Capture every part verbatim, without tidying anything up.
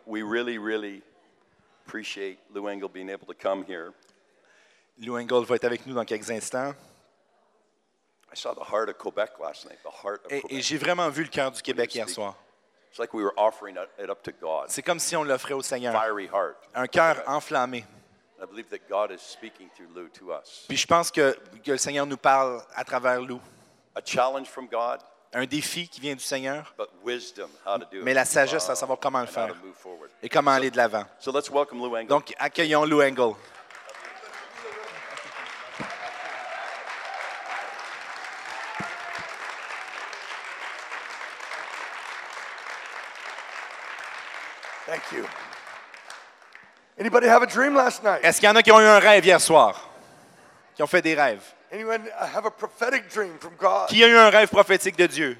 we really, really appreciate Lou Engle being able to come here. Lou Engle va être avec nous dans quelques instants. I saw the heart of Quebec last night, the heart of Et, Quebec. et j'ai vraiment vu le cœur du Québec hier soir. It's like we were offering it up to God. C'est comme si on l'offrait au Seigneur. Fiery heart. Un cœur enflammé. I believe that God is speaking through Lou to us. Puis je pense que, que le Seigneur nous parle à travers Lou. A challenge from God, Un défi qui vient du Seigneur, but wisdom how to do it. mais la sagesse à savoir comment le and how faire to move forward. et comment aller de l'avant. So let's welcome Lou Engle. Donc, accueillons Lou Engle. Thank you. Anybody have a dream last night? Est-ce qu'il y en a qui ont eu un rêve hier soir? Qui ont fait des rêves? Anyone have a prophetic dream from God? Qui a eu un rêve prophétique de Dieu?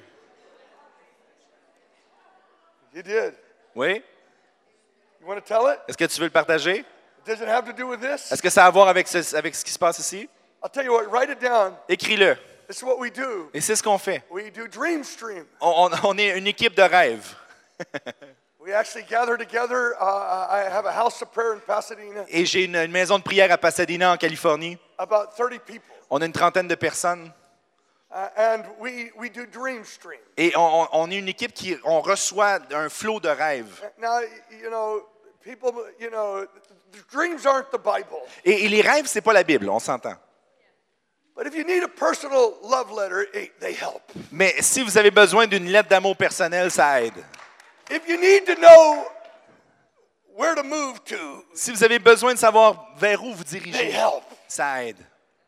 You did. Oui? You want to tell it? Est-ce que tu veux le partager? Does it have to do with this? Est-ce que ça a à voir avec ce, avec ce qui se passe ici? I'll tell you what, write it down. Écris-le. This is what we do. Et c'est ce qu'on fait. We do Dream Stream. On, on- on est une équipe de rêves. We actually gather together. Uh, I have a house of prayer in Pasadena. Et j'ai une, une maison de prière à Pasadena, en Californie. About thirty people. On a une trentaine de personnes. Uh, and we, we do Dream Stream. Et on, on- on est une équipe qui on reçoit un flot de rêves. Now, you know, people, you know, the dreams aren't the Bible. Et, et les rêves, c'est pas la Bible, on s'entend. But if you need a personal love letter, it, they help. Mais si vous avez besoin d'une lettre d'amour personnelle, ça aide. If you need to know where to move to, Si vous avez besoin de savoir vers où vous they dirigez, help. ça aide.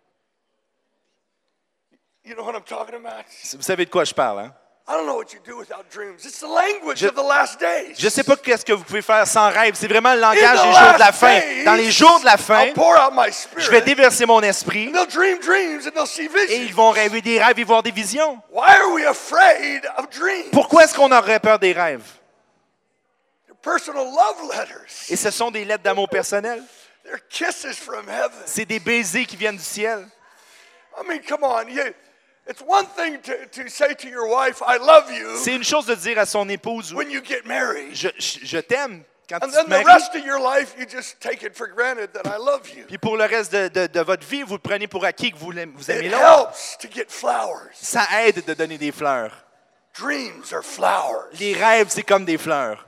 You know what I'm talking about? Vous savez de quoi je parle, hein? I don't know what you do without dreams. It's the language Je- of the last days. Je ne sais pas qu'est-ce que vous pouvez faire sans rêve. C'est vraiment le In langage the des jours de la last fin. days, Dans les jours de la fin, I'll pour out my je vais spirit. déverser mon esprit They'll dream dreams and they'll see et ils visions. vont rêver des rêves et voir des visions. Why are we afraid of dreams? Pourquoi est-ce qu'on aurait peur des rêves? They're personal love letters. Et ce sont des lettres d'amour personnel. They're kisses from heaven. C'est des baisers qui viennent du ciel. I mean, come on. You, it's one thing to, to say to your wife, I love you, C'est une chose de dire à son épouse, when you get married. je, je, je t'aime quand And tu then te the maries. rest of your life, you just take it for granted that I love you. Puis pour le reste de, de, de votre vie, vous le prenez pour acquis que vous, l'aimez- vous aimez It l'autre. helps to get flowers. Ça aide de donner des fleurs. Dreams are flowers. Les rêves, c'est comme des fleurs.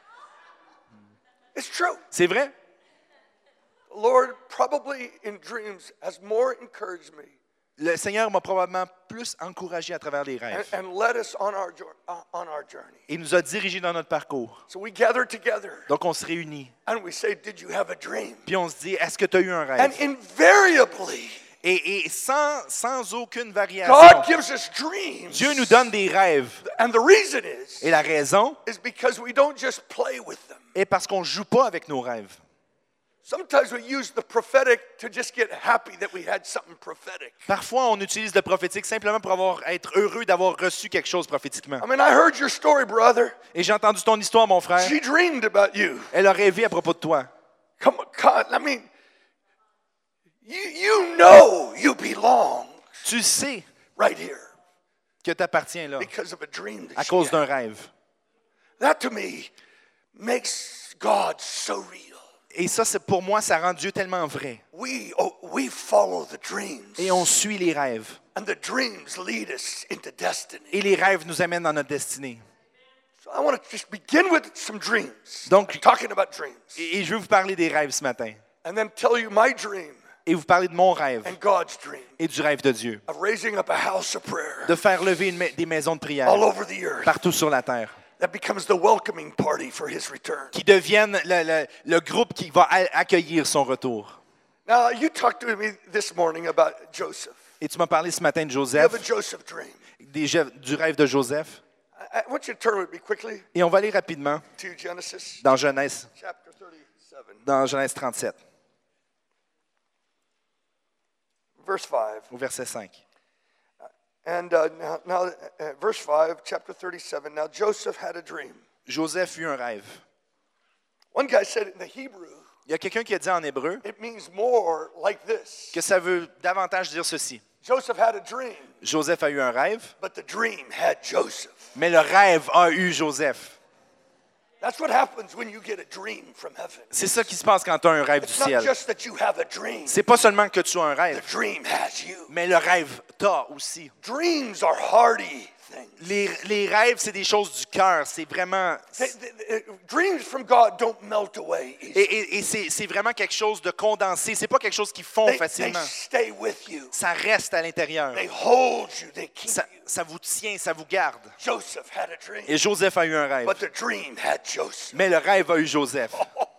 It's true. C'est vrai? The Lord probably in dreams has more encouraged me Le Seigneur m'a probablement plus encouragé à travers les and, rêves. and led us on our, jour- uh, on our journey. Il nous a dirigés dans notre parcours. So we gather together Donc on se réunit. and we say, did you have a dream? Puis on se dit, est-ce que tu as eu un And rêve? invariably, Et, et sans, sans aucune God variation, gives us dreams. Dieu nous donne des rêves. And the reason is, Et la raison is because we don't just play with them. est parce qu'on ne joue pas avec nos rêves. Sometimes we use the prophetic to just get happy that we had something prophetic. Parfois, on utilise le prophétique simplement pour avoir, être heureux d'avoir reçu quelque chose prophétiquement. I mean, I heard your story, brother. Et j'ai entendu ton histoire, mon frère. She dreamed about you. Elle a rêvé à propos de toi. Come on, God, I mean, you, you know you belong Tu sais right here que tu appartiens là because of a dream that à she cause had. d'un rêve. That to me makes God so real. Et ça, c'est, pour moi, ça rend Dieu tellement vrai. We, oh, we follow the dreams. Et on suit les rêves. And the dreams lead us into destiny. Et les rêves nous amènent dans notre destinée. So I want to just begin with some dreams. Donc- I'm talking about dreams. Et, et je veux vous parler des rêves ce matin. And then tell you my dream Et vous parler de mon rêve and God's dream et du rêve de Dieu. of raising up a house of prayer De faire lever une ma- des maisons de prière all over the earth partout sur la terre. that becomes the welcoming party for his return. Qui deviennent le, le- le groupe qui va a- accueillir son retour. Now, you talked to me this morning about Joseph. Et tu m'as parlé ce matin de You Joseph, have a Joseph dream. des je- du rêve de Joseph. I, I want you to turn with me quickly Et on va aller rapidement to Genesis dans Genèse, chapter thirty-seven, dans Genèse trente-sept, verse five. au verset cinq. And uh, now, now uh, verse five, chapter thirty-seven. Now Joseph had a dream. Joseph eut un rêve. One guy said in the Hebrew, Il y a quelqu'un qui a dit en hébreu it means more like this. que ça veut davantage dire ceci. Joseph had a dream, Joseph a eu un rêve, but the dream had Joseph. mais le rêve a eu Joseph. That's what happens when you get a dream from heaven. C'est ça qui se passe quand tu as un rêve du It's not ciel. just that you have a dream. C'est pas seulement que tu as un The rêve, dream has you. mais le rêve t'a aussi. Dreams are hardy things. Les, les rêves, c'est des choses du cœur. C'est vraiment... They- they- they- dreams from God don't melt away Et, easily. et- et c'est, c'est vraiment quelque chose de condensé. C'est pas quelque chose qui fond They, they facilement. stay with you. Ça reste à l'intérieur. They hold you. They keep Ça, you. ça vous tient, ça vous garde. Joseph had a dream, Et Joseph a eu un rêve. but the dream had Joseph. Mais le rêve a eu Joseph.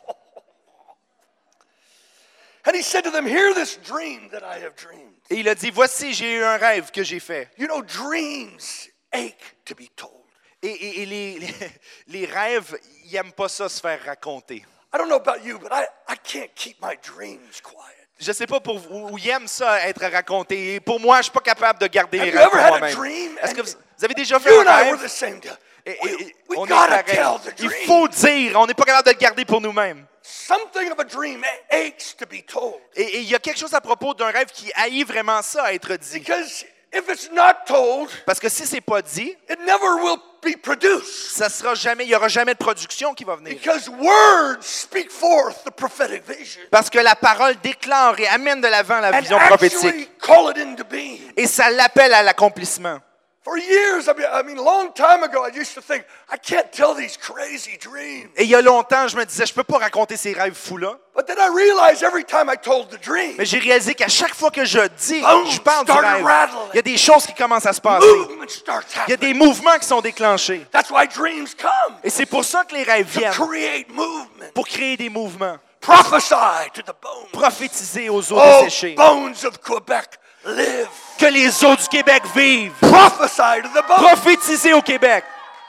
And he said to them, hear this dream that I have dreamed. Et il a dit, voici, j'ai eu un rêve que j'ai fait. You know, dreams ache to be told. Et, et- et les, les, les rêves, ils n'aiment pas ça se faire raconter. I don't know about you, but I, I can't keep my dreams quiet. Je ne sais pas pour vous, ils aiment ça être raconté. Et pour moi, je ne suis pas capable de garder Have les you rêves ever pour had a moi-même. dream Est-ce que and vous, vous avez déjà fait You un and I were rêve? the same. deal. Et, We, et- et we on est gotta pareil. tell the Il dream. faut dire, on n'est pas capable de le garder pour nous-mêmes. Something of a dream aches to be told. Et et il y a quelque chose à propos d'un rêve qui haït vraiment ça à être dit. Because if it's not told, Parce que si c'est pas dit, it never will be produced. ça sera jamais, il n'y aura jamais de production qui va venir. Because words speak forth the prophetic vision Parce que la parole déclare et amène de l'avant la and vision prophétique. actually call it into being. Et ça l'appelle à l'accomplissement. For years, I mean, I mean, a long time ago, I used to think, I can't tell these crazy dreams. Et il y a longtemps, je me disais, je peux pas raconter ces rêves fous-là. But then I realized every time I told the dream, Mais j'ai réalisé qu'à chaque fois que je dis, Boom, je parle du started rêve, rattling. il y a des choses qui commencent à se passer. movement starts Il y a des happening. mouvements qui sont déclenchés. That's why dreams come, Et c'est pour ça que les rêves to viennent, create movement. pour créer des mouvements. Prophesy to the bones. Prophétiser aux eaux Oh, desséchées. bones of Quebec, live. Que les eaux du Québec vivent. Prophesy to the bones. Prophétiser au Québec.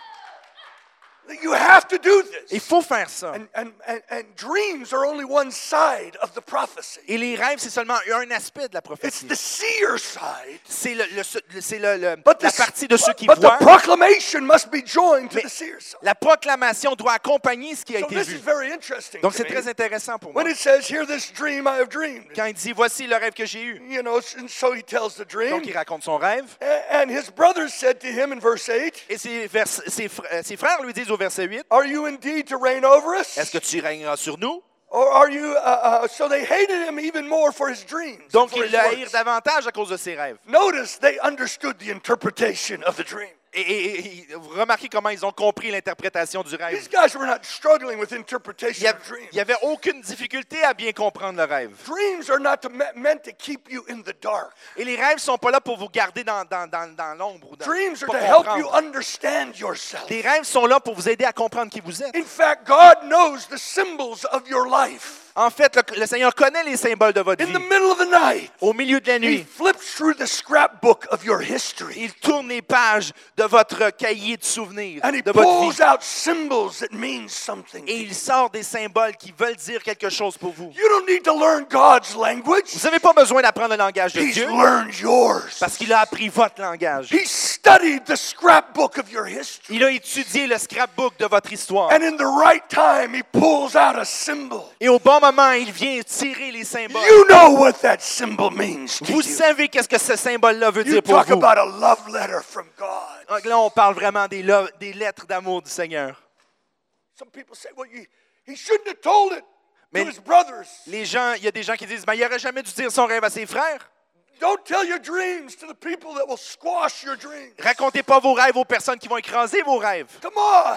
You have to do this. Il faut faire ça. And, and, and, and dreams are only one side of the prophecy. Et les rêves, c'est seulement un aspect de la It's prophétie. the seer side. C'est le, le- c'est le- le- But, la the, partie de ceux qui but voient. the proclamation must be joined to Mais the seer side. la proclamation doit accompagner ce qui a So été this vu. is very interesting Donc to c'est me. très intéressant pour moi. When it says, hear this dream I have dreamed. Quand il dit, voici le rêve que j'ai eu. You know, and so he tells the dream. Donc il raconte son rêve. A- And his brothers said to him in verse eight, Et ses, vers- ses fr- euh, ses frères lui disent au verset huit, are you indeed to reign over us? est-ce que tu régneras sur nous? Or are you, uh, uh, so they hated him even more for his dreams. and Donc for ils his le haïrent words. davantage à cause de ses rêves. Notice they understood the interpretation of the dream. Et, et- et- et vous remarquez comment ils ont compris l'interprétation du rêve. These guys were not struggling with Il interpretation n'y of dreams. avait aucune difficulté à bien comprendre le rêve. Dreams are not to, me- meant to keep you in the dark. Et les rêves ne sont pas là pour vous garder dans, dans, dans, dans l'ombre. Ou dans, Dreams are pas to help you comprendre. understand yourself. Les rêves sont là pour vous aider à comprendre qui vous êtes. In fact, God knows the symbols of your life. En fait, le, le Seigneur connaît les symboles de votre In vie. the middle of the night, Au milieu de la He nuit, flips through the scrapbook of your history. il tourne les pages de votre cahier de souvenirs, And He de votre pulls vie. out symbols that mean something. to Et you. il sort des symboles qui veulent dire quelque chose pour vous. You don't need to learn God's language. Vous n'avez pas besoin d'apprendre le langage de He's Dieu learned yours. parce qu'il a appris votre langage. He studied the scrapbook of your history. Il a étudié le scrapbook de votre histoire. And in the right time, He pulls out a symbol. Et au bon moment, il vient tirer les symboles. You know what that symbol means to Vous you. savez qu'est-ce que ce symbole-là veut You dire pour talk vous. about a love letter from God. Donc là, on parle vraiment des, lo- des lettres d'amour du Seigneur. Some people say, well, you, he shouldn't have told it Mais- to his brothers. Les gens, il y a des gens qui disent, ben, il n'aurait jamais dû dire son rêve à ses frères. Don't tell your dreams to the people that will squash your dreams. Racontez pas vos rêves aux personnes qui vont écraser vos rêves. Come on.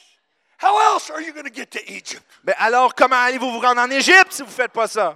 How else are you going to get to Egypt? Ben alors, comment allez-vous vous rendre en Égypte si vous ne faites pas ça?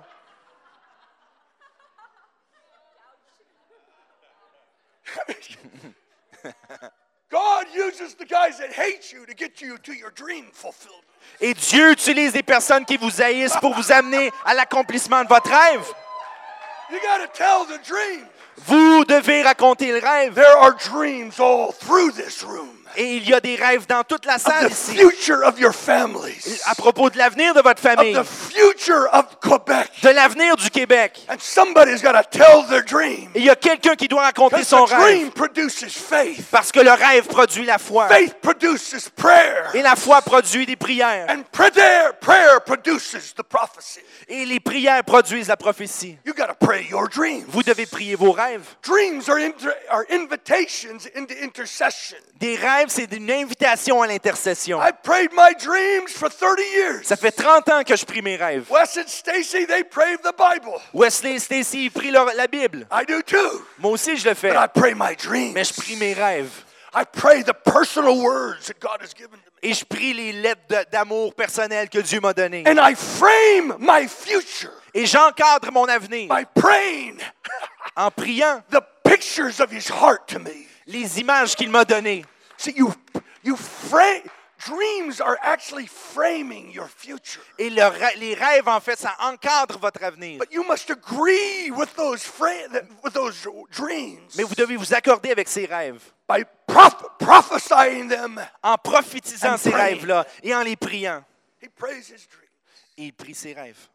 God uses the guys that hate you to get you to your dream fulfillment. Et Dieu utilise des personnes qui vous haïssent pour vous amener à l'accomplissement de votre rêve. You got to tell the dream. Vous devez raconter le rêve. There are dreams all through this room. Et il y a des rêves dans toute la Of salle the ici. future of your families. À propos de l'avenir de votre famille. Of the future of Quebec. De l'avenir du Québec. And somebody's got to tell their dream. Et il y a quelqu'un qui doit raconter Because son the dream rêve. produces faith. Parce que le rêve produit la foi. Faith produces prayer. Et la foi produit des prières. And prayer, prayer produces the prophecy. Et les prières produisent la prophétie. You got to pray your dreams. Vous devez prier vos rêves. Dreams are, inter- are invitations into intercession. Des rêves rêves, c'est une invitation à l'intercession. I prayed my dreams for thirty years. Ça fait trente ans que je prie mes rêves. Wes and Stacy, they prayed the Bible. Wesley et Stacy, ils prient leur- la Bible. I do too. Moi aussi, je le fais. But I pray my dreams. Mais je prie mes rêves. I pray the personal words that God has given to me. Et je prie les lettres de- d'amour personnel que Dieu m'a données. And I frame my future Et j'encadre mon avenir by praying en priant the pictures of his heart to me. les images qu'il m'a données. See, you, you frame, dreams are actually framing your future. Et le rê- les rêves, en fait, ça encadre votre avenir. But you must agree with those, fra- with those dreams Mais vous devez vous accorder avec ces rêves by proph- prophesying them. en prophétisant And ces praying. rêves-là et en les priant. He prays his dreams. Et il prie ses rêves.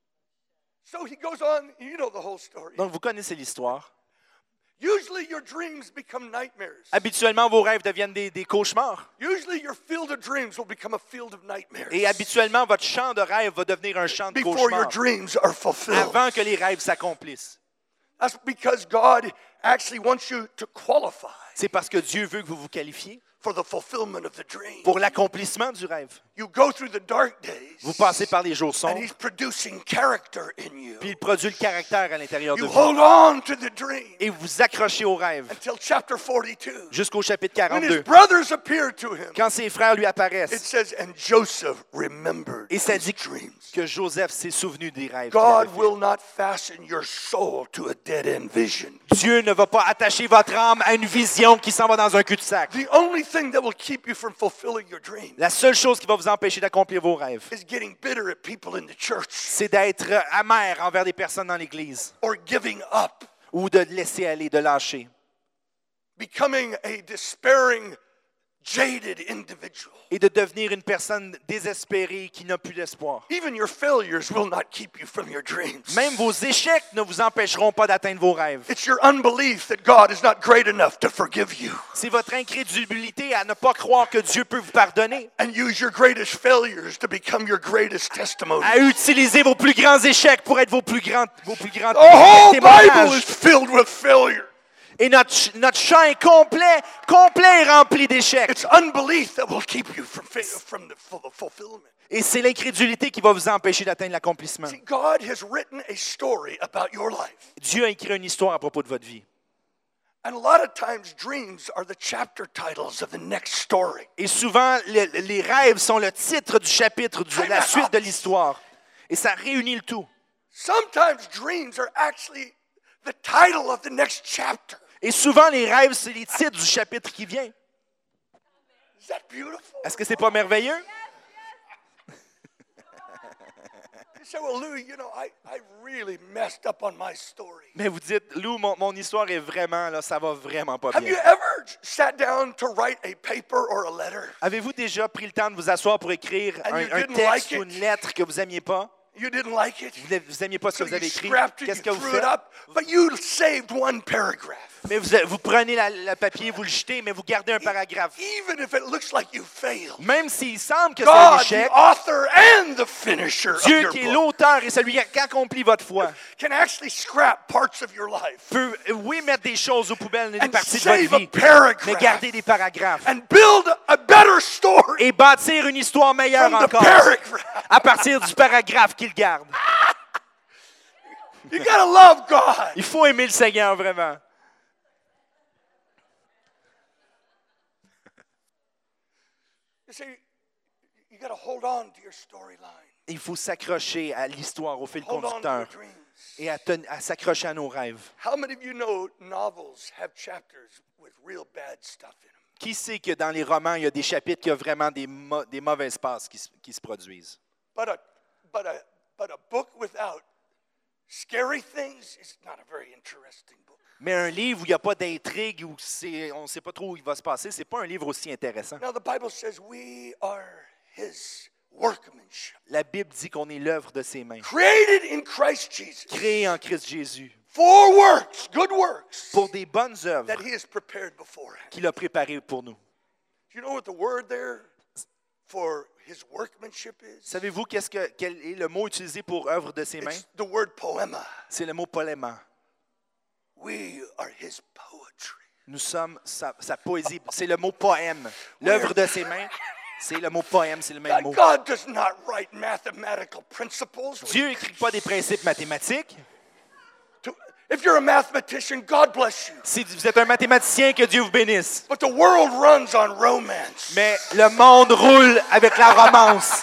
So he goes on, you know the whole story. Donc, vous connaissez l'histoire. Usually your dreams become nightmares. Habituellement, vos rêves deviennent des, des cauchemars. Usually your field of dreams will become a field of nightmares. Et habituellement, votre champ de rêve va devenir un champ de Before your cauchemars dreams are fulfilled. avant que les rêves s'accomplissent. That's because God actually wants you to qualify C'est parce que Dieu veut que vous vous qualifiez for the fulfillment of the dream. pour l'accomplissement du rêve. You go through the dark days, Vous passez par les jours and sombres, He's producing character in you. puis il produit le caractère à l'intérieur de You vous. hold on to the dream Et vous vous accrochez au rêve until chapter forty-two. jusqu'au chapitre When his quarante-deux. brothers appeared to him, Quand ses frères lui it apparaissent, says, and Joseph remembered et ça his dit dreams. que Joseph s'est souvenu des rêves qu'il avait God faits. will not fasten your soul to a dead-end vision. Dieu ne va pas attacher votre âme à une vision qui s'en va dans un cul-de-sac. The only thing that will keep you from fulfilling your dreams La seule chose qui va vous empêcher d'accomplir vos rêves, is getting bitter at people in the church c'est d'être amer envers des personnes dans l'Église or giving up, ou de laisser aller, de lâcher. becoming a despairing, jaded individual. Et de devenir une personne désespérée qui n'a plus d'espoir. Even your failures will not keep you from your dreams. Même vos échecs ne vous empêcheront pas d'atteindre vos rêves. It's your unbelief that God is not great enough to forgive you C'est votre incrédulité à ne pas croire que Dieu peut vous pardonner, and use your greatest failures to become your greatest testimony. à utiliser vos plus grands échecs pour être vos plus grands, vos plus grands The whole Bible témoignages. is filled with failure. Et notre, ch- notre champ est complet, complet et rempli d'échecs. It's unbelief that will keep you from, fa- from the full- fulfillment. Et c'est l'incrédulité qui va vous empêcher d'atteindre l'accomplissement. See, God has written a story about your life. Dieu a écrit une histoire à propos de votre vie. And a lot of times, dreams are the chapter titles of the next story. Et souvent, le- les rêves sont le titre du chapitre, de la suite de l'histoire. Et ça réunit le tout. Sometimes dreams are actually the title of the next chapter. Et souvent, les rêves, c'est les titres du chapitre qui vient. Is that beautiful? Est-ce que c'est pas merveilleux? You say, well, Louis, you know, I, I really messed up on my story. Mais vous dites, Lou, mon, mon histoire est vraiment, là, ça va vraiment pas Have you bien. ever sat down to write a paper or a letter? Avez-vous déjà pris le temps de vous asseoir pour écrire And un, you un didn't texte like ou it? une lettre que vous n'aimiez pas? You didn't like it? Vous vous n'aimiez pas ce que So vous you avez écrit? scrapped it, Qu'est-ce que you vous threw it faites? up, but you saved one paragraph. Mais vous, vous prenez la- le papier, vous le jetez, mais vous gardez un paragraphe. Even if it looks like you failed. Même s'il semble que c'est un God, échec, the author and the finisher of Dieu your qui est book, l'auteur et celui qui accomplit votre foi can actually scrap parts of your life peut, oui, mettre des choses aux poubelles, des and parties de save votre a vie, mais paragraph garder des paragraphes and build a better story et bâtir une histoire meilleure from the encore paragraph. à partir du paragraphe qu'il garde. You gotta love God. Il faut aimer le Seigneur vraiment. You see, you gotta hold on to your storyline. Il faut s'accrocher à l'histoire, au fil Hold on to your conducteur dreams. et à, ten- à s'accrocher à nos rêves. How many of you know novels have chapters with real bad stuff in them? Qui sait que dans les romans, il y a des chapitres qui ont vraiment des, mo- des mauvaises passes qui, se- qui se produisent? But a, but a, but a book without scary things is not a very interesting book. Mais un livre où il n'y a pas d'intrigue, où c'est- on ne sait pas trop où il va se passer, ce n'est pas un livre aussi intéressant. Now the Bible says we are His workmanship, La Bible dit qu'on est l'œuvre de ses mains, created in Christ Jesus créée en Christ Jésus, for works, good works, pour des bonnes œuvres that He has prepared beforehand. qu'il a préparées pour nous. Do you know what the word there for His workmanship is? Savez-vous qu'est-ce que, quel est le mot utilisé pour œuvre de ses mains? It's the word poema. C'est le mot poléma. We are His poetry. Nous sommes sa, sa poésie. C'est le mot poème. L'œuvre de ses mains, c'est le mot poème, c'est le même mot. God does not write mathematical principles. Dieu n'écrit pas des principes mathématiques. To- If you're a mathematician, God bless you. Si vous êtes un mathématicien, que Dieu vous bénisse. But the world runs on romance. Mais le monde roule avec la romance.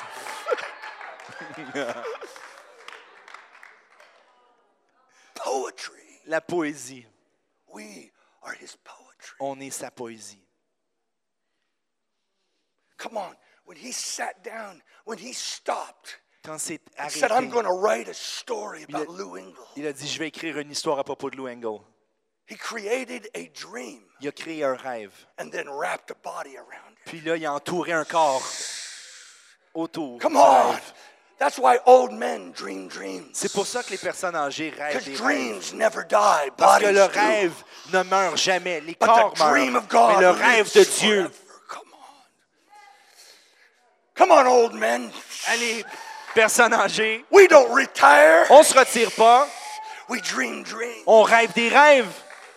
Poetry. La poésie. We are his poetry. On est sa poésie. Come on. When he sat down, when he stopped, Quand c'est he said, I'm arrêté, going to write a story Il a- about Lou Engle. il a dit, je vais écrire une histoire à propos de Lou Engle. He created a dream Il a créé un rêve. and then wrapped a body around it. Puis là, il a entouré un corps autour Come du on. rêve. That's why old men dream dreams. C'est pour ça que les personnes âgées rêvent Because des rêves. dreams never die. Parce que Bodies le do. rêve ne meurt jamais. Les But corps the dream meurent. of God Mais le rêve de lives Dieu. forever. Come on. Come on, old men. Allez, personnes âgées, We don't retire. on se retire pas. We dream dreams. On rêve des rêves.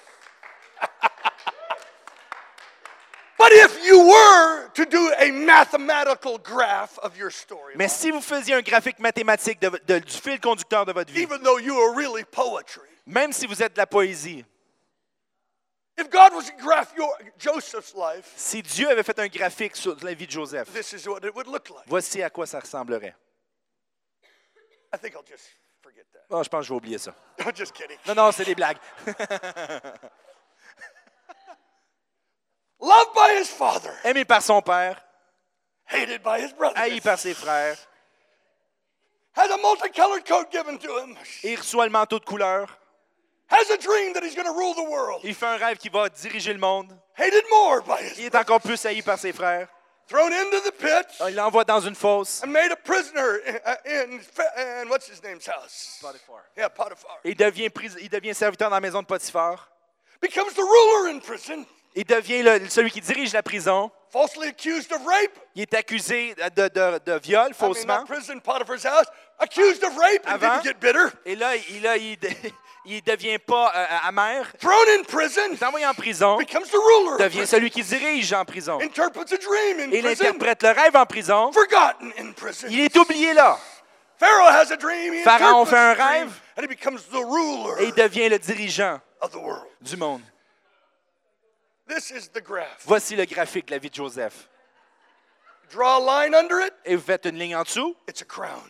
But if you were to do a mathematical graph of your story, Mais si vous faisiez un graphique mathématique de- de- du fil conducteur de votre vie, even though you are really poetry, même si vous êtes de la poésie, if God was to graph your Joseph's life, si Dieu avait fait un graphique sur la vie de Joseph, this is what it would look like. voici à quoi ça ressemblerait. I think I'll just forget that. Oh, je pense que je vais oublier ça. I'm just kidding. Non, non, c'est des blagues. Loved by his father, Aimé par son père, hated by his brothers. haï par ses frères, Has a multicolored coat given to him. il reçoit le manteau de couleur, Has a dream that he's going to rule the world. il fait un rêve qui va diriger le monde, Hated more by his il est encore plus haï par ses frères, thrown into the pit il l'envoie dans une fosse, and made a prisoner in, in, in what's his name's house? Yeah, Potiphar. il devient, pris- il devient serviteur dans la maison de Potiphar, Becomes the ruler in prison. il devient le- celui qui dirige la prison, Falsely accused of rape. il est accusé de, de- de viol I mean, faussement, not prison, Potiphar's house. Accused of rape and Avant. didn't get bitter. et là, il, là, il, il devient pas euh, amer, Thrown in prison. il est envoyé en prison, Becomes the ruler. of devient prison. celui qui dirige en prison, Interprets a dream in et il prison. interprète le rêve en prison, Forgotten in prison. il est oublié là, Pharaoh has a dream. He Pharaon interprets fait un the dream, rêve. and he becomes the ruler et il devient le dirigeant of the world. du monde. This is the graph. Voici le graphique de la vie de Joseph. Draw a line under it. Et vous faites une ligne en dessous. It's a crown.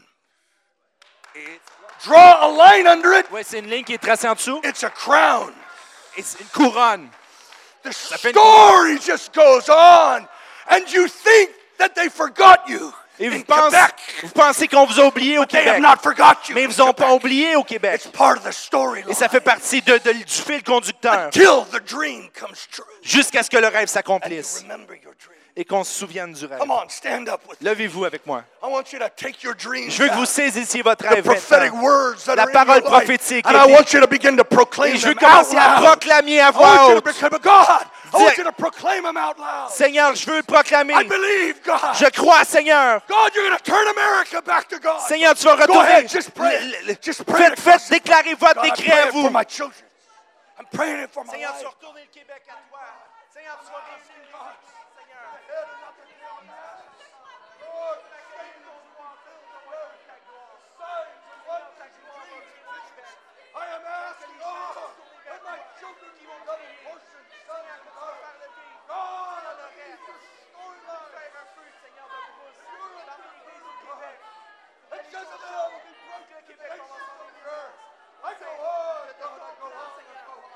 Draw a line under it. Oui, c'est une ligne qui est tracée en dessous. It's a crown. Et c'est une couronne. The fait une- story just goes on, and you think that they forgot you Et in vous pensez, Quebec. vous pensez qu'on vous a oublié au They have Québec. not forgot you. Mais ils in vous ont pas Quebec. oublié au Québec. It's part of the storyline. Et ça fait partie de- de- du fil conducteur. Until the dream comes true. Jusqu'à ce que le rêve And you s'accomplisse. remember your dream. Et qu'on se souvienne du rêve. Come on, stand up with me. Levez-vous avec moi. I want you to take your dreams Je veux que vous back. saisissiez votre The rêve prophetic maintenant. words that La are in parole your life. prophétique And est I dit- want you to begin to proclaim Et je veux them out commencer à loud. proclamer à I voix want you to haute. proclaim, God, I Dis- want you to proclaim them out loud. Seigneur, je veux le proclamer. I believe, God. Je crois, Seigneur. God, you're going to turn America back to God. Seigneur, tu vas Go retourner. ahead, just pray. Le- le- Just pray it Faites, faites across the- déclarer votre God, I'm décret à praying vous. for my children. I'm praying it for my Seigneur, tu vas life. retourner le Québec à toi. Seigneur, tu vas réussir le Québec, Seigneur. I am asking God that my children will get a portion, son and daughter. God, I believe your storyline. And Jezebel will be broken to the nations of the earth. I go on, God, I go on, I go on.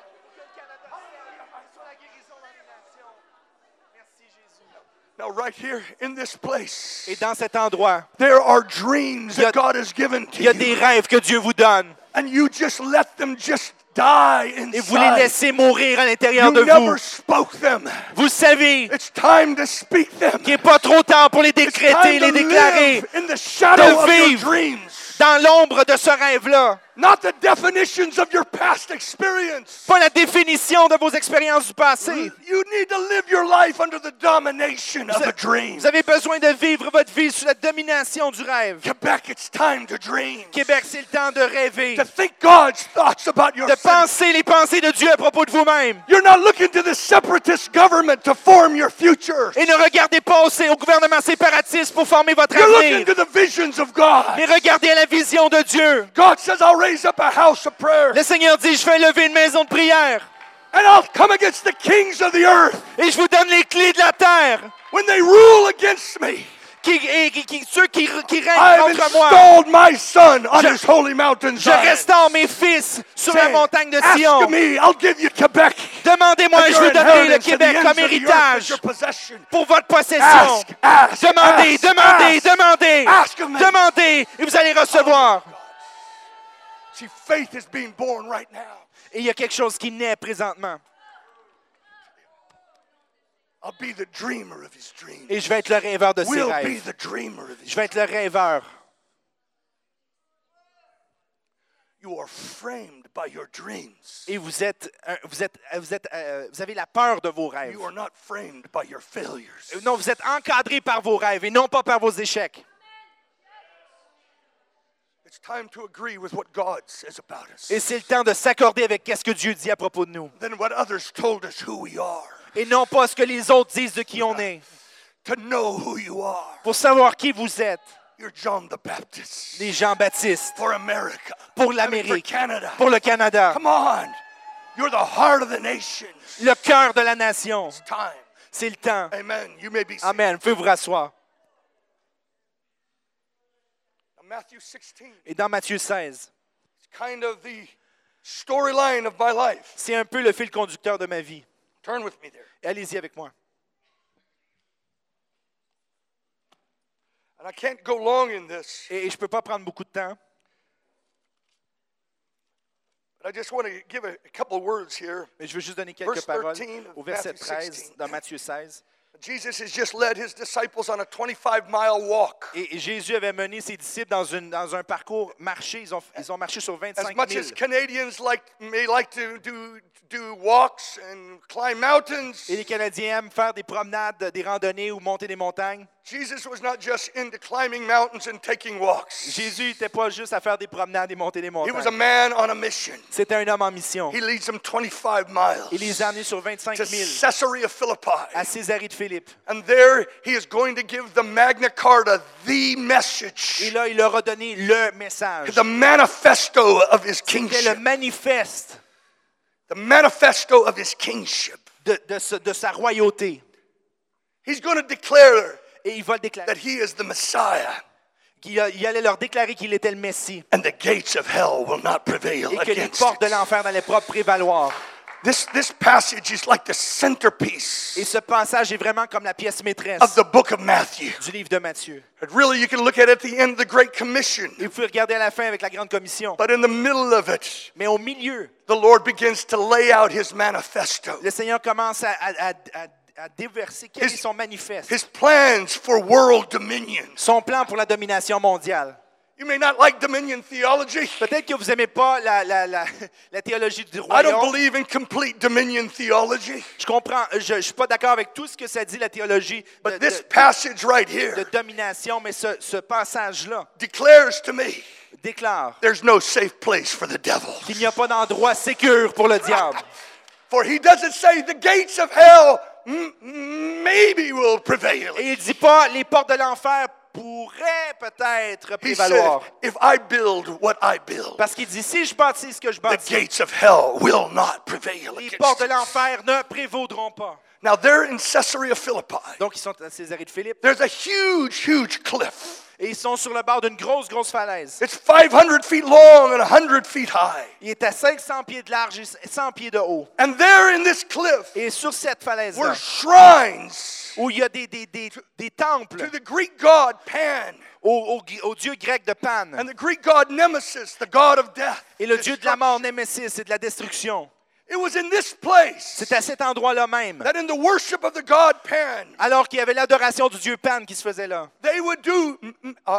Now, right here in this place, Et dans cet endroit, there are dreams Il y a- that God has given il y a to des you. rêves que Dieu vous donne. And you just let them just die Et vous les inside. laissez mourir à l'intérieur de You never vous. spoke them. Vous savez It's time to speak them. qu'il n'est pas trop tard pour les It's décréter, time les to déclarer live in the shadow de of your vivre. dreams. dans l'ombre de ce rêve-là. Not the definitions of your past experience. Pas la définition de vos expériences du passé. You need to live your life under the domination of a dream. Vous avez besoin de vivre votre vie sous la domination du rêve. Quebec, it's time to dream. Québec, c'est le temps de rêver, To think God's thoughts about your de city. penser les pensées de Dieu à propos de vous-même. You're not looking to the separatist government to form your future. Et ne regardez pas au, au gouvernement séparatiste pour former votre You're looking avenir, to the visions of God. mais regardez à la vision de Dieu. God says, I'll raise up a house of prayer, Le Seigneur dit, je vais lever une maison de prière and I'll come against the kings of the earth et je vous donne les clés de la terre. when they rule against me. Qui, et, qui, qui- ceux qui, qui I règnent have contre moi. installed my son on Je- his holy mountain. Je Zion. restaure mes fils sur la Saying, montagne de Ask Sion. me, I'll give you Quebec. Demandez-moi, as je your vous donnerai le inheritance to the Québec ends comme of the earth as héritage your possession. pour votre possession. Ask, ask, Demandez, ask, demandez, ask. demandez. Ask of me. Demandez et vous allez recevoir. See, faith is being born right now. Et il y a quelque chose qui naît présentement. I'll be the dreamer of his dreams. Et je vais être le rêveur de ses We'll be rêves. the dreamer of his Je vais être le rêveur. You are framed by your dreams. Et vous êtes, un- vous êtes, vous êtes, euh, vous avez la peur de vos rêves. You are not framed by your failures. Non, vous êtes encadré par vos rêves et non pas par vos échecs. It's time to agree with what God says about us. Et c'est le temps de s'accorder avec ce que Dieu dit à propos de nous. Then what others told us who we are. Et non pas ce que les autres disent de qui on est. To know who you are. Pour savoir qui vous êtes. You're John the Baptist. Les Jean-Baptistes. For America. Pour I mean, for l'Amérique. Canada. Pour le Canada. Come on. You're the heart of the nations. Le cœur de la nation. It's time. C'est le temps. Amen. You may be seated. Amen. Vous pouvez vous rasseoir. Now, Matthew sixteen. Et dans Matthieu seize, It's kind of the storyline of my life. c'est un peu le fil conducteur de ma vie. Turn with me there. Allez-y avec moi. And I can't go long in this, Et, et je ne peux pas prendre beaucoup de temps, but I just want to give a, a couple of words here. mais je veux juste donner quelques Verse paroles thirteen of au verset Matthew treize sixteen. dans Matthieu seize. Jesus has just led his disciples on a twenty-five mile walk. Et, et Jésus avait mené ses disciples dans, une, dans un parcours marché. Ils ont, ils ont marché sur As vingt-cinq much mille. as Canadians like may like to do do walks and climb mountains, Et les Canadiens aiment faire des promenades, des randonnées ou monter des montagnes. Jesus was not just into climbing mountains and taking walks. Jésus n'était pas juste à faire des promenades et monter des He was a montagnes. man on a mission. C'était un homme en mission. He leads them twenty-five miles Il les a amenés sur vingt-cinq to mille Caesarea Philippi. à Césarée de Philippe. And there he is going to give the Magna Carta, the Et message, là, il leur a donné le message. the manifesto of his C'était le kingship. manifeste The manifesto of his kingship. de, de, ce- de sa royauté. He's going to declare Et il va le déclarer. that he is the Messiah, qu'il a- Il allait leur déclarer qu'il était le Messie. and the gates of hell will not prevail Et que les against portes de it. l'enfer n'allaient pas prévaloir. This, this passage is like the centerpiece Et ce passage est vraiment comme la pièce maîtresse of the book of Matthew. du livre de Matthieu. But really, you can look at it at the end of the Great Commission. Et vous pouvez regarder à la fin avec la Grande Commission. But in the middle of it, Mais au milieu, the Lord begins to lay out his manifesto, le Seigneur commence à, à, à, à- à déverser quel His- est son manifeste, his plans for world dominion. son plan pour la domination mondiale. You may not like dominion theology. Peut-être que vous n'aimez pas la, la, la, la théologie du I don't royaume. believe in complete dominion theology. Je comprends, je ne suis pas d'accord avec tout ce que ça dit la théologie de, But this de- passage right de here domination, mais ce, ce passage-là declares to me déclare there's no safe place for the devil. qu'il n'y a pas d'endroit sécure pour le diable. For he doesn't say the gates of hell m- maybe will prevail. Et il ne dit pas les portes de l'enfer pourraient peut-être He said, prévaloir. if I build what I build, Parce qu'il dit, si je bâtis ce que je the bâtis, gates of hell will not prevail les against portes de it. l'enfer ne prévaudront pas. Now they're in Caesarea Philippi. Donc, ils sont à Césarée de Philippe There's a huge, huge cliff. et ils sont sur le bord d'une grosse, grosse falaise. It's five hundred feet long and one hundred feet high. Il est à cinq cents pieds de large et cent pieds de haut. And there in this cliff Et sur cette falaise-là, were shrines où il y a des, des, des, des to temples the Greek god Pan au, au- au dieu grec de Pan and the Greek god Nemesis, the god of death. et le dieu de la mort, Némésis, et de la destruction. It was in this place C'est à cet endroit-là même, that in the worship of the god Pan, alors qu'il y avait l'adoration du dieu Pan qui se faisait là. they would do mm, mm, uh,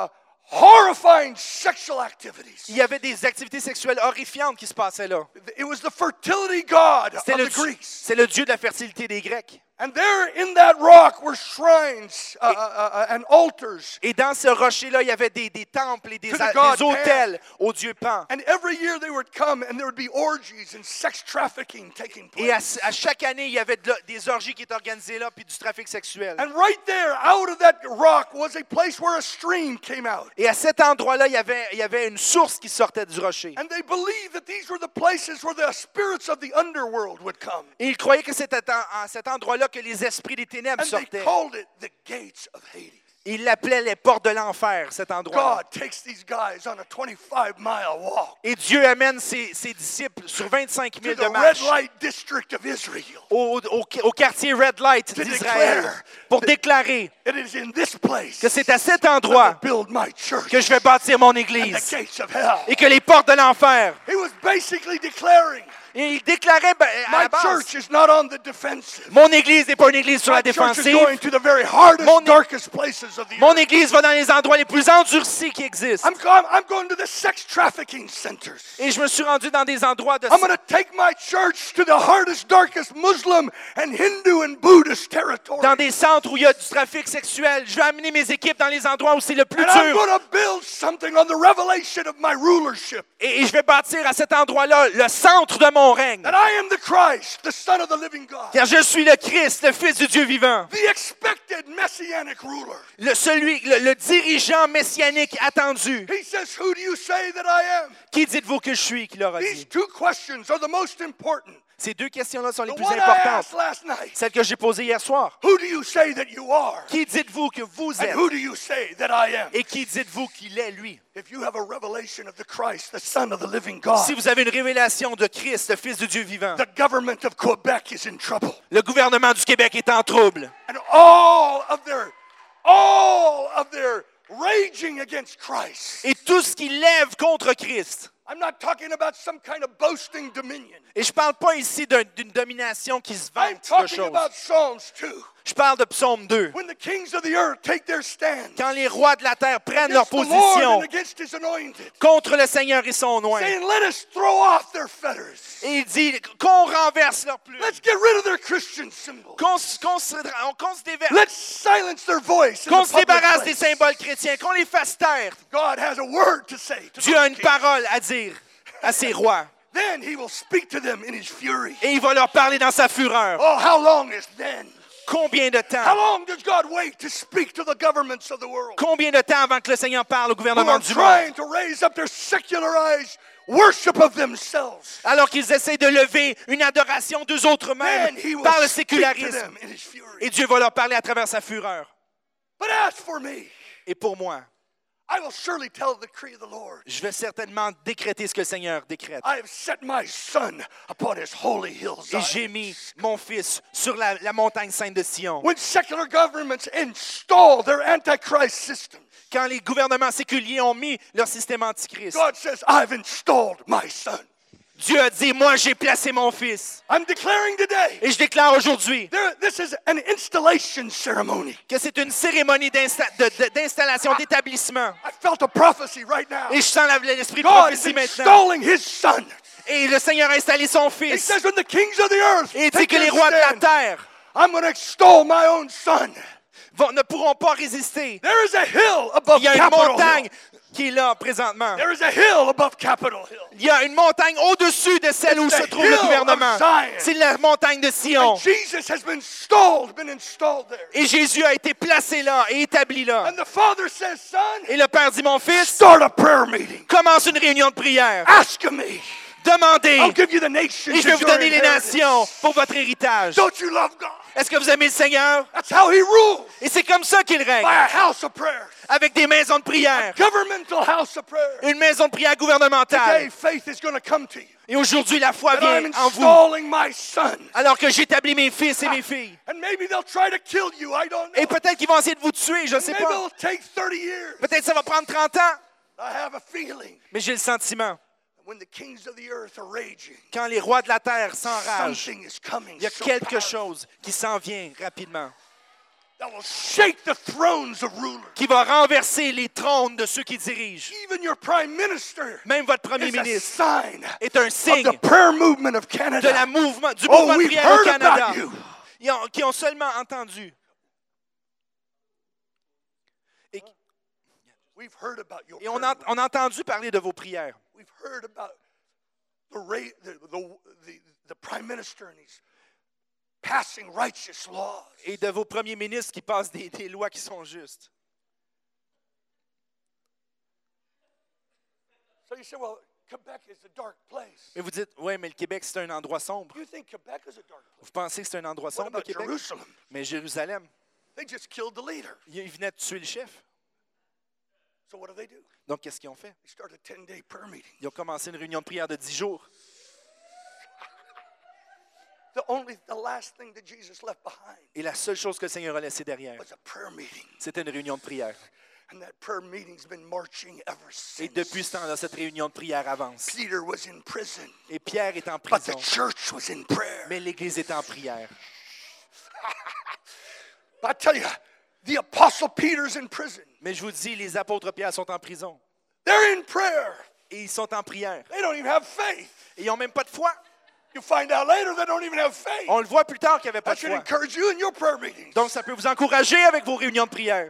horrifying sexual activities. Il y avait des activités sexuelles horrifiantes qui se passaient là. It was the fertility god of C'est le, the dieu- Greeks. c'est le dieu de la fertilité des Grecs. And there in that rock were shrines uh, uh, uh, and altars. Et dans ce rocher-là, il y avait des, des temples et des, To the a- god des autels au dieu Pan. And every year they would come and there would be orgies and sex trafficking taking Et à, place. à chaque année, il y avait de la- des orgies qui étaient organisées là, puis du trafic sexuel. And right there, out of that rock, was a place where a stream came out. Et à cet endroit-là, il y avait, il y avait une source qui sortait du rocher. And they believed that these were the places where the spirits of the underworld would come. Et ils croyaient que c'était à, à cet endroit-là que les esprits des ténèbres And they sortaient. called it the gates of Hades. Ils l'appelaient les portes de l'enfer, cet endroit-là. God takes these guys on a twenty-five mile walk Et Dieu amène ses, ses disciples sur vingt-cinq to milles the de red marche light district of Israel. au, au, au quartier Red Light To d'Israël declare pour that- déclarer It is in this place que c'est à cet that I endroit build my church que je vais bâtir mon and the église gates of hell. et que les portes de l'enfer. He was basically declaring, Et il déclarait ben, à la my base, church is not on the defensive. mon église n'est pas une église sur My la church is défensive. going to the very hardest, Mon- darkest places of the Mon earth. église va dans les endroits les plus endurcis qui existent. I'm, go- I'm going to the sex trafficking centers. Et je me suis rendu dans des endroits de I'm going to take my church to the hardest, darkest Muslim and Hindu and Buddhist territory. dans des centres où il y a du trafic sexuel. Je vais amener mes équipes dans les endroits où c'est le plus And I'm dur. going to build something on the revelation of my rulership. Et, et je vais bâtir à cet endroit-là le centre de mon règne. That I am the Christ, the Son of the living God. Car je suis le Christ, le Fils du Dieu vivant. The expected messianic ruler. Le, celui, le, le dirigeant messianique attendu. He says, who do you say that I am? Qui dites-vous que je suis, qu'il leur a These dit? two questions are the most important. Ces deux questions-là sont les The plus one I importantes. asked last night. Celles que j'ai posées hier soir. Who do you say that you are? Qui dites-vous que vous And êtes? who do you say that I am? Et qui dites-vous qu'il est, lui? If you have a revelation of the Christ, the Son of the living God, Si vous avez une révélation de Christ, le Fils du Dieu vivant, the government of Quebec is in trouble. le gouvernement du Québec est en trouble. And all of their, all of their raging against Christ. Et tout ce qui lève contre Christ. I'm not talking about some kind of boasting dominion. Et je ne parle pas ici d'un- d'une domination qui se I'm vante de talking choses. about Psalms two. Je parle de Psaume deux. When the kings of the earth take their stand Quand les rois de la terre prennent leur against the Lord position and against his anointed, contre le Seigneur et son oint, saying, let us throw off their fetters. et il dit qu'on renverse leur plume, Let's get rid of their Christian symbols. qu'on se, qu'on se- qu'on se déver- Let's silence their voice in qu'on the se public débarrasse des place. symboles chrétiens, qu'on les fasse taire. God has a word to say to Dieu a those une kings. parole à dire à ses rois. Then he will speak to them in his fury. Et il va leur parler dans sa fureur. Oh, how long is then? Combien de How temps? long does God wait to speak to the governments of the world Combien de temps avant que le Seigneur parle au who gouvernement are du monde? trying to raise up their secularized worship of themselves? Alors qu'ils essaient de lever une adoration d'eux autres mêmes Then he will par le speak to sécularisme. them in his fury. Et Dieu va leur parler à travers sa fureur. But as for me, Et pour moi, I will surely tell the decree of the Lord. je vais certainement décréter ce que le Seigneur décrète. I have set my son upon his holy hill Et Zion. j'ai mis mon fils sur la, la montagne sainte de Sion. When secular governments install their antichrist systems, Quand les gouvernements séculiers ont mis leur système antichrist, God says, I've installed my son. Dieu a dit, moi j'ai placé mon fils. I'm declaring today, Et je déclare aujourd'hui there, this is an installation ceremony. que c'est une cérémonie d'insta- de- de- d'installation, d'établissement. I felt a prophecy right now. Et je sens la- l'esprit de God is prophétie maintenant. installing his son. Et le Seigneur a installé son He fils. says, when the kings of the earth Et il dit take que les their rois de la stand, terre I'm going to extol my own son. vont- ne pourront pas résister. There is a hill above Il y a une Capitol montagne Hill. qui est là présentement. There is a hill above Capitol Hill. Il y a une montagne au-dessus de celle où It's se the trouve hill le of gouvernement. Zion. C'est la montagne de Sion. And Jesus has been installed, been installed there. Et Jésus a été placé là et établi là. And the Father says, son, Et le Père dit, mon fils, start a prayer meeting. commence une réunion de prière. Ask me. Demandez. I'll give you the nations Et je vais as vous your donner les inheritance. nations pour votre héritage. Don't you love God? Est-ce que vous aimez le Seigneur? That's how he rules. Et c'est comme ça qu'il règne. By a house of prayer. Avec des maisons de prière. Governmental house of prayer. Une maison de prière Today, gouvernementale. faith is going to come to you. Et aujourd'hui, la foi That I'm vient en vous. installing my son. Alors que j'établis mes fils et mes filles. And maybe they'll try to kill you. I don't know. Et peut-être qu'ils vont essayer de vous tuer, je ne sais Maybe pas. it'll take thirty years. Peut-être ça va prendre trente ans. I have a feeling Mais j'ai le sentiment, when the kings of the earth are raging, quand les rois de la terre s'enragent, something is coming. il y a so quelque powerful. chose qui s'en vient rapidement. that will shake the thrones of rulers. qui va renverser les trônes de ceux qui dirigent. Even your prime minister Même votre premier is a ministre sign est un of signe the prayer movement of de Canada. la mouvement, du Oh, mouvement de we've prière au heard Canada. about you. Ils ont- qui ont seulement entendu. Et, We've heard about your et on, prayer a, on a entendu parler de vos prières. We've heard about the, ra- the, the, the, the prime minister and he's passing righteous laws. Et de vos premiers ministres qui passent des, des lois qui sont justes. So you say, well, Quebec is a dark place. Mais vous dites, oui, mais le Québec, c'est un endroit sombre. You think Quebec is a dark place? Vous pensez que c'est un endroit What sombre, le about Québec? Jerusalem? Mais Jérusalem, They just killed the leader. ils venaient de tuer le chef. So what do they do? Donc, qu'est-ce qu'ils ont fait? They start a ten-day prayer meeting. Ils ont commencé une réunion de prière de dix jours. The only, the last thing that Jesus left behind Et la seule chose que le Seigneur a laissée derrière, was a prayer meeting. c'était une réunion de prière. And that prayer meeting's been marching ever Et since. depuis ce temps-là, cette réunion de prière avance. Peter was in prison, Et Pierre est en but the prison, church was in prayer. mais l'Église est en prière. But I tell you, the apostle Peter's in prison. Mais je vous dis, les apôtres Pierre sont en prison. They're in prayer. Et ils sont en prière. They don't even have faith. Et ils n'ont même pas de foi. You find out later they don't even have faith. On le voit plus tard qu'il n'y avait pas That de should foi. encourage you in your prayer meetings. Donc, ça peut vous encourager avec vos réunions de prière.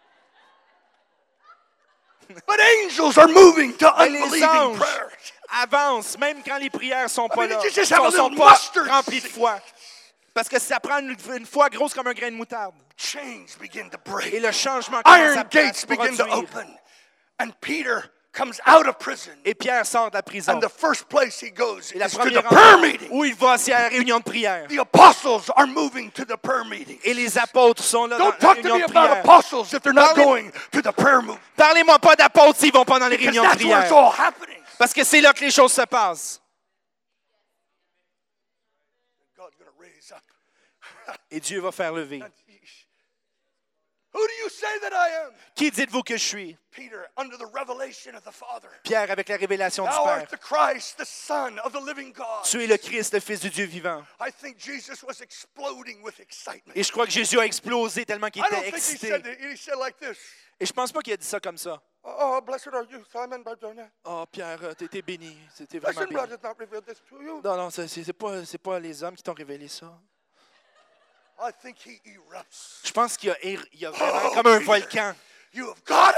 But angels are moving to Mais les unbelieving anges prayers. avancent, même quand les prières sont pas I mean, là, you just sont, have a sont little pas mustard remplies de seed. foi. Parce que ça prend une, une foi grosse comme un grain de moutarde. Chains begin to Et break. le changement commence à, Iron à gates se begin to produire. open. And Peter comes out of prison. Et Pierre sort de la prison. And the first place he goes Et la is to the première prayer endroit meeting. où il va, c'est à la réunion de prière. The apostles are moving to the prayer meeting. Et les apôtres sont là dans Don't la talk to réunion me de about prière. apostles if they're not Parlez- going to the prayer meeting. Parlez-moi pas d'apôtres s'ils vont pas dans les Because réunions de that's where it's prière. all happening. Parce que c'est là que les choses se passent. God's going to raise up. Et Dieu va faire lever. Who do you say that I am? Qui dites-vous que je suis? Peter, under the revelation of the Father. Pierre, avec la révélation du Thou Père. art the Christ, the Son of the living God. Tu es le Christ, le Fils du Dieu vivant. I think Jesus was exploding with excitement. Et je crois que Jésus a explosé tellement qu'il I don't était think he excité. said that. He said like this. Et je pense pas qu'il a dit ça comme ça. Oh, blessed are you, Simon Barjona. Oh, Pierre, euh, t'es t'es béni. C'était vraiment Listen, béni. God has not revealed this to you. Non, non, c'est c'est pas, c'est pas les hommes qui t'ont révélé ça. I think he erupts. Je pense qu'il y a, il y a vraiment Oh, comme un Peter. volcan. You have got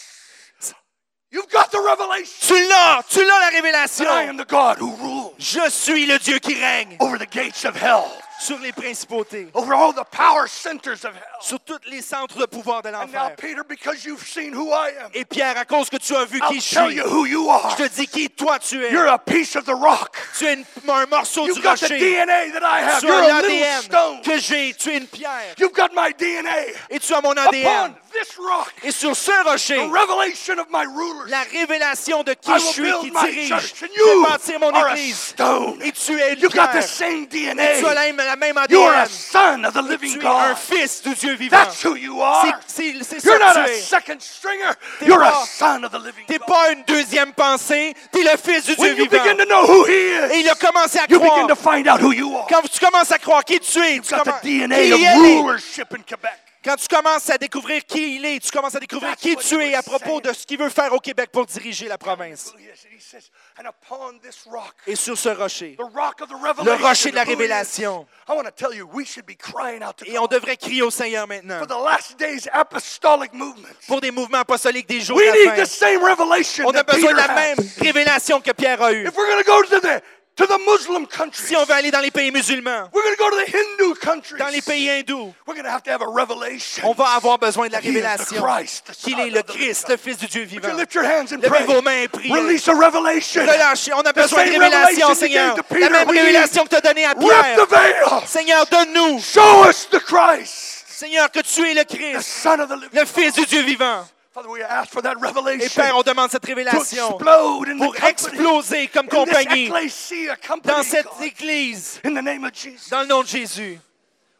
it. You've got the revelation Tu l'as! Tu l'as la that I révélation! am the God who rules Je suis le Dieu qui règne over the gates of hell, sur les principautés, over all the power centers of hell. sur tous les centres de pouvoir de And now, l'enfer. Peter, because you've seen who I am, Et Pierre, à cause que tu as vu I'll qui je tell suis, you who you are. je te dis qui toi tu es. You're a piece of the rock. Tu es une- un morceau You've du got the rocher. D N A that I have. Tu You're as a l'A D little N stone. que j'ai. Tu es une pierre. You've got my D N A. Et tu as mon A D N. Upon this rock, Et sur ce rocher, the revelation of my rulers, la révélation de qui I je will suis, build qui my dirige, church. And je vais you bâtir mon are a église. stone. Et tu es une You've got the pierre. same D N Et tu as A. la même, la même You are a A D N. son of the Et living tu es un God. fils du Dieu vivant. That's who you are. C'est c'est- c'est You're ça not que tu a es. second stringer. T'es You're pas- a son of the living T'es God. pas une deuxième pensée, t'es le fils du Dieu When you vivant. begin to know who He Et il is, a commencé à you croire. begin to find out who you are. Quand tu commences à croire qui tu es, You've tu got the commences, D N qui A il of est. rulership in Quebec. Quand tu commences à découvrir qui il est, tu commences à découvrir That's qui what tu he es à was propos saying. de ce qu'il veut faire au Québec pour diriger la province. Who he is. And he says, and upon this rock, Et sur ce rocher, the rock of the le revelation, rocher de la of who he is, révélation. I want to tell you, we should be crying out to Et on God devrait crier au Seigneur maintenant for the last days apostolic movement. pour des mouvements apostoliques des jours We de need la the fin. same revelation On a that besoin Peter de la même had. révélation que Pierre a eue. If we're going to go to the to the Muslim countries, Si on veut aller dans les pays musulmans, we're going to go to the Hindu countries, dans les pays hindous, we're going to have to have a revelation. on va avoir besoin de la He is the révélation Christ, the qu'il Son est le of the living Christ, God. le Fils du Dieu Would you vivant. lift your hands and Levez pray? vos mains et priez. Release a revelation. Relâchez. On a The besoin de same révélation, revelation you Seigneur. gave to La Peter, même we need. révélation que tu as donnée à Rip Pierre. the veil. Seigneur, donne-nous. Show us the Christ, Seigneur, que tu es le the Christ, Son of the living le Fils du Dieu vivant. Father, we ask for that Et revelation Père, on demande cette to révélation explode in the pour company, exploser comme in this compagnie ecclesia company, dans cette God, Église, in the name of Jesus. dans le nom de Jésus.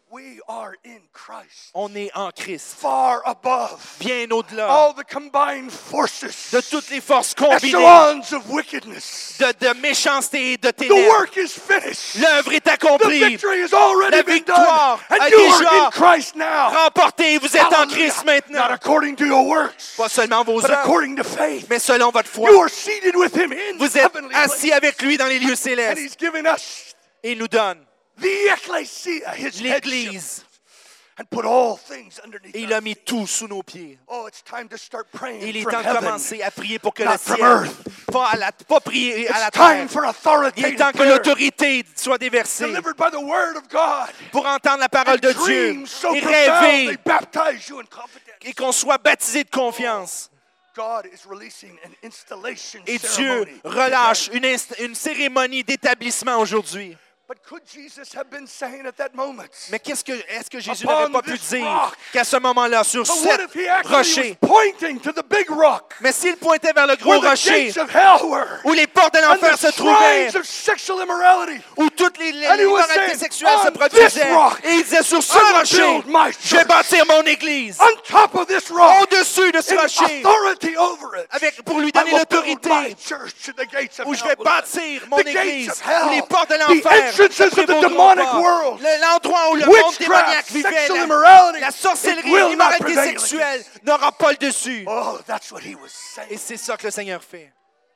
We are in Christ. On est en Christ, Far above bien au-delà all the combined forces, de toutes les forces combinées, echelons of wickedness. de, de méchanceté et de The ténèbres. work is finished. L'œuvre est The accomplie, victory has already La been victoire done. a And you déjà are in Christ now. remportée. Vous êtes en Hallelujah. Christ Not maintenant, according to your works, pas seulement vos but œuvres, according to faith. mais selon votre foi. You are seated with him in Vous êtes heavenly assis places. avec lui dans les lieux And célestes. he's given us Et il nous donne the ecclesia, his headship, l'Église. and put all things underneath Et il our a mis feet. tout sous nos pieds. Oh, it's time to start praying Et il est from temps de heaven. commencer à prier pour que not le from ciel, earth. pas, à la, pas prier à la It's time terre. for Il est authoritative temps que prayer l'autorité soit déversée delivered by the word of God. pour entendre la parole de And Dieu dreams so et profound, they rêver baptize you in confidence. et qu'on soit baptisé de confiance. God is releasing an installation Et Dieu ceremony relâche today. une, inst- une cérémonie d'établissement aujourd'hui. But could Jesus have been saying at that moment? Mais qu'est-ce que, est-ce que Jésus Upon n'avait pas pu this dire rock. qu'à ce moment-là, sur But what cet if he actually rocher, was pointing to the big rock mais s'il pointait vers le gros where the rocher, gates of hell were où les portes de and l'enfer the se trouvaient, shrines of sexual immorality? où toutes les, les And he was immoralités saying, sexuelles se "On produisaient, this rock, et il disait, sur ce I will rocher, build my je vais church. bâtir mon église, On top of this rock, au-dessus de ce in rocher, authority over it, avec, pour lui I donner will build l'autorité, my church, and the gates of où je hell vais will not- bâtir mon The gates église, of hell, où les portes de the l'enfer entrances ne of the prévaudront demonic pas. world, Le- l'endroit où le monde witchcraft, démoniaque vivait, sexual la, immorality, la it sorcellerie, will not l'immoralité prevail sexuelle against. n'aura pas le dessus. Oh, that's what he was Et saying. c'est ça que le Seigneur fait.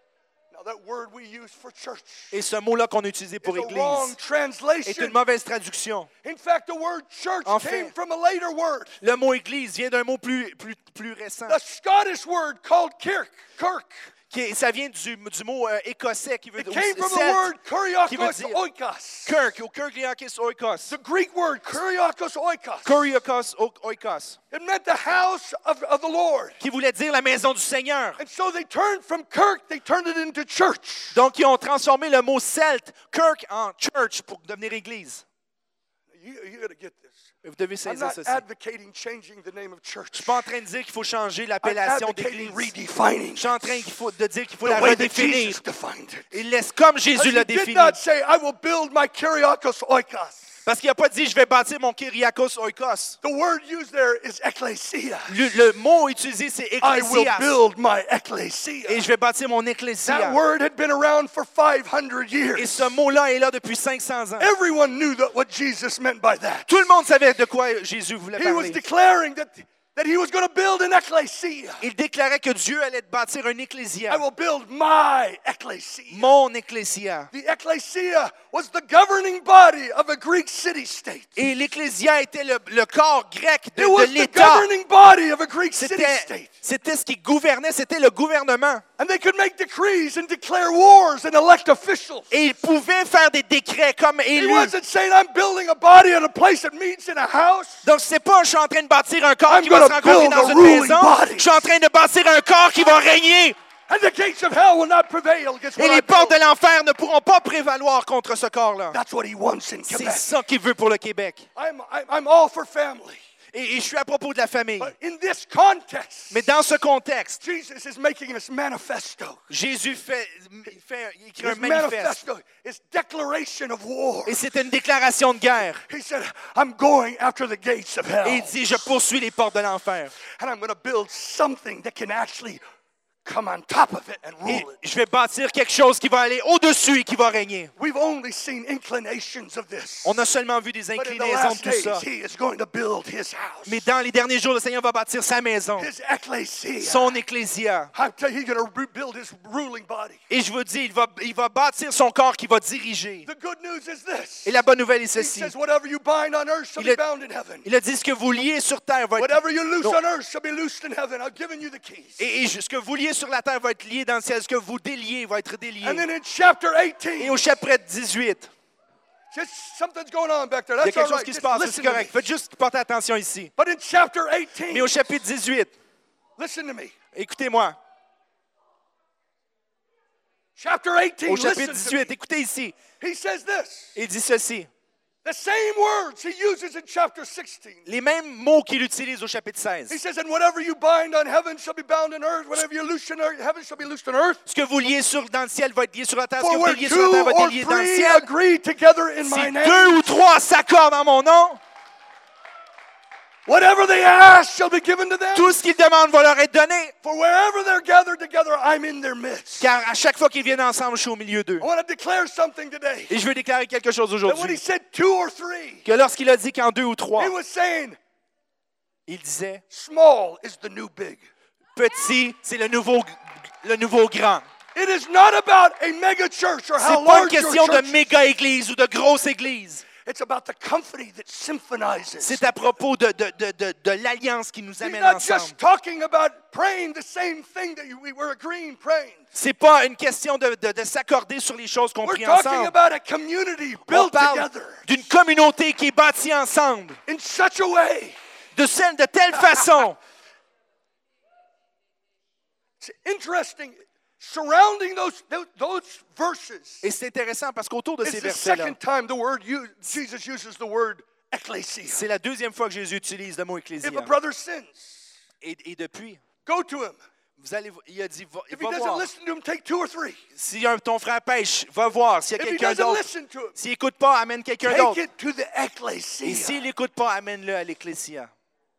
Now that word we use for church Et ce mot-là qu'on a utilisé pour is a wrong église est translation. une mauvaise traduction. In fact, the word church En came fait, from a later word. Le mot église vient d'un mot plus, plus, plus récent. The Scottish word called kirk, kirk. Qui est- ça vient du, du mot euh, écossais qui veut It dire came from the celte, word qui veut kuriakos dire oikos. Kirk, ou Kirkliakis oikos. The Greek word kuriakos oikos. Kuriakos o- oikos, It meant the house of, of the Lord. qui voulait dire la maison du Seigneur. And so they turned from kirk, they turned it into church. Donc, ils ont transformé le mot celte, Kirk, en church pour devenir église. You, you got to get this. Vous devez I'm saisir not ceci. advocating changing the name of Je church. suis pas en train de dire qu'il faut changer I'm l'appellation advocating d'église. redefining Je suis en train qu'il faut, de dire qu'il faut the la way that redéfinir. Jesus defined it. Il laisse comme Jésus He l'a did défini. not say, I will build my kuriakos oikos. Parce qu'il n'a pas dit, je vais bâtir mon Kyriakos oikos. The word used there is ecclesia. Le, le mot utilisé, c'est I will ecclésias. build my ecclesia. Et je vais bâtir mon That ecclésia. word had been around for five hundred Et years. ce mot-là est là depuis cinq cents ans. Everyone knew that what Jesus meant by that. Tout le monde savait de quoi Jésus voulait He was parler. declaring that, that he was going to build an ecclesia. Il déclarait que Dieu allait bâtir un ecclésia. I will build my ecclesia. Mon ecclésia. The ecclesia was the governing body of a Greek city-state. Et l'ecclésia était le, le corps grec de, It de was the l'État. governing body of a Greek C'était, city-state. c'était ce qui gouvernait, c'était le gouvernement. And they could make decrees and declare wars and elect officials. Et il pouvait faire des décrets comme He élu. wasn't saying, I'm building a body at a place that meets in a house. Donc, c'est pas je suis en train de bâtir un corps I'm qui va se gonna rencontrer build dans a une ruling maison. body. Je suis en train de bâtir un corps qui va régner. And the gates of hell will not prevail against Et what I les portes de build. l'enfer ne pourront pas prévaloir contre ce corps-là. That's what he wants in C'est Quebec. ça qu'il veut pour le Québec. I'm, I'm, I'm all for family. Et, et je suis à propos de la famille. But in this context, Mais dans ce contexte, Jesus is making his manifesto. Jésus fait, fait il écrit un His manifeste. manifesto, his declaration of war. Et c'est une déclaration de guerre. He said, I'm going after the gates of hell. Et il dit, je poursuis les portes de l'enfer. And I'm going to build something that can actually come on top of it and rule Et it. je vais bâtir quelque chose qui va aller au-dessus et qui va régner. We've only seen inclinations of this. On a seulement vu des But in the inclinaisons last de tout ça. days, he is going to build his house. Mais dans les derniers jours, le Seigneur va bâtir sa maison, His ecclesia. son ecclésia. I tell you, he's going to rebuild his ruling body. Et je vous dis, il va, il va bâtir son corps qui va diriger. The good news is this. Et la bonne nouvelle est He ceci. says, whatever you bind on earth shall Il be a- bound in heaven. Il a dit, ce que vous liez sur terre va être... Whatever you loose Non. on earth shall be loosed in heaven. I've given you the keys. Et, et ce que vous liez sur la terre va être lié dans le ciel. Ce que vous déliez va être délié. And then in chapter Et eighteen, au chapitre dix-huit, just something's going on back there. il y a That's quelque all chose right. qui se Just passe, listen c'est to me. correct. Faites juste porter attention ici. But in chapter Mais eighteen, au chapitre dix-huit, listen to me. écoutez-moi. Chapter eighteen, Au chapitre listen to dix-huit, me. écoutez ici. He says this. Il dit ceci. The same words he uses in chapter sixteen. Les mêmes mots qu'il utilise au chapitre seize. He says, and whatever you bind on heaven shall be bound on earth. Whatever you loose on earth, heaven shall be loosed on earth. Ce que vous liez sur, dans le ciel va être lié sur la terre. Ce que For vous where déliez sur la two terre va or être lié dans le three ciel. agree together in my Si name, deux ou trois s'accordent en mon nom, Whatever they ask shall be given to them. Tout ce qu'ils demandent va leur être donné. For wherever they're gathered together, I'm in their midst. Car à chaque fois qu'ils viennent ensemble, je suis au milieu d'eux. I want to declare something today. Et je veux déclarer quelque chose That when he aujourd'hui. said two or three, Que lorsqu'il a dit qu'en deux ou trois, he was saying, il disait, small is the new big. petit, c'est le nouveau, le nouveau grand. It is not about a mega church or C'est how pas une large your question de church is. méga église ou de grosse église. It's about the company that symphonizes. C'est à propos de, de, de, de, de l'alliance qui nous He's amène not ensemble. just talking about praying the same thing that we were agreeing praying. C'est pas une question de, de, de s'accorder sur les choses qu'on We're prie talking ensemble. about a community On built parle together d'une communauté qui est bâtie ensemble, in such a way. de, celle, de telle façon. It's interesting. Surrounding those, those, those verses Et c'est intéressant parce qu'autour de is ces the versets-là, second time the word used, Jesus uses the word ecclesia. c'est la deuxième fois que Jésus utilise le mot ecclésia. If a brother sins, Et, et depuis, go to him. vous allez, il a dit, va, If he va doesn't voir. listen to him, take two or three. Si un, ton frère pêche, va voir. S'il y a If he quelqu'un doesn't d'autre, listen to him, s'il n'écoute pas, amène quelqu'un take d'autre. it to the Et ecclesia. s'il n'écoute pas, amène-le à l'ecclésia.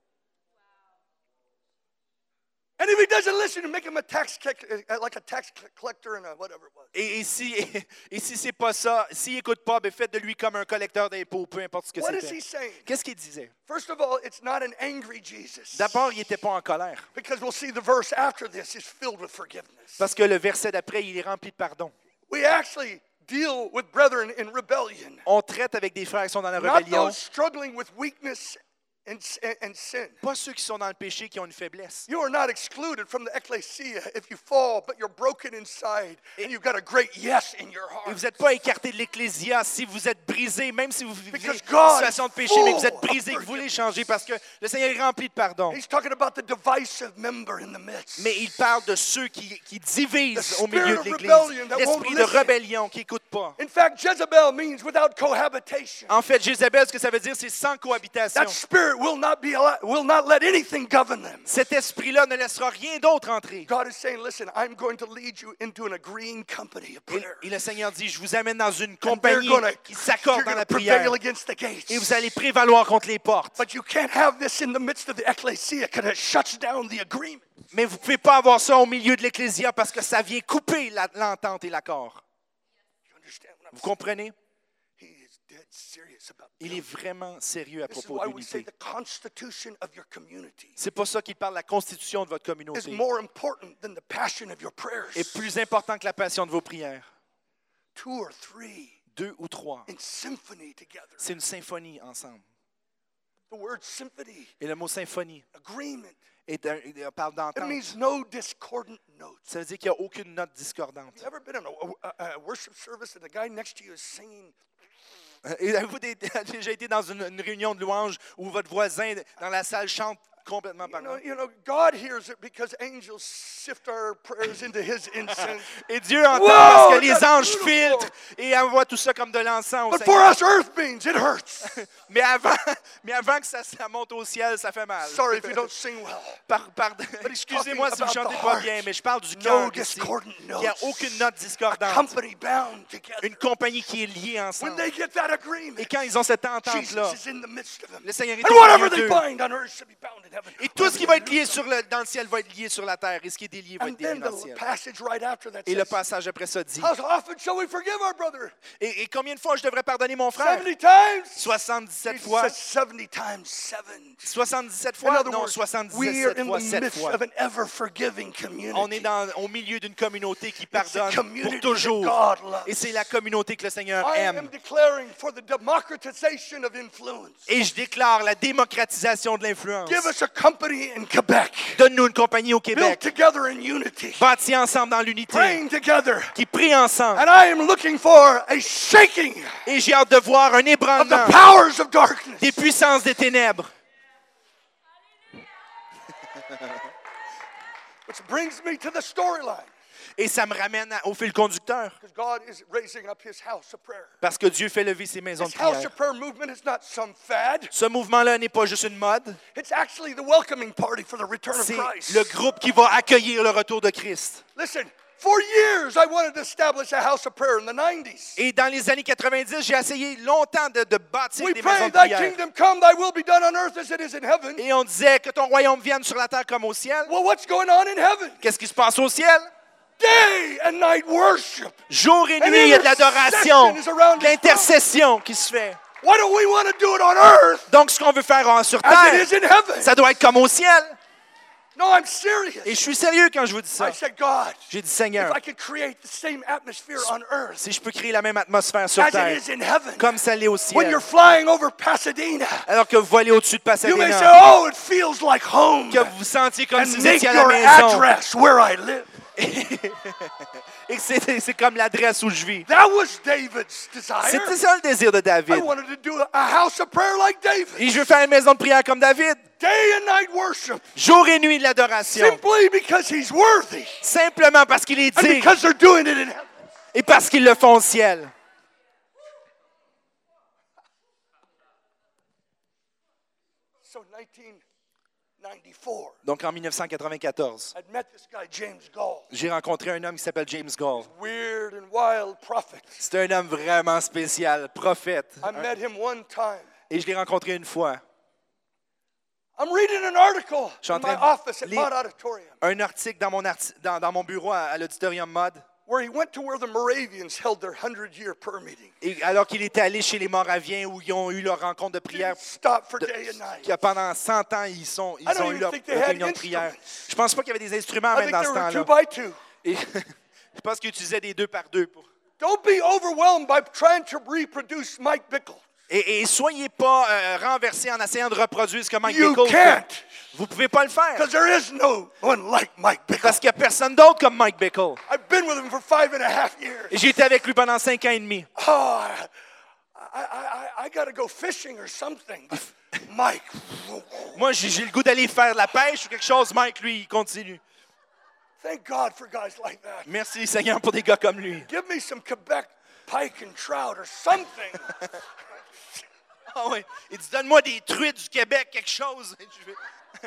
And if he doesn't listen, make him a tax uh, like a tax collector and a whatever it was. Et, et si, et si c'est pas ça, s'il n'écoute pas, ben faites de lui comme un collecteur d'impôts, peu importe ce que What is c'était. he saying? Qu'est-ce qu'il disait? First of all, it's not an angry Jesus. D'abord, il n'était pas en colère. Because we'll see the verse after this is filled with forgiveness. Parce que le verset d'après, il est rempli de pardon. We actually deal with brethren in rebellion. On traite avec des frères qui sont dans la Not rébellion. those struggling with weakness and, and, and sin. Pas ceux qui sont dans le péché, qui ont une faiblesse. You are not excluded from the ecclesia if you fall, but you're broken inside and you've got a great yes in your Et heart. vous n'êtes pas écarté de l'ecclésia si vous êtes brisé, même si vous vivez Because une God situation de péché, is mais que vous êtes full brisé, of que vous voulez forgiveness. changer parce que le Seigneur est rempli de pardon. He's talking about the divisive member in the midst. Mais il parle de ceux qui, qui divisent The au milieu de spirit of l'Église. rebellion that L'esprit won't de listen. rébellion qui n'écoute pas. In fact, Jezebel means without cohabitation. En fait, Jézabel, ce que ça veut dire, c'est sans cohabitation. That spirit will not be allowed, will not let anything govern them. Cet esprit-là ne laissera rien d'autre entrer. God is saying, listen, I'm going to lead you into an agreeing company of Et, prayer. et le Seigneur dit, je vous amène dans une And they're compagnie gonna, qui you're s'accorde dans going la to prière. prevail against the gates. Et vous allez prévaloir contre les portes. But you can't have this in the midst of the ecclesia because it shuts down the agreement. Mais vous ne pouvez pas avoir ça au milieu de l'Ecclésia parce que ça vient couper la- l'entente et l'accord. You understand what I'm Vous comprenez? saying? He is dead serious about Il est vraiment sérieux à This is propos why de we say l'unité. the constitution of your community C'est pas ça qu'il parle, la constitution de votre is communauté more important than the passion of your prayers. est plus important que la passion de vos prières. Two or three Deux ou trois, in symphony together. c'est une symphonie ensemble. The word symphony, Et le mot symphonie agreement, est un- il parle it d'entente. means no discordant notes. Ça veut dire qu'il n'y a aucune note discordante. You ever been in a, a, a worship service and the guy next to you is singing? Et avez-vous dé- déjà été dans une, une réunion de louanges où votre voisin dans la salle chante complètement You par know, là? you know, God hears it because angels sift our prayers into His incense. Et Dieu entend Wow, parce que les that's anges beautiful. filtrent et envoient tout ça comme de l'encens au But for Seigneur. us earth beings, it hurts. Mais avant, mais avant que ça, ça monte au ciel, ça fait mal. Sorry if you don't sing well. Par- pardon. he's Excusez-moi si vous ne talking chantez about pas the bien, heart. mais je parle du No cœur ici. discordant Il n'y a notes. aucune note A discordante. company bound together. Une compagnie qui est liée When ensemble. they get that agreement, Et quand ils ont cette entente-là, Jesus is in the midst of them. le Seigneur est And au whatever milieu they d'eux. bind on earth shall be bound in heaven. Et tout ce qui va être lié sur le, dans le ciel va être lié sur la terre. Et ce qui est délié va And être délié then dans le the ciel. passage right after that Et le says, passage après ça dit, how often shall we forgive our brother? et, et combien de fois je devrais pardonner mon frère? seventy times? soixante-dix-sept He fois. says seventy times seven. soixante-dix-sept In fois? other Non, words, we are soixante-dix-sept in fois, the sept midst fois. of an ever-forgiving community. On est dans, au milieu d'une communauté qui It's the pardonne community pour that toujours. God loves. Et c'est la communauté que le Seigneur I am aime. declaring for the democratization of influence. Et je déclare la démocratisation de l'influence. Give us a company in Quebec, Donne-nous une compagnie au built Québec, together in unity, bâtie ensemble dans l'unité, praying together. qui prie ensemble. And I am looking for a shaking Et j'ai hâte de voir un of the ébranlement powers of darkness. des puissances des ténèbres. Which brings me to the storyline. Et ça me ramène à- au fil conducteur. Because God is raising up His house of prayer. Parce que Dieu fait lever ses maisons de This house prière. of prayer movement is not some fad. Ce mouvement-là n'est pas juste une mode. It's actually the welcoming party for the return of C'est Christ. le groupe qui va accueillir le retour de Christ. Listen, For years, I wanted to establish a house of prayer in the nineties. Et dans les années quatre-vingt-dix, j'ai essayé longtemps de, de bâtir We des maisons pray, de thy prière. kingdom come, thy will be done on earth as it is in heaven. Et on disait que ton royaume vienne sur la terre comme au ciel. Well, what's going on in heaven? Qu'est-ce qui se passe au ciel? Day and night worship. Jour et And nuit, il y a de l'adoration, intercession is around de l'intercession qui se fait. Why don't we want to do it on earth Donc, ce qu'on veut faire en- sur as it terre, is in heaven? ça doit être comme au ciel. No, I'm serious. Et je suis sérieux quand je vous dis ça. I said, God, J'ai dit, if Seigneur, I could create the same atmosphere on earth si je peux créer la même atmosphère sur as it terre, is in heaven, comme ça l'est au when ciel, you're flying over Pasadena, alors que vous volez au-dessus de you may say, Pasadena, oh, it feels like home. que vous vous sentiez comme si And vous make étiez à la your maison, address where I live. et que c'est c'est comme l'adresse où je vis. That was David's desire. C'était ça le désir de I David. wanted to do a house of prayer like David. Et je veux faire une maison de prière comme David. Day and night worship. Jour et nuit de l'adoration. Simply because he's worthy. Simplement parce qu'il est And digne because they're doing it in heaven. et parce qu'ils le font au ciel. So nineteen ninety-four, Donc en dix-neuf cent quatre-vingt-quatorze, I'd met this guy, James Gall. j'ai rencontré un homme qui s'appelle James Gall. Weird and wild prophet. C'est un homme vraiment spécial, prophète. I met him one time. Et je l'ai rencontré une fois. I'm reading an article Je suis en in my train de office at lire- Mott Auditorium Un article dans mon, arti- dans, dans mon bureau à, à l'auditorium Mod. where he went to where the Moravians held their hundred-year prayer meeting. Et alors qu'il était allé chez les Moraviens où ils ont eu leur rencontre de prière, Didn't stop for de- day and night. que pendant cent ans, ils, sont, ils I don't ont eu even leur think they had réunion de prière. instruments. Je pense pas qu'il y avait des instruments I même think dans they ce were two temps-là. by two. Et je pense qu'ils utilisaient des deux par deux. Pour... Don't be overwhelmed by trying to reproduce Mike Bickle. Et, et soyez pas euh, renversés en essayant de reproduire ce que Mike You Bickle can't. fait. Vous pouvez pas le faire. Because there is no one like Mike Bickle. Parce qu'il n'y a personne d'autre comme Mike Bickle. I've been with him for five and a half years. Et j'ai été avec lui pendant cinq ans et demi. Oh, I, I, I, I got to go fishing or something. But Mike, Moi, j'ai j'ai le goût d'aller faire de la pêche ou quelque chose. Mike, lui, il continue. thank God for guys like that. Merci, Seigneur, pour des gars comme lui. Give me some Quebec pike and trout or something. Ah oui. Il dit, donne-moi des truites du Québec, quelque chose. Je vais-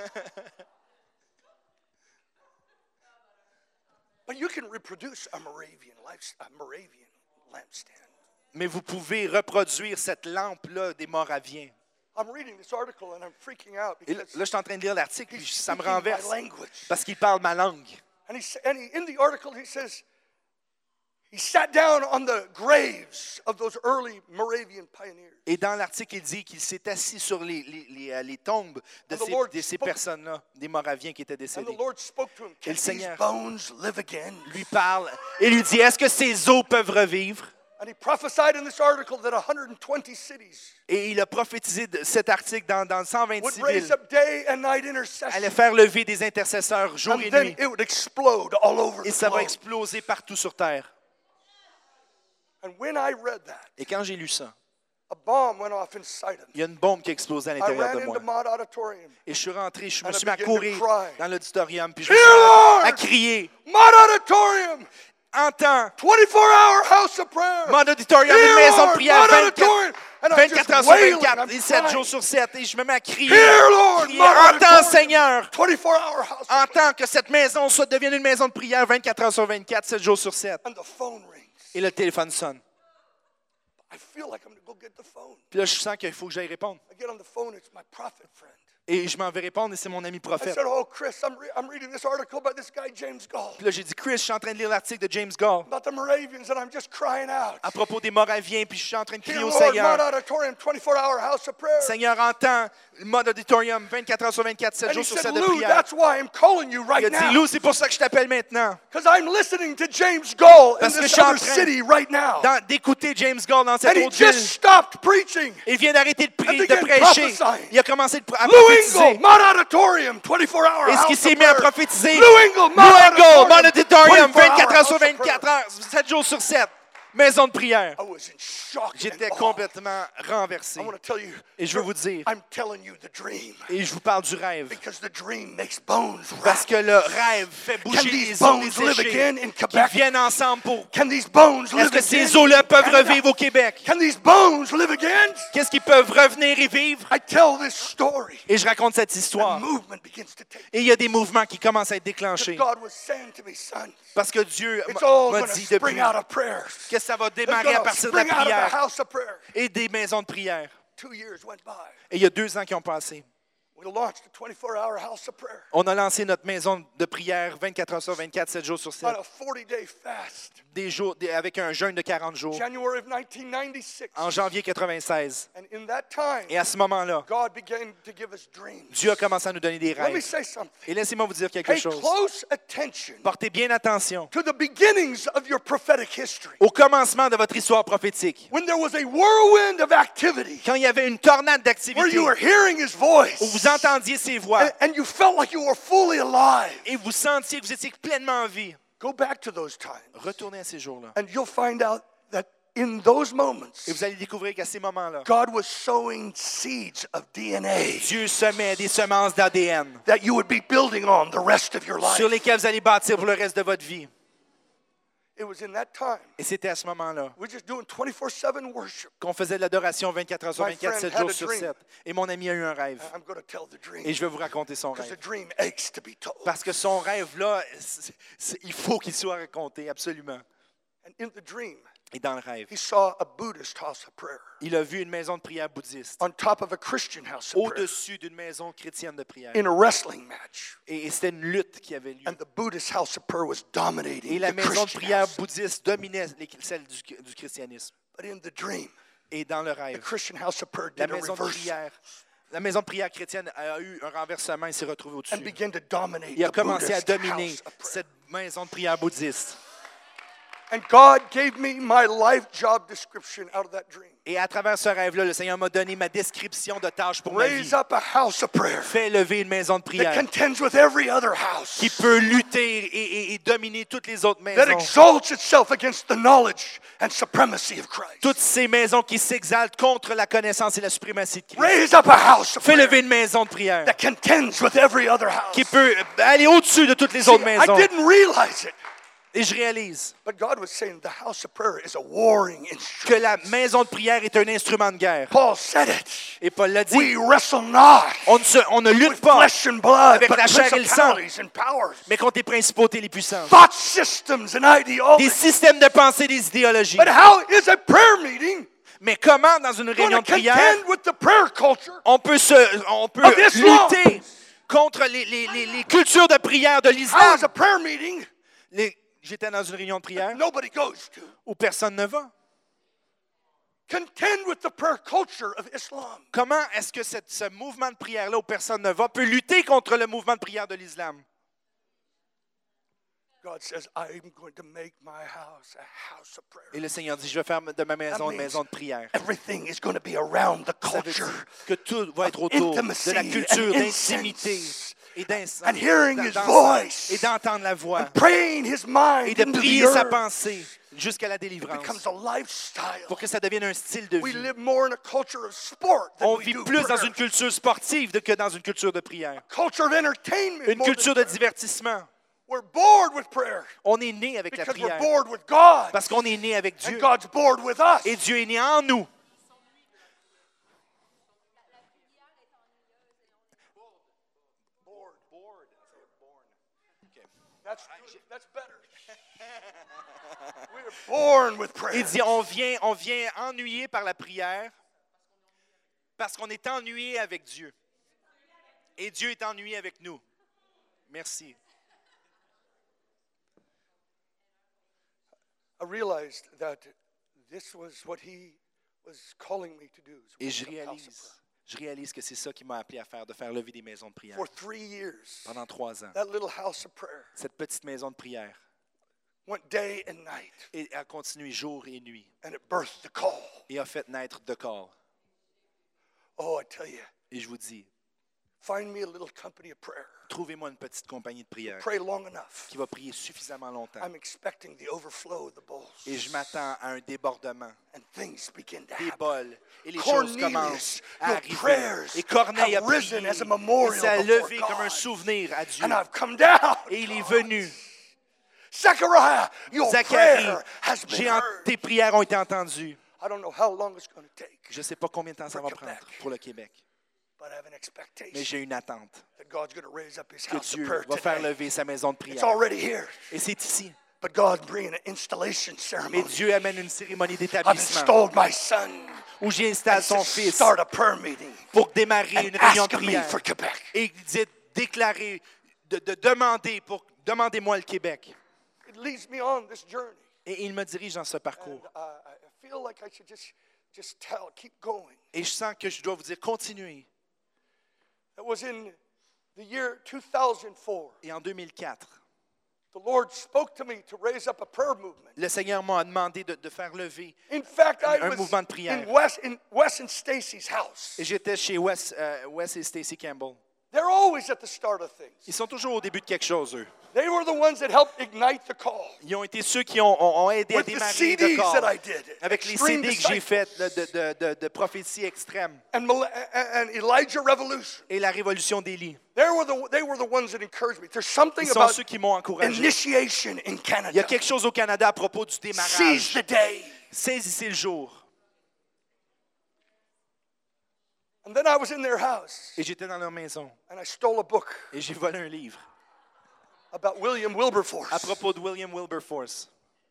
But you can reproduce a Moravian life, a Moravian lampstand. Mais vous pouvez reproduire cette lampe-là des Moraviens. I'm reading this article and I'm freaking out Et là, because là, je suis en train de lire l'article, puis he's ça me speaking my renverse. language. Parce qu'il parle ma langue. And, he, and he, in the article, he says he sat down on the graves of those early Moravian pioneers. Et dans l'article, il dit qu'il s'est assis sur les, les, les, euh, les tombes de And the ces, Lord de ces spoke- personnes-là, des Moraviens qui étaient And the décédés. Lord spoke to him, Et can le these Seigneur bones live again? Lui parle et lui dit, est-ce que ces os peuvent revivre? And he prophesied in this article that one hundred twenty cities Et il a prophétisé de cet article dans, dans cent would vingt-six raise villes. up day and night Allait intercession. faire lever des intercesseurs jour And et then nuit. it would explode all over Et the ça va globe. exploser partout sur Terre. And when I read that, Et quand j'ai lu ça, a bomb went off inside him. il y a une bombe qui a explosé à I l'intérieur ran de moi. into Mott Auditorium. Et je suis rentré, je me And I suis mis à began to courir cry. dans l'auditorium, puis je me Dear suis mis Lord! à crier. Mott Auditorium, Entends, twenty-four hour house of prayer. mon auditorium, Dear une maison de Lord, prière Mott vingt-quatre, Auditorium. And I'm vingt-quatre just heures sur wailing, vingt-quatre I'm et sept crying. jours sur sept. Et je me mets à crier. Dear Lord, crier, Mott Entends, Auditorium, Seigneur, twenty-four hour house of prayer. entends que cette maison soit devienne une maison de prière vingt-quatre heures sur vingt-quatre, sept jours sur sept. And the phone rings. Et le téléphone sonne. I feel like I'm going to go get the phone. Puis là, je sens qu'il faut que j'aille répondre. I get on the phone, it's my prophet friend. Et je m'en vais répondre et c'est mon ami I prophète. said, oh, Chris, I'm, re- I'm reading this article by this guy, James Gall, Puis là, j'ai dit, Chris, je suis en train de lire l'article de James Gall about the Moravians, and I'm just crying out. à propos des Moraviens, puis je suis en train de Dear crier au Lord, Mott Seigneur. Auditorium, twenty-four hour house of prayer. Seigneur, entends, mode auditorium, vingt-quatre heures sur vingt-quatre, sept And he jours sur said, sept de Lou, prière. that's why I'm calling you Il right a dit, now. Lou, c'est pour ça que je t'appelle maintenant. Because I'm listening to James Gall in Parce que je this suis en other train city right now. Dans- D'écouter James Gall dans cette And he autre ville. just stopped preaching. Il vient d'arrêter de, pri- And de began prêcher. prophesying. Il a commencé de, à Lou prophétiser. Engle, Mott Auditorium, twenty-four hour Et ce house qui of s'est mis à prayer. prophétiser, Lou Engle, Lou Mott Engle, Mode Auditorium, twenty-four hour vingt-quatre heures house sur of prayer. vingt-quatre heures, sept jours sur sept. Maison de prière. I was in shock. J'étais and awe. complètement renversé. I want to tell you. Et je veux vous dire, I'm telling you the dream. et je vous parle du rêve, Because the dream makes bones parce rattle. que le rêve fait Can bouger these les os bones live desséchés again in qui Quebec? viennent ensemble pour... Can these bones live Est-ce que again? ces os-là in peuvent Canada? revivre au Québec? Can these bones live again? Qu'est-ce qu'ils peuvent revenir et vivre? I tell this story. Et je raconte cette The histoire. movement begins to take. Et il y a des mouvements qui commencent à être déclenchés. God was saying to me, son, Parce que Dieu it's m'a all m'a going to dit spring depuis out of prayers. que ça va It's démarrer à going to partir de la spring out of a prière house of prayer. et des maisons de prière. Two years went by. Et il y a deux ans qui ont passé. We launched a twenty-four hour house of prayer On a lancé notre maison de prière vingt-quatre heures sur vingt-quatre, sept jours sur sept, on a forty day fast. des jours, des- avec un jeûne de quarante jours, January of nineteen ninety-six. en janvier quatre-vingt-seize. And in that time, Et à ce moment-là, God began to give us dreams. Dieu a commencé à nous donner des Let me rêves. say something. Et laissez-moi vous dire quelque Pay chose. close attention Portez bien attention to the beginnings of your prophetic history. au commencement de votre histoire prophétique. When there was a whirlwind of activity, Quand il y avait une tornade where d'activité, you were hearing His voice, où vous entendiez ses voix, and, and you felt like you were fully alive. et vous sentiez que vous étiez pleinement en vie, Go back to those times, retournez à ces jours-là. and you'll find out that in those moments, Et vous allez découvrir qu'à ces moments-là, God was sowing seeds of D N A Dieu semait des semences d'A D N that you would be building on the rest of your life. sur lesquelles vous allez bâtir pour le reste de votre vie. It was in that time, Et c'était à ce moment-là we're just doing twenty-four seven worship. qu'on faisait de l'adoration vingt-quatre heures sur My vingt-quatre, friend sept had jours a sur dream. sept. Et mon ami a eu un rêve. I'm going to tell the dream Et je vais vous raconter son because the rêve. dream aches to be told. Parce que son rêve-là, c'est- c'est- il faut qu'il soit raconté, absolument. And in the dream, Et dans le rêve, he saw a Buddhist house of prayer il a vu une maison de prière bouddhiste on top of a Christian house of prayer au-dessus d'une maison chrétienne de prière. in a wrestling match. Et, et c'était une lutte qui avait lieu. And the Buddhist house of prayer was dominating Et la the maison de Christian prière house. bouddhiste dominait les- celle du, du christianisme. But in the dream, Et dans le the rêve, Christian house of prayer la did a maison de reverse prière, la maison de prière chrétienne a eu un renversement et s'est retrouvée and au-dessus. began to dominate Il a the commencé à Buddhist dominer house of prayer. cette maison de prière bouddhiste. And God gave me my life job description out of that dream. Et à travers ce rêve-là, le Seigneur m'a donné ma description de tâche pour ma vie. Raise up a house of prayer Fais lever une maison de that prière contends with every other house, qui peut lutter et, et- et dominer toutes les autres that maisons. exalts itself against the knowledge and supremacy of Christ. Toutes ces maisons qui s'exaltent contre la connaissance et la suprématie de Christ. Raise up a house of Fais prayer lever une maison de prière that contends with every other house. qui peut aller au-dessus de toutes les See, autres I maisons. didn't realize it, Et je réalise but God was saying the house of prayer is a warring que instrument. la maison de prière est un instrument de guerre. Paul said it. Et Paul l'a dit, We wrestle not on ne, se- on ne lutte with pas, flesh and blood, avec but la chair et le sang. principalities and powers, mais contre les principautés et les puissances. thought systems and Des ideologies. systèmes de pensée, des idéologies. But how is a prayer meeting Mais comment, dans une going réunion to de prière, contend with the prayer culture on peut, se, on peut of Islam? lutter contre les, les- les- les cultures de prière de How l'islam? is a prayer meeting Les- J'étais dans une réunion de prière nobody goes to où personne ne va. contend with the prayer culture of Islam? Comment est-ce que cette- ce mouvement de prière-là où personne ne va peut lutter contre le mouvement de prière de l'islam? God says, I am going to make my house a house of prayer. Et le Seigneur dit, je vais faire de ma maison une means maison de prière. Everything is going to be around the Ça veut culture dire que tout va être autour intimacy de la culture and d'intimité incense et d'encens, and hearing his d'encens, voice et d'entendre la voix praying his mind et de into the prier sa earth. pensée jusqu'à la It délivrance becomes a lifestyle. pour que ça devienne un style de We vie. live more in a culture of sport than On we vit do plus dans prayer. une culture sportive de- que dans une culture de prière. Culture of entertainment. Une more than culture de prayer. divertissement. We're bored with prayer On est né avec la because we're prière bored with God. parce qu'on est né avec And Dieu God's bored with us. et Dieu est né en nous. Bored. That's, that's better. We're born with prayer. Il dit, on vient, on vient ennuyé par la prière parce qu'on est ennuyé avec Dieu. Et Dieu est ennuyé avec nous. Merci. I realized that this was what he was calling me to do. is Et je a house of réalise, prayer. je réalise que c'est ça qu'il m'a appelé à faire, de faire lever des maisons de prière For three years, pendant trois ans. that little house of prayer Cette petite maison de prière went day and night, et a continué jour et nuit and it birthed the call. et a fait naître The Call. Oh, I tell you, Et je vous dis, Find me a little company of prayer. Trouvez-moi une petite compagnie de prière Pray long enough. qui va prier suffisamment longtemps. I'm expecting the overflow of the bowls. Et je m'attends à un débordement And things begin to des happen. bols. Et les choses Cornelius, commencent à your arriver. prayers Et Corneille a have risen prié. as a memorial Et s'est before levé God. comme un souvenir à Dieu. And I've come down. Et il est venu. Zechariah, your Zacharie, prayer has been j'ai en- heard. tes prières ont été entendues. I don't know how long it's going to take, Je ne sais pas combien de temps ça va For prendre Québec. pour le Québec. but I have an Mais expectation j'ai une attente that God's going to raise up his que house of Dieu prayer va faire today. lever sa maison de It's prière. already here, Et c'est ici. but God's bringing an installation Mais ceremony. Dieu amène une cérémonie I've d'établissement installed my son où j'installe to son fils start a prayer meeting pour démarrer une and réunion de ask me prière. for Quebec. Et il dit déclarer, de, de demander pour demandez-moi le Québec. It leads me on this journey. Et il me dirige dans ce And parcours. uh, I feel like I should just, just tell, keep going. Et je sens que je dois vous dire continuez. It was in the year two thousand four. Et en deux mille quatre, The Lord spoke to me to raise up a prayer movement. le Seigneur m'a demandé de, de faire lever. In fact, I Un was mouvement de prière. in Wes, in Wes and Stacy's house. Et j'étais chez Wes, euh, Wes et Stacy Campbell. They're always at the start of things. Ils sont toujours au début de quelque chose, eux. They were the ones that helped ignite the call. Ils ont été ceux qui ont, ont- ont aidé à With the démarrer C le Ds corps. that I did. Avec les C Extreme D que j'ai Disciples. faites là, de, de, de, de prophétie extrême And, Mal- and Elijah Revolution. et la révolution d'Élie. They were, the, they were the ones that encouraged me. There's something Ils sont about ceux qui m'ont encouragé. initiation in Il y a Canada. quelque chose au Canada à propos du Seize démarrage. the day. Saisissez le jour. And then I was in their house Et j'étais dans leur maison and I stole a book et j'ai volé un livre about William Wilberforce. à propos de William Wilberforce.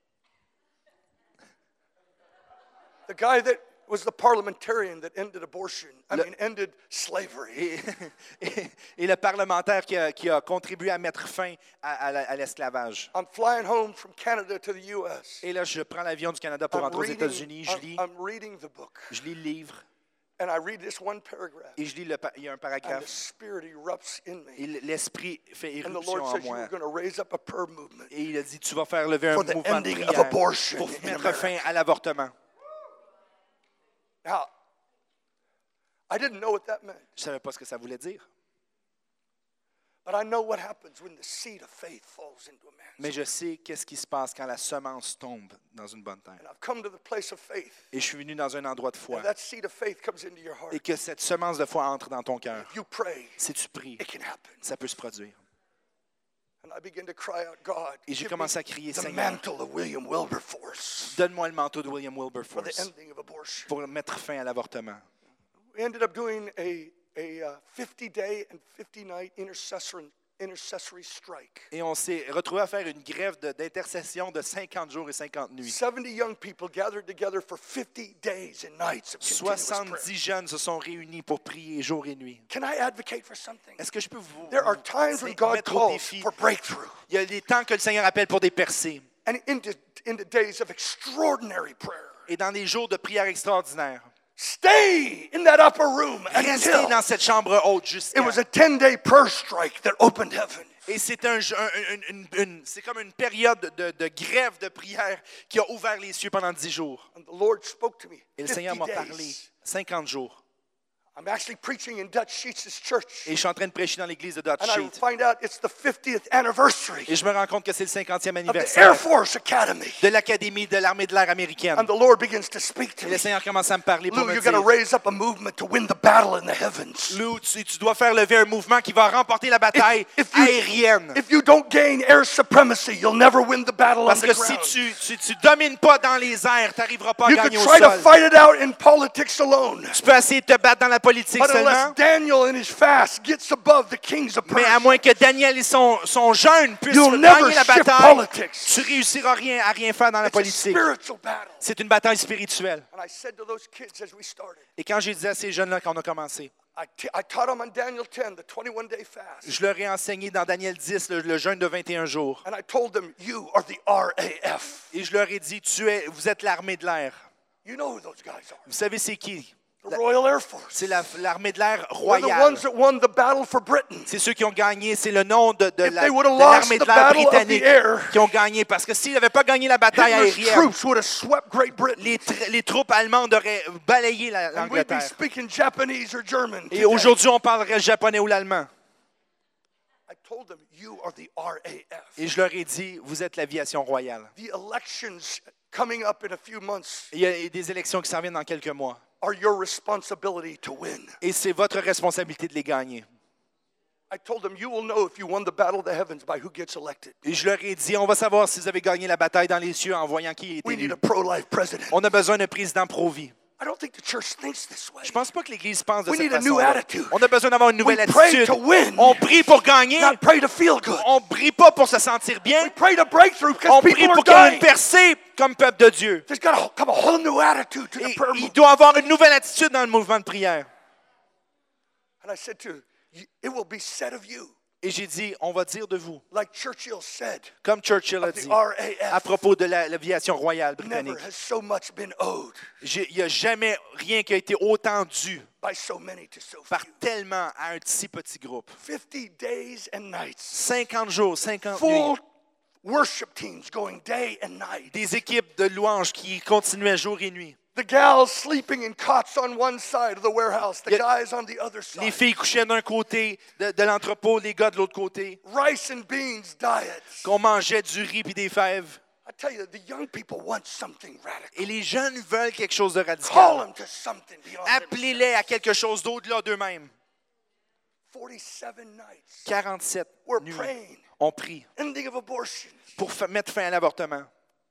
The guy that was the parliamentarian that ended abortion. I Le- mean, ended slavery. Et, et- et le parlementaire qui a, qui a contribué à mettre fin à, à la- à l'esclavage. I'm flying home from Canada to the U S. Et là, je prends l'avion du Canada pour I'm rentrer aux reading, États-Unis. Je I'm, lis, I'm reading the book. je lis le livre And I read this one paragraph. et je lis le, pa- il y a un And the paragraphe. Spirit erupts in me. Et l'esprit fait And the éruption Lord en says, moi. you're going to raise up a prayer movement. Et il a dit, tu vas faire lever un For the mouvement de ending of prière abortion pour in mettre America. fin à l'avortement. Now, I didn't know what that meant. Je ne savais pas ce que ça voulait dire. But I know what happens when the seed of faith falls into a man's Mais heart. je sais qu'est-ce qui se passe quand la semence tombe dans une bonne terre. And I've come to the place of faith. Et je suis venu dans un endroit de foi. And that seed of faith comes into your heart. Et que cette semence de foi entre dans ton cœur. You pray, Si tu pries, it can happen. ça peut se produire. And I begin to cry out, God, Et j'ai give commencé me à crier, the Seigneur, mantle of William Wilberforce donne-moi le manteau de William for the Wilberforce ending of abortion. pour mettre fin à l'avortement. We ended up doing a, a uh, fifty-day and fifty-night intercessory, intercessory strike. Et on s'est retrouvé à faire une grève de- d'intercession de cinquante jours et cinquante nuits. seventy young people gathered together for fifty days and nights of continuous prayer. soixante-dix jeunes se sont réunis pour prier jour et nuit. Can I advocate for something? Est-ce que je peux vous, There are vous times when God mettre au calls défi? for breakthrough. Il y a des temps que le Seigneur appelle pour des percées. And into, into days of extraordinary prayer. Et dans des jours de prière extraordinaire, Stay in that upper room restez until dans cette chambre haute it jusqu'à... was a ten-day prayer strike that opened heaven. Et c'est un, un- un- une- une- c'est comme une période de, de grève de prière qui a ouvert les cieux pendant dix jours. And the Lord spoke to me. Et le Seigneur m'a fifty parlé days. cinquante jours. I'm actually preaching in Dutch Sheets' church. Et je suis en train de prêcher dans l'église de Dutch And I Sheet. find out it's the fiftieth anniversary Et je me rends compte que c'est le cinquantième of the Air anniversaire Force Academy. de l'Académie de l'armée de l'air américaine. And the Lord begins to speak to Et me. le Seigneur commence à me parler pour Lou, me you're going to dire, raise up a movement to win the battle in the heavens. Lou, tu, tu dois faire lever un mouvement qui va remporter la bataille If you- aérienne. If you don't gain air supremacy, you'll never win the battle on Parce the que si ground. tu si tu domines pas dans les airs, tu n'arriveras pas à You could gagner au try to sol. fight it out in politics alone. Tu peux essayer de te battre dans la politique But unless seulement, Daniel in his fast gets above the kings of mais à Persia, moins que Daniel et son, son jeûne puissent You'll never gagner la shift bataille, politics. tu réussiras rien à rien faire dans la it's a politique. spiritual battle. C'est une bataille spirituelle. And I said to those kids as we started, Et quand j'ai dit à ces jeunes-là quand on a commencé, I, t- I taught them on Daniel ten, the twenty-one day fast. je leur ai enseigné dans Daniel dix le, le jeûne de vingt et un jours. And I told them, you are the R A F. Et je leur ai dit, tu es, vous êtes l'armée de l'air. You know who those guys are. Vous savez c'est qui? The Royal Air Force. C'est la- l'armée de l'air They're the royale. ones that won the battle for Britain. C'est ceux qui ont gagné. C'est le nom de, de If la- they would have de lost l'armée de the l'air battle of the britannique air, qui ont gagné. Parce que s'ils n'avaient pas gagné la bataille Hitler's aérienne, troops would have swept Great Britain. les, tr- les troupes allemandes auraient balayé la- And we'd be l'Angleterre. speaking Japanese or German. Et today. aujourd'hui, on parlerait le japonais ou l'allemand. I told them, you are the R A F. Et je leur ai dit, vous êtes l'aviation royale. The elections coming up in a few months Il y a des élections qui s'en viennent dans quelques mois. are your responsibility to win. Et c'est votre responsabilité de les gagner. I told them, you will know if you won the battle of the heavens by who gets elected. Et je leur ai dit, on va savoir si vous avez gagné la bataille dans les cieux en voyant qui est We need élu. a pro-life president. On a besoin d'un président pro-vie. I don't think the church thinks this way. Je pense pas que l'Église pense de We cette need a new façon-là. attitude. On a besoin d'avoir une nouvelle We pray attitude. to win. On prie pour gagner. Not pray to feel good. On prie pas pour se sentir bien. We pray to breakthrough because On people prie are pour qu'il y ait une dying. percée comme peuple de Dieu. There's got to come a whole new attitude to the Et prayer il movement. doit avoir une nouvelle attitude dans le mouvement de prière. And I said to her, "You- it will be said of you, Et j'ai dit, on va dire de vous, like Churchill said, comme Churchill a of the dit, R à A F, propos de la- l'aviation royale never britannique. has so much been owed J'ai- Il n'y a jamais rien qui a été autant dû by so many to so par few. tellement à un si petit groupe. fifty days and nights, cinquante jours, cinquante full nuits. worship teams going day and night. Des équipes de louanges qui continuaient jour et nuit. The gals sleeping in cots on one side of the warehouse, the Yeah. guys on the other Les side. filles couchaient d'un côté de, de l'entrepôt, les gars de l'autre côté. Rice and beans diets. Qu'on mangeait du riz et des fèves. I tell you, the young people want something radical. Et les jeunes veulent quelque chose de Call radical. them to something beyond Appelez-les à quelque chose d'au-delà d'eux-mêmes. forty-seven nights. quarante-sept We're nuits. praying. On prie Ending of abortion. pour fa- mettre fin à l'avortement.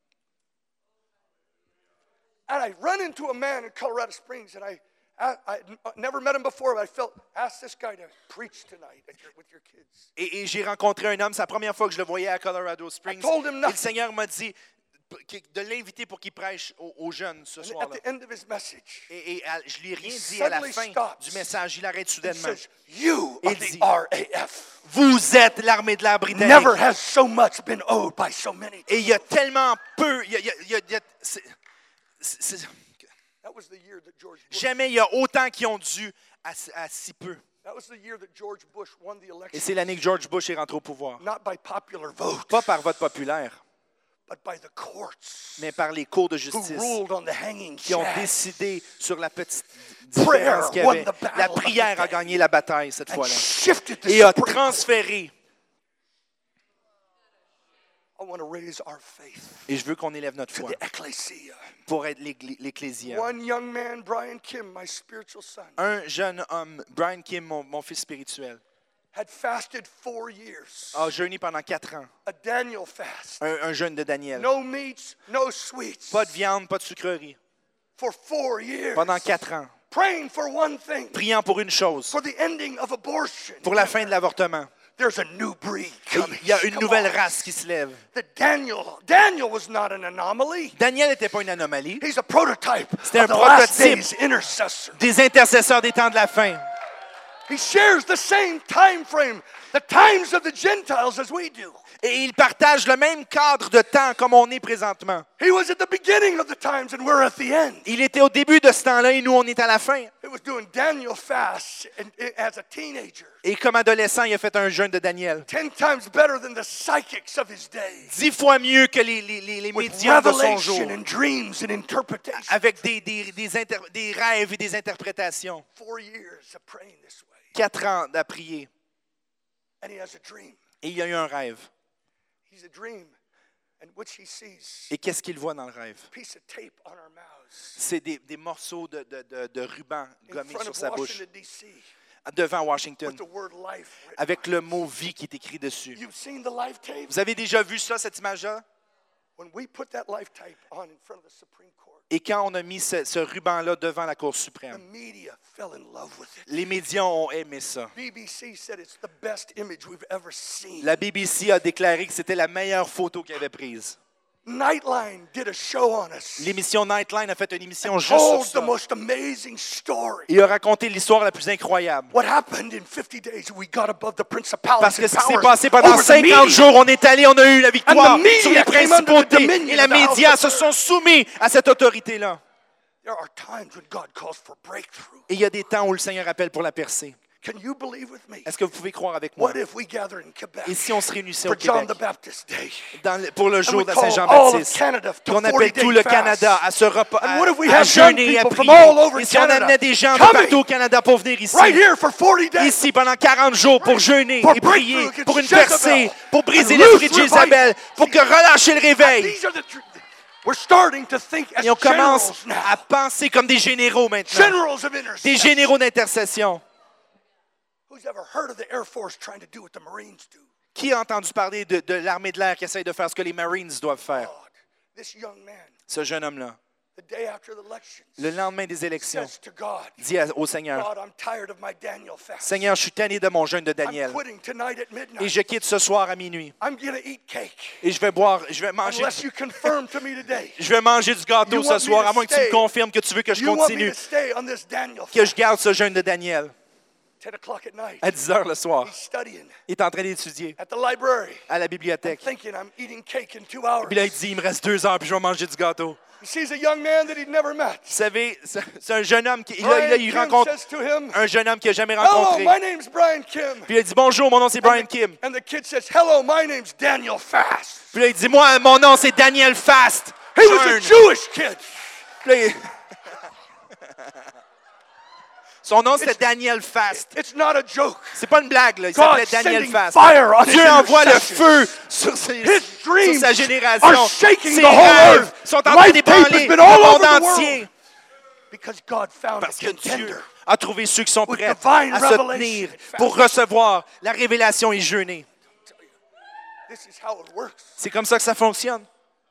And I run into a man in Colorado Springs, and I, I, I never met him before, but I felt, ask this guy to preach tonight at your, with your kids. Et, et j'ai rencontré un homme, c'est la première fois que je le voyais à Colorado Springs. I told him Et nothing. le Seigneur m'a dit de l'inviter pour qu'il prêche aux, aux jeunes ce And at soir-là. the end of his message, Et, et à- je lui ai rien He dit à la suddenly fin stops. du message. Il arrête he soudainement. says, you Il are the dit, R A F. Vous êtes l'armée de l'air britannique. Never has so much been owed by so many. Et il y a tellement peu. il y a- il y a- il y a- il y a- c'est- c'est- c'est- That was the year that George Bush, jamais il y a autant qui ont dû à, à si peu. that was the year that George Bush won the Et election. c'est l'année que George Bush est rentré au pouvoir. Not by popular vote, Pas par vote populaire, but by the courts mais par les cours de who justice ruled on the hanging qui ont chaff. décidé sur la petite Prayer différence qu'il y won avait. the battle La of the prière a day. gagné la bataille cette And fois-là. shifted the Et a Supreme Court. transféré. I want to raise our faith Et je veux qu'on élève notre to foi the ecclesia. pour être l'Église- l'Ecclésia. One young man, Brian Kim, my spiritual son, Un jeune homme, Brian Kim, mon, mon fils spirituel, had fasted four years. a jeûné pendant quatre ans. A Daniel fast. Un, un jeûne de Daniel. No meats, no sweets. Pas de viande, pas de sucrerie. For four years. Pendant quatre ans. Praying for one thing. Priant pour une chose, For the ending of abortion. pour la fin de l'avortement. There's a new breed Et coming. il y a une Come nouvelle on. race qui se lève. The Daniel, Daniel was not an anomaly. Daniel n'était pas une anomalie. He's a prototype C'était of un the last prototype. days intercessor. Des intercesseurs des temps de la fin. He shares the same time frame, the times of the Gentiles as we do. Et ils partagent le même cadre de temps comme on est présentement. He was at the beginning of the times and we're at the end. Il était au début de ce temps-là et nous, on est à la fin. He was doing Daniel fasts and, and as a teenager. Et comme adolescent, il a fait un jeûne de Daniel. Ten times better than the psychics of his day. Dix fois mieux que les, les, les, les With médiums de son jour. revelation and dreams and interpretation. Avec des, des, des, inter- des rêves et des interprétations. Four years of praying this way. Quatre ans à prier. And he has a dream. Et il y a eu un rêve. He's a dream in which he sees Et qu'est-ce qu'il voit dans le rêve? a piece of tape on our mouths C'est des, des morceaux de, de, de, de ruban in gommés front sur of sa bouche Washington, D C devant Washington with the word life written avec on le it. mot vie qui est écrit dessus. You've seen the life tape? Vous avez déjà vu ça, cette image-là? When we put that life tape on in front of the Supreme Court, Et quand on a mis ce, ce ruban-là devant la Cour the suprême, media fell in love with it. les médias ont aimé ça. B B C said it's the best image we've ever seen. La B B C a déclaré que c'était la meilleure photo qu'elle avait prise. Nightline did a show on us. L'émission Nightline a fait une émission juste sur Told the ça. most amazing story. Il a raconté l'histoire la plus incroyable. What happened in fifty days? We got above the principalities Parce que and ce qui s'est powers passé pendant over the cinquante media. jours, on est allé, on a eu la victoire And the media sur les came under the principautés. dominion Et les of the house médias of se sont soumis à cette autorité-là. There are times when God calls for breakthrough. Et il y a des temps où le Seigneur appelle pour la percée. Can you believe with me? Est-ce que vous pouvez croire avec moi? What if we gather in Quebec Et si on se réunissait au for John Québec the Baptist Day? dans le- pour le And jour we de call all of Saint-Jean-Baptiste, Canada to qu'on appelle forty-day tout le fast. Canada à se repas, And à, what if we à have young jeûner et à people from prier. all over Et si on Canada amenait des gens de coming partout au Canada pour venir ici, right here for forty days? ici pendant quarante jours pour jeûner For et prier, breakthrough against pour une Jezebel. percée, pour briser And l'esprit de loose Jézabel, pour que relâcher le réveil. These are the tr- We're starting to think as Et on commence generals now. à penser comme des généraux maintenant, Generals of des intercession. généraux d'intercession. Who's ever heard of the Air Force trying to do what the Marines do? Qui a entendu parler de, de l'armée de l'air qui essaye de faire ce que les Marines doivent faire? God, this young man, Ce jeune homme-là, the day after the elections, le lendemain des élections, says to God, dit à- au Seigneur, God, I'm tired of my Daniel fast. Seigneur, je suis tanné de mon jeûne de I'm Daniel quitting tonight at et midnight. je quitte ce soir à minuit I'm going to eat cake et je vais boire, je vais manger, unless you confirm to me today. je vais manger du gâteau You ce want me soir, to à moins que tu me stay? confirmes que tu veux que je You want me continue, to stay on this Daniel que je fast? garde ce jeûne de Daniel. ten o'clock at night. À dix heures le soir, He's studying il est en train d'étudier at the library, à la bibliothèque. thinking I'm eating cake in two hours. Puis là, il dit, il me reste deux heures, puis je vais manger du gâteau. He sees a young man that he'd never met. Vous savez, c'est c'est un jeune homme qui, là, Brian là, il Kim rencontre says to him, un jeune homme qu'il n'a jamais hello, rencontré. my name's Brian Kim. Puis il a dit, bonjour, mon nom c'est Brian And the- Kim. And the kid says, hello, my name's Daniel Fast. Puis là, il dit, moi, mon nom c'est Daniel Fast. He was a Jeûne. Jewish kid. Puis là, il- Son nom c'était Daniel Fast. It's not a joke. C'est pas une blague, là. Il God s'appelait Daniel sending Fast. fire on his Dieu envoie le intercession. feu sur, ses- His sur dreams sa génération. are shaking Ses the whole rêves earth. sont en train Life d'ébranler tape has le been all monde over the entier. world. Because God found Parce a que Dieu contender. a trouvé ceux qui sont With prêts divine à se revelation tenir and fast. pour recevoir la révélation et jeûner. This is how it works. C'est comme ça que ça fonctionne.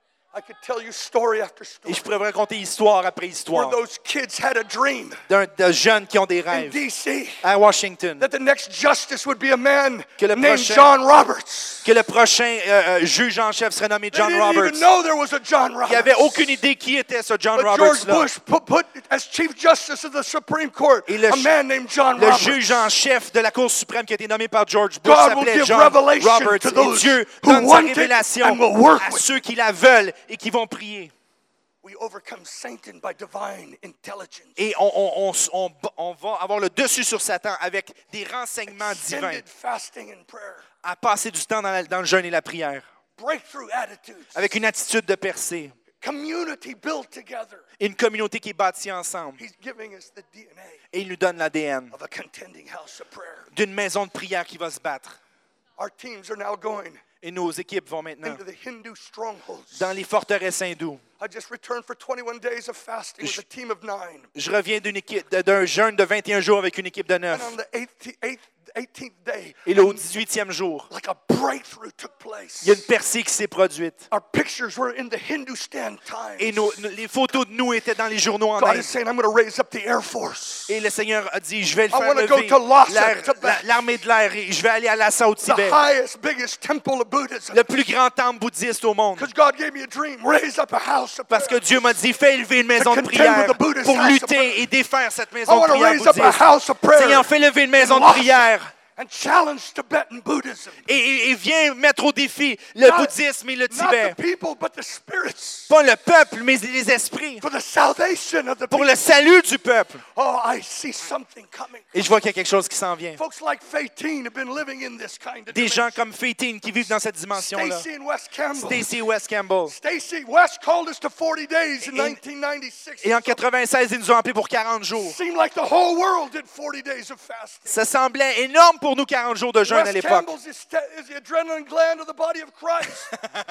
I could tell you story after Et story je pourrais vous raconter histoire après where histoire those kids had a dream d'un- de jeunes qui ont des in rêves D C à Washington. that the next justice would be a man Que le named prochain- John Roberts. Que le prochain euh, euh, juge en chef serait nommé They John didn't Roberts. even know there was a John Roberts. Il n'avait aucune idée qui était ce John But Roberts George là. Bush put, put as Chief Justice of the Supreme Court Et le a ch- man named John Le Roberts. juge en chef de la Cour suprême qui a été nommé par George Bush God will s'appelait give John revelation Roberts. to Et those Dieu who donne sa want it révélation and will work à with ceux qui la veulent et qui vont prier. We overcome Satan by divine intelligence. Et on, on, on, on, on va avoir le dessus sur Satan avec des renseignements divins Extended fasting and prayer. à passer du temps dans, la- dans le jeûne et la prière Breakthrough attitudes. avec une attitude de percée Community built together. et une communauté qui est bâtie ensemble. He's giving us the D N A Et il nous donne l'A D N of a contending house of prayer. d'une maison de prière qui va se battre. Our teams are now going Et nos équipes vont maintenant into the Hindu strongholds. dans les forteresses hindoues. I just returned for twenty-one days of fasting with a team of nine. Je reviens d'une équipe, d'un jeûne de vingt et un jours avec une équipe de And neuf. on the eighth- eighth- eighteenth day, Et là, au dix-huitième jour, like a breakthrough took place. il y a une percée qui s'est produite. Our pictures were in the Hindustan Times. Et nos- nos- les photos de nous étaient dans les journaux en God Inde. is saying, I'm going to raise up the Air Force. Et le Seigneur a dit, je vais le I faire wanna go lever, to Lhasa, l'air- Tibet. la- l'armée de l'air, et je vais aller à Lhasa au The Tibet, highest, biggest temple of Buddhism. le plus grand temple bouddhiste au monde. Because God gave me a dream. Raise up a house of Parce que prayer. Dieu m'a dit, fais élever une maison de contend prière with the Buddhist pour house of lutter prayer. et défaire cette I maison de want to prière raise up a bouddhiste. house of prayer Seigneur, fais lever une maison de Lhasa prière and challenge Tibetan Buddhism. et, et- et viens mettre au défi le Not- bouddhisme et le Not Tibet. the people, but the spirits. Pas le peuple, mais les esprits. For the salvation of the Pour people. le salut du peuple. Oh, I see something coming. Et je vois qu'il y a quelque chose qui s'en vient. Folks like Fateen have been living in this kind of Des gens dimension. comme Fateen qui vivent dans cette dimension-là. Stacy and Wes Campbell. Stacy West Campbell. Stacy West called us to forty days in Et- nineteen ninety-six. Et en quatre-vingt-seize, ils nous ont appelés pour quarante jours. Seemed like the whole world did forty days of fasting. Ça semblait énorme pour nous, quarante jours de jeûne à Wes l'époque. Campbell's is, is the adrenaline gland of the body of Christ.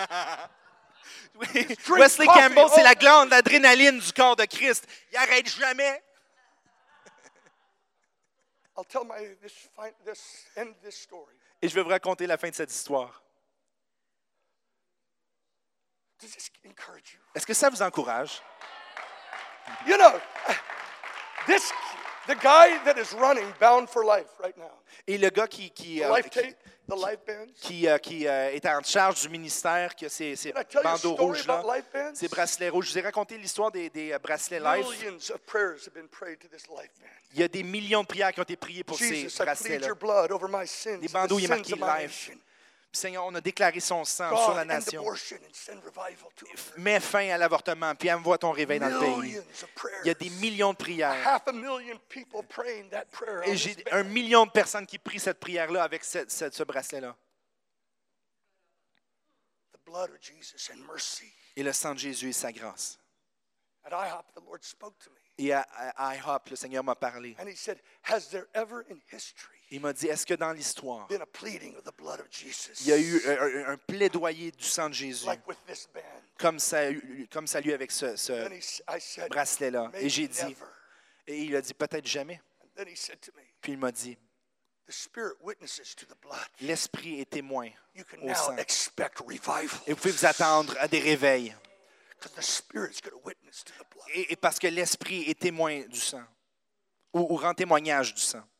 drink Wesley coffee. Campbell, c'est Oh. la glande d'adrénaline du corps de Christ. Il arrête jamais. I'll tell my this, fin- this end this story. Et je vais vous raconter la fin de cette histoire. Does this encourage you? Est-ce que ça vous encourage? You know, this the guy that is running Bound for Life right now. Et le gars qui, qui, The euh, life qui, tape, the life bands. qui, euh, qui, euh, est en charge du ministère, qui a ces, ces Can I tell you a bandeaux story rouges là, about life bands? ces bracelets rouges. Je vous ai raconté l'histoire des, des euh, bracelets life. Millions of prayers have been prayed to this life band. Il y a des millions de prières qui ont été priées pour Jesus, ces I plead bracelets-là. your blood over my sins, Des the bandeaux, il est sins marqué of my life. nation. Puis, Seigneur, on a déclaré son sang God, sur la end nation. abortion and send revival to America. Mets fin à l'avortement, puis envoie ton réveil dans le pays. Millions of prayers. Il y a des millions de prières. Half a million people praying that prayer. Et on j'ai this un band. million de personnes qui prient cette prière-là avec ce, ce- ce bracelet-là. The blood of Jesus and mercy. Et le sang de Jésus et sa grâce. At IHOP, the Lord spoke to me. Et à, à IHOP, le Seigneur m'a parlé. And he said, has there ever in history Il m'a dit, est-ce que dans l'histoire, been a pleading of the blood of Jesus? il y a eu un, un- un plaidoyer du sang de Jésus, Like with this band. comme ça, a eu- comme ça a eu avec ce, ce And he, s- I said, bracelet-là? Et j'ai maybe dit, never. et il a dit, peut-être jamais. And then he said to me, Puis il m'a dit, the Spirit witnesses to the blood. l'Esprit est témoin You can au now sang. expect revival. Et vous pouvez vous attendre à des réveils. Because the Spirit's going to witness to the blood. Et, et parce que l'Esprit est témoin du sang, ou, ou rend témoignage du sang.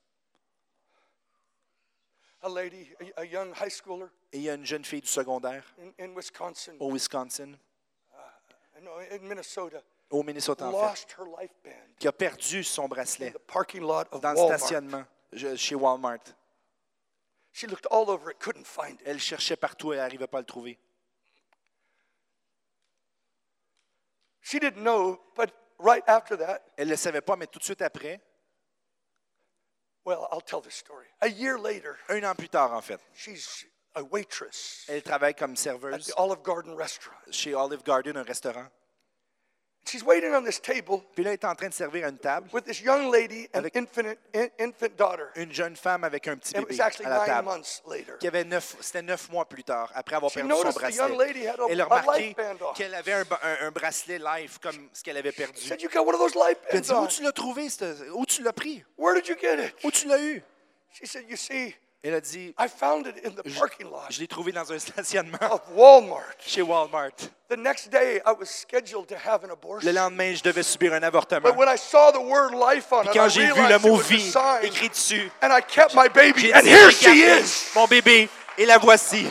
A lady, a, a young high schooler Et il y a une jeune fille du secondaire in, in Wisconsin, au Wisconsin, no, in Minnesota, au Minnesota en fait, lost her life band qui a perdu son in bracelet the parking lot of dans le Walmart. stationnement je- chez Walmart. She looked all over it, couldn't find it. Elle cherchait partout et elle n'arrivait pas à le trouver. She didn't know, but right after that, Elle ne le savait pas, mais tout de suite après, well, I'll tell the story. A year later, un an plus tard en fait, she's a waitress elle travaille comme at serveuse the Olive Garden restaurant. chez Olive Garden, un restaurant. She's waiting on this table Puis là, elle est en train de servir à une table with this young lady and Avec- infant, in, infant daughter. une jeune femme avec un petit It bébé was actually à la nine table. months later. Qui avait neuf, c'était neuf mois plus tard, après avoir She perdu son noticed the young bracelet. lady had a, Elle a a remarqué life band on. qu'elle avait un, ba- un- un bracelet live comme ce qu'elle avait She perdu. said, you got one of those life Elle a bands dit, où on. tu l'as trouvé? ce- Où tu l'as pris? Where did you get it? Où tu l'as eu? She said, you see, Elle a dit, I found it in the je, parking lot je l'ai trouvé dans un stationnement of Walmart. chez Walmart. The next day, I was scheduled to have an Le abortion. lendemain, je devais subir un avortement. But when I saw the word life on Puis it, I quand j'ai vu le realized it mot was a vie sign. écrit dessus, And I kept my baby, j'ai and dit, here she regardez, is. mon bébé, et la voici.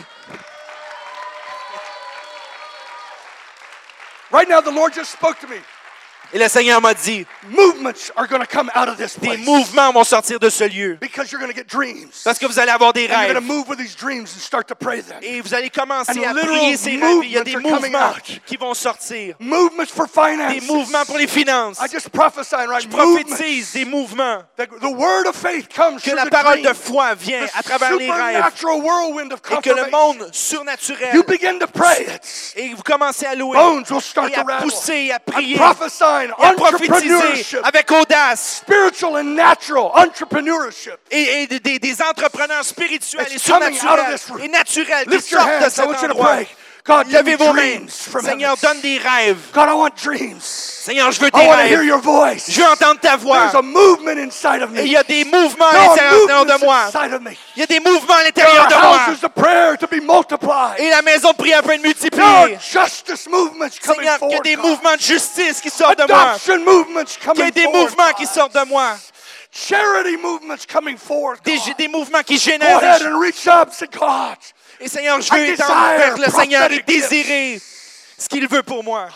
Right now, the Lord just spoke to me. Et le Seigneur m'a dit, Movements are going to come out of this des place. mouvements vont sortir de ce lieu. Because you're going to get dreams. Parce que vous allez avoir des And you're rêves. going to move with these dreams and start to pray them. Et vous allez commencer And à literal prier ces rêves. Il y a des movements are coming mouvements out. qui vont sortir. Movements for Des finances. mouvements pour les finances. I just prophesy right. Je Movements. prophétise des mouvements. The, the word of faith comes Que through la the parole de dream. foi vient The à travers les rêves. supernatural whirlwind of Et que le confirmation. monde surnaturel. You begin to pray it. Et vous commencez à louer. Bones will start Et to à rattle. pousser, à I'm prier. prophesying Et à prophétiser entrepreneurship, avec audace. spiritual and natural entrepreneurship. Et, et des, des entrepreneurs spirituels It's et coming out of surnaturels this room. et naturels qui Lift your sortent de hands. I cet want you to endroit. pray. God, give me Levez vos mains. dreams from Seigneur, heaven. donne des rêves. God, I want dreams. Seigneur, je veux I tes want to hear rêves. your voice. Je veux entendre ta voix. There's a movement inside of me. Et il y a des mouvements à There are l'intérieur de movements moi. inside of me. Il y a des mouvements à There l'intérieur are de moi. houses of prayer to be multiplied. Et la maison de prière peut être There are multipliée. justice movements coming Seigneur, qu'il y a forward. des God. mouvements de justice qui sortent de moi. Adoption movements Qu'il y ait coming des forward. mouvements qui God. sortent de moi. Charity movements coming forward. Des, God. des mouvements qui Go génèrent. ahead and reach up and say, God, Et Seigneur, je veux I étendre desire vers le Seigneur et prophetic désirer ce qu'il veut pour moi.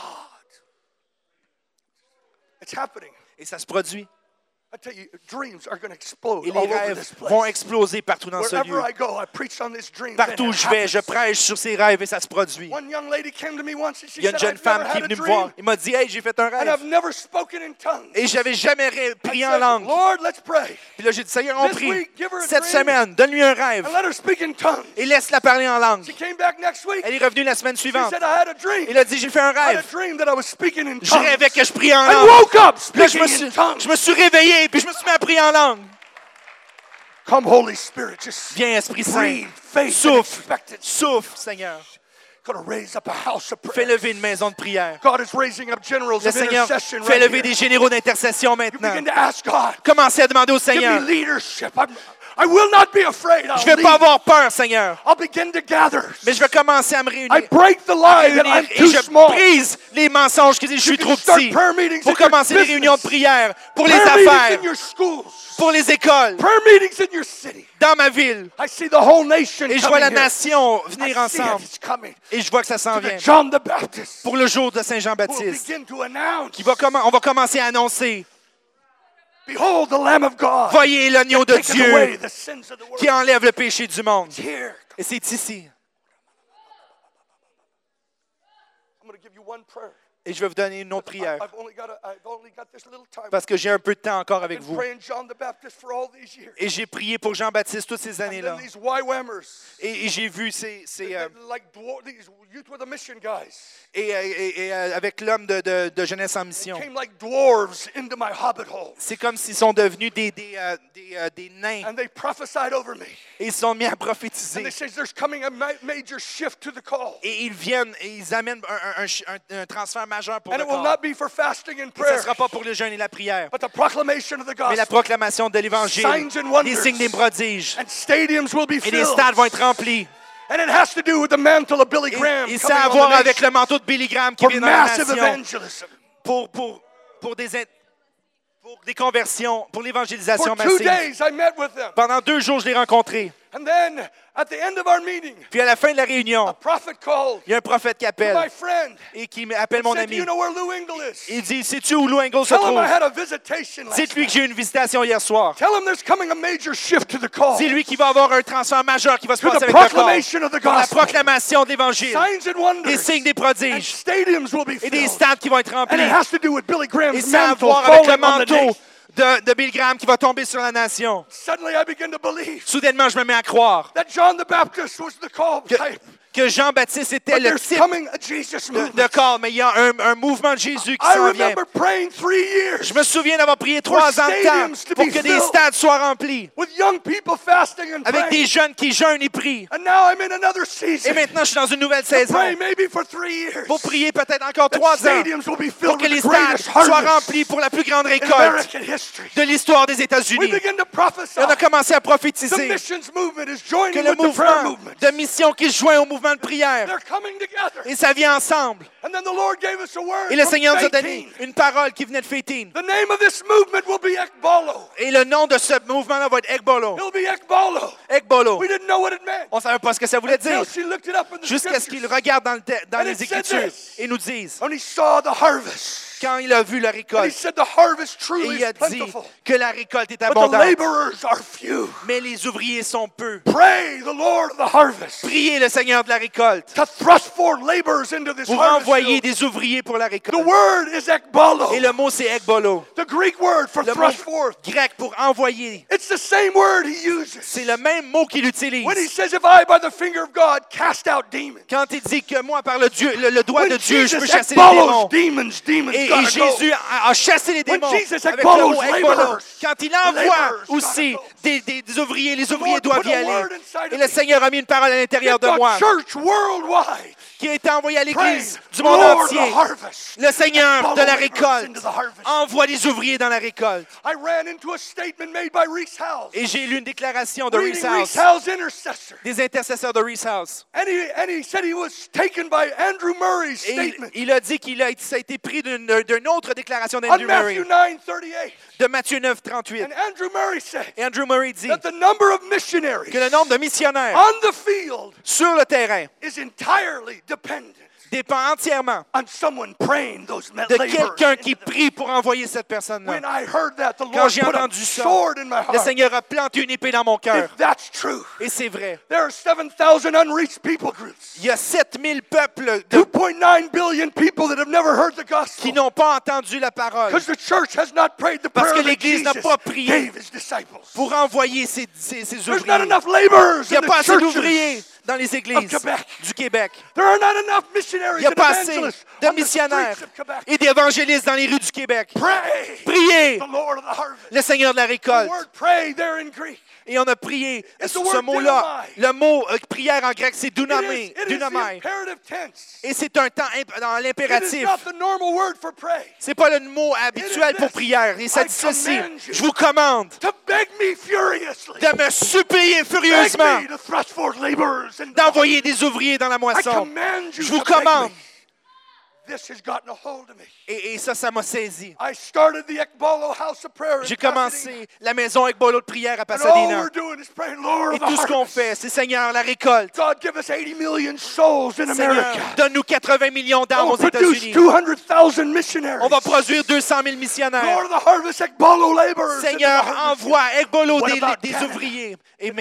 it's happening. Et ça se produit. I tell you, dreams are going to explode Et les all over rêves this place. vont exploser partout dans ce Wherever lieu. I go, I preach on this dream. Partout où je vais, je prêche sur ces rêves et ça se produit. One young lady came to me once and she Il y a une said, jeune I've femme never qui est had a venue me dream, voir. Il m'a dit, hey, j'ai fait un and rêve. I've never spoken in tongues. Et j'avais jamais ré- I prié en said, langue. Lord, let's pray. Puis là, j'ai dit, Seigneur, on This prie. week, give her a Cette dream. semaine, donne-lui un rêve. And let her speak in tongues. Et laisse-la parler en langue. She came back next week. Elle est revenue la semaine She suivante. said, I had a dream. Il a dit, j'ai fait un I had a rêve. dream that I was speaking in Je tongues. rêvais que je priais en I langue. woke up Puis là, je speaking me, in suis, tongues. je me suis réveillé, puis je me suis mis à prier en langue. Come, Holy Spirit, just Viens, Esprit Saint. breathe faith and Souffle. expectancy. Souffle, Seigneur. Going to raise up a house of Fais prayer. lever une maison de prière. God is raising up generals Le of Seigneur intercession fait right lever here. des généraux d'intercession You maintenant. begin to ask God, Commencez à demander au give me Seigneur. leadership. I'm, I will not be afraid. I'll Je ne vais lead. pas avoir peur, Seigneur. I'll begin to gather. Mais je vais commencer à me réunir. I break the lie that I'm réunir, too et je small. brise les mensonges qui disent je suis can trop start petit. prayer meetings Pour in your commencer les business. réunions de prière, pour les Prayer meetings affaires, in your schools. pour les écoles, Prayer meetings in your city. dans ma ville. I see the whole nation Et je vois coming la here. nation I venir see it. ensemble. It's coming. Et je vois que ça s'en To vient. the John the Baptist. Pour le jour de Who will Saint-Jean-Baptiste. begin to announce, Qui va commen- on va commencer à annoncer. behold the Lamb of God. Voyez l'agneau de Taketh away Dieu the sins of the world. qui enlève le péché du monde. It's here. Et c'est ici. you one prayer. Et je vais vous donner une autre prière. I've only got a, I've only got this little time. Parce que j'ai un peu de temps encore I've avec been vous. praying John the Baptist for all these years. Et j'ai prié pour Jean-Baptiste toutes ces And années-là. then these Y-Whammers, Et, et j'ai vu ces, ces, euh, like dwar- these youth with a mission guys, et, euh, et- et, euh, avec l'homme de, de, de Jeunesse en mission. came like dwarves into my hobbit hole. C'est comme s'ils sont devenus des, des, euh, des, euh, des nains. And they prophesied over me. Et ils se sont mis à And prophétiser. they say there's coming a ma- major shift to the call. Et ils viennent et ils amènent un, un- un- un transfert majeur pour And le it will corps. not be for fasting and Et ça ne prayer, sera pas pour le jeûne et la prière, but the proclamation of the mais la gospel. proclamation de l'Évangile, Signs and wonders. des signes, des prodiges. And stadiums will be Et les filled. stades vont être remplis. And it has to do with the mantle of Billy Et, Graham et coming ça a à on voir the avec nation le manteau de Billy Graham qui for vient dans la massive nation evangelism. pour, pour, pour, des, in- pour des conversions, pour l'évangélisation For two massive. days I met with them. Pendant deux jours, je l'ai rencontré. And then at the end of our meeting, Puis à la fin de la réunion, a prophet called il y a un prophète qui my appelle friend. et qui appelle mon Said, do ami. you know where Lou Engle is? Il dit, sais-tu où Lou Engle se Tell him trouve? I had a visitation last Dites-lui night. que j'ai eu une visitation hier soir. Tell him there's coming a major shift to the call. Dis-lui qu'il va avoir un transfert majeur qui va se To passer the avec le corps. proclamation of the Pour la gospel. proclamation de l'Évangile. Signs and wonders. Des signes, des And prodiges. stadiums will be Et des filled. stades qui vont être And remplis. it has to do with Billy Et Graham's ça a à mantle voir avec le falling on the manteau nation. de, de Bill Graham qui va tomber sur la nation. Suddenly I begin to believe Soudainement, je me mets à croire that John the Baptist was the call que, type. que Jean-Baptiste était But le there's type coming a Jesus de, movement. de corps, mais il y a un, un mouvement de Jésus qui I s'en vient. remember praying three years Je me souviens d'avoir prié trois ans de stadiums to temps pour be que des filled. stades soient remplis, with young people fasting and avec des praying. jeunes qui jeûnent et prient. And now I'm in another Et season. maintenant, je suis dans une nouvelle To saison pray maybe for three years. pour prier peut-être encore That trois ans stadiums will be pour filled que les with the stades greatest soient harvest remplis pour la plus grande in récolte American history. de l'histoire des We États-Unis. begin to prophesy. Et on a commencé à The prophétiser missions movement is que joining le with the prayer mouvement movement. de mission qui se joint au mouvement de prière, They're coming together. et ça vient ensemble. And then the Lord gave us a word Et le from Seigneur nous a donné eighteen. une parole qui venait de Fétine. The name of this movement will be Ekbalo. Et le nom de ce mouvement-là va être Ekbolo. It'll be Ekbalo. Ekbolo. We didn't know what it meant. On ne savait pas ce que ça voulait dire. Until she looked it up in the Jusqu'à ce qu'il scriptures. regarde dans, le te- dans And les it said Écritures this. et nous dise, And he saw the harvest. quand il a vu la And he récolte, said the harvest et truly il a is dit plentiful. que la récolte est But the abondante, laborers are few. mais les ouvriers sont peu. Pray the Lord of the harvest Priez le Seigneur de la récolte to thrust forth laborers into this pour harvest envoyer field. des ouvriers pour la The récolte. word is Ekbalo. Et le mot, c'est Ekbolo. The Greek word for Le mot thrust forth. grec pour envoyer. It's the same word he uses C'est le même mot qu'il utilise. when he says, "If I, by the finger of God, cast out demons." Quand il dit que moi, par le, Dieu, le, le doigt When de Dieu, je Jesus peux chasser les Ekbalos démons. demons, demons Et, et gotta Jésus go. a, a chassé les When démons Jesus avec le Ekbalos mot Ekbolo. laborers, Quand il the envoie laborers aussi gotta go. des, des, des ouvriers, les The ouvriers Lord doivent put y a aller. word inside Et of le me. Seigneur a mis une parole à l'intérieur Get de the moi church worldwide. qui a été envoyée à Pray, l'Église du monde Lord of entier. the harvest. Le Seigneur Follow de la laborers récolte into the harvest. envoie des ouvriers dans la récolte. I ran into a statement made by Reese Howells, Et j'ai lu une déclaration de Reese reading Reese House, Howells' intercessor. des intercesseurs de Reese House. And he, and he said he was taken by Andrew Murray's Et il, statement il a dit qu'il a, été- ça a été pris d'une d'une autre déclaration on d'Andrew Murray, Matthew nine thirty-eight. de Matthieu neuf, trente-huit. And Andrew Murray said Et Andrew Murray dit that the number of missionaries que le nombre de missionnaires on the field sur le terrain is entirely dependent dépend entièrement on someone praying those de laborers. quelqu'un qui into them. prie pour envoyer cette personne-là. When I heard that, the Quand Lord j'ai put a entendu ça, sword in my le heart. Seigneur a planté une épée dans mon cœur. If that's true, Et c'est vrai. there are seven thousand unreached people groups. Il y a sept mille peuples two de- point nine billion people that have never heard the qui gospel. n'ont pas entendu la parole Because the church has not prayed the Parce prayer que that l'Église n'a Jesus pas prié gave his disciples. pour envoyer ces, ces, ces There's not ouvriers. enough laborers Il n'y a in pas the assez churches. d'ouvriers dans les églises Québec. du Québec. There are not enough Il missionaries n'y a and pas assez evangelists de on the missionnaires streets of Quebec. et d'évangélistes dans les rues du Québec. Pray Priez the Lord of the harvest. le Seigneur de la The récolte. word pray there in Greek. Et on a prié It's sur the ce word mot-là. dunamai. Le mot euh, prière en grec, c'est It is, dunamai. it is the Dunamai. imperative tense. Et c'est un temps imp- dans It is l'impératif. not the normal word for pray. C'est pas le mot habituel It is pour this. prière. Et ça I dit ceci. command you. Je vous commande To beg me furiously. de me supplier Beg furieusement me to thrust forth laborers and d'envoyer des ouvriers dans la I moisson. command you Je vous to beg commande. me. This has gotten a hold of me. Et, et ça, ça m'a saisi. I started the Ekbalo House of Prayer in J'ai Pasadena. commencé la maison avec bolo de prière à And all Pasadena. we're doing is praying, Lord Et of the tout ce qu'on harvest. fait, c'est Seigneur, la récolte. God, give us eighty million souls in Seigneur, America. donne-nous quatre-vingts millions d'âmes We'll aux produce États-Unis. two hundred thousand missionaries. On va produire deux cent mille missionnaires. Lord of the harvest, Ekbalo laborers. into the Seigneur, harvest. envoie Ekbolo What des, about des Canada? ouvriers. Et mais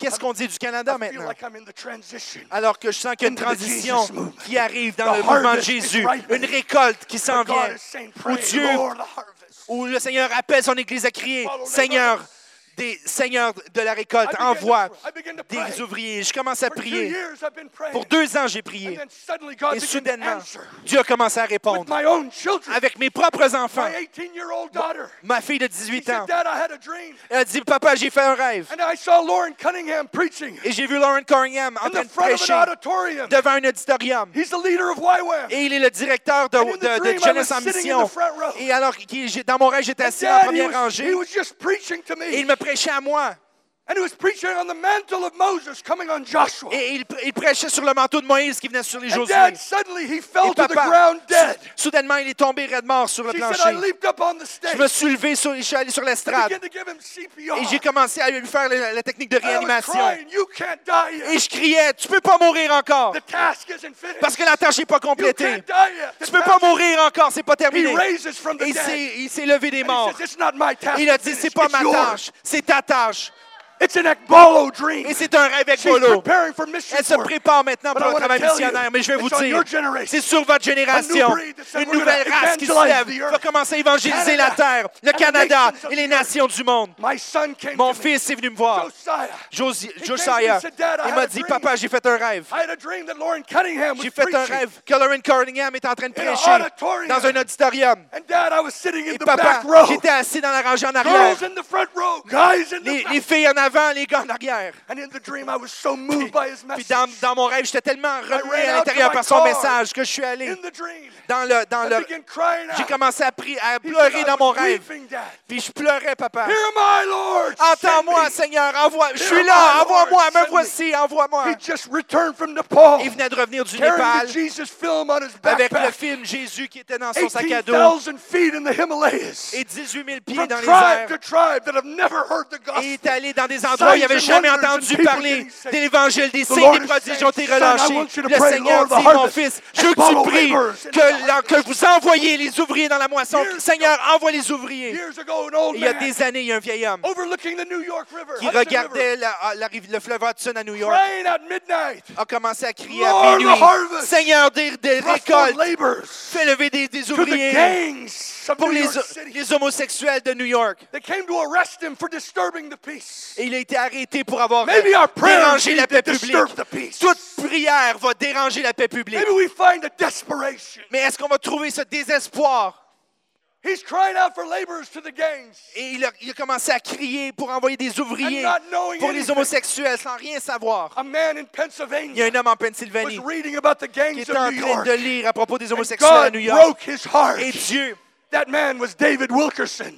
Qu'est-ce qu'on dit du Canada I feel maintenant? like I'm in the transition. Alors que je sens qu'il y a une Into the transition Jesus movement. qui arrive dans The le mouvement de harvest is Jésus. ripening. Une récolte qui s'en But God vient. is saying, Où pray, Dieu, Lord, the harvest. où le Seigneur appelle son Église à crier, Follow Seigneur, laborers. des Seigneurs de la récolte, I began to envoie pray. I began to pray. des ouvriers. Je commence à For two prier. years I've been praying. Pour deux ans, j'ai And prié. then suddenly God Et began to soudainement, answer Dieu a commencé à with répondre my own children. avec mes propres enfants. My eighteen-year-old daughter. Ma fille de She dix-huit said, ans, Dad, I had a dream. elle a dit, papa, j'ai fait un rêve. And I saw Lauren Cunningham preaching Et j'ai vu Lauren Corringham en in train the de front of prêcher an auditorium. devant un auditorium. He's the leader of Y WAM. Et il est le directeur de, And in the de- de dream, I Jeunesse was en sitting in the mission. front row. Et alors, qui- j'ai- dans mon rêve, j'étais And assis en Dad, he première was, rangée. he was just preaching to Et il me. me prêchait à moi. And he was preaching on the mantle of Moses coming on Joshua. Et il, il prêchait sur le manteau de Moïse qui venait sur les And Josué. Dad, suddenly he fell Et to the papa, ground dead. soudainement, il est tombé raide mort sur le She said, I plancher. leaped up on the Je me stage. suis levé, sur, je suis allé sur I l'estrade. began to give him C P R. Et j'ai commencé à lui faire la, la technique de And I was réanimation. crying, you can't die Et yet. je criais, tu peux pas mourir encore. The task isn't finished. Parce que la tâche n'est pas You complétée. can't die yet. The Tu peux pas task- mourir encore, c'est pas He terminé. raises from the Et il dead. s'est- il s'est levé des And morts. he says, it's not my task Il a to dit, finish, c'est pas it's ma yours. tâche, c'est ta tâche. It's an Ekbalo dream. Et c'est un rêve avec She's Bolo. preparing for mission Elle se work. prépare maintenant But pour I un wanna travail tell you, missionnaire. Mais je vais vous it's on your dire, generation. c'est sur votre génération. breed that said, Une we're nouvelle gonna race qui se evangelize lève the va earth. commencer à évangéliser la Canada terre, le and the Canada nations of et les the earth. nations du monde. My son came Mon to me, fils est venu me voir. Josiah. Josi- came to me Josiah, and said, "Dad, I il had m'a a dit, dream." papa, j'ai fait un rêve. I had a dream that Lauren Cunningham was J'ai fait un preaching. rêve que Lauren Corningham est en train de In an prêcher auditorium. dans un auditorium. And Dad, I was sitting in Et the papa, back row. j'étais assis dans la rangée en arrière. Girls in the front row, guys in the Les, back. les filles en avant, les gars en arrière. And in the dream, I was so moved by his Puis message. dans, dans mon rêve, j'étais tellement remué ran à out to l'intérieur my par son car. message que je suis allé In the dream, dans le... Dans I le began crying j'ai out. commencé à, prier, à He pleurer said, I dans mon was rêve. weeping, Dad. Puis je pleurais, papa. Here am I, Lord. Entends-moi, Send me. Seigneur, envoie. Je Here suis am là, I, envoie-moi, Lord, me send me. voici, envoie-moi. He just returned from Nepal, Il venait de revenir du carrying Népal the Jesus film on his avec le backpack. film Jésus qui était dans son sac à eighteen dos thousand feet in the Himalayas. et dix-huit mille pieds From dans les tribe airs. to tribe that have never heard the Et il gospel. est allé dans des endroits où il Signs n'avait and jamais wonders and entendu people parler getting saved. de l'Évangile. Des The signes, Lord des is prodiges saying, ont été "Son, I relâchés. want you to Le pray, Seigneur Lord, the dit, mon harvest fils, je and veux que follow tu pries laborers in the que, harvest." que vous envoyez les ouvriers dans la moisson. Years Seigneur, envoie les ouvriers. Years ago, an old Il y a man des années, il y a un vieil homme overlooking the New York River, qui Hudson regardait River, la- la rive- le fleuve Hudson à New York, praying at midnight. a commencé à crier Lord, à the minuit, harvest. Seigneur, des, des Thrust more récoltes, laborers fais lever des, des to the ouvriers gangs of pour New les, York City. les homosexuels de New York. They came to arrest him for disturbing the peace. Et il a été arrêté pour avoir Maybe our prayers dérangé la need paix to publique. disturb the peace. Toute prière va déranger la paix publique. Maybe we find a desperation. Mais est-ce qu'on va trouver ce désespoir? He's crying out for laborers to the gangs. Et il a, il a commencé à crier pour envoyer des ouvriers And not knowing pour les anything. homosexuels sans rien savoir. A man in Il y a Pennsylvania un homme en was Pennsylvanie reading about the qui gangs était of en New train York. de lire à propos des And homosexuels à God New York. broke his heart. Et Dieu, That man was David Wilkerson.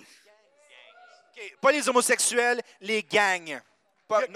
ok, pas les homosexuels, les gangs. Pas- Yeah. non,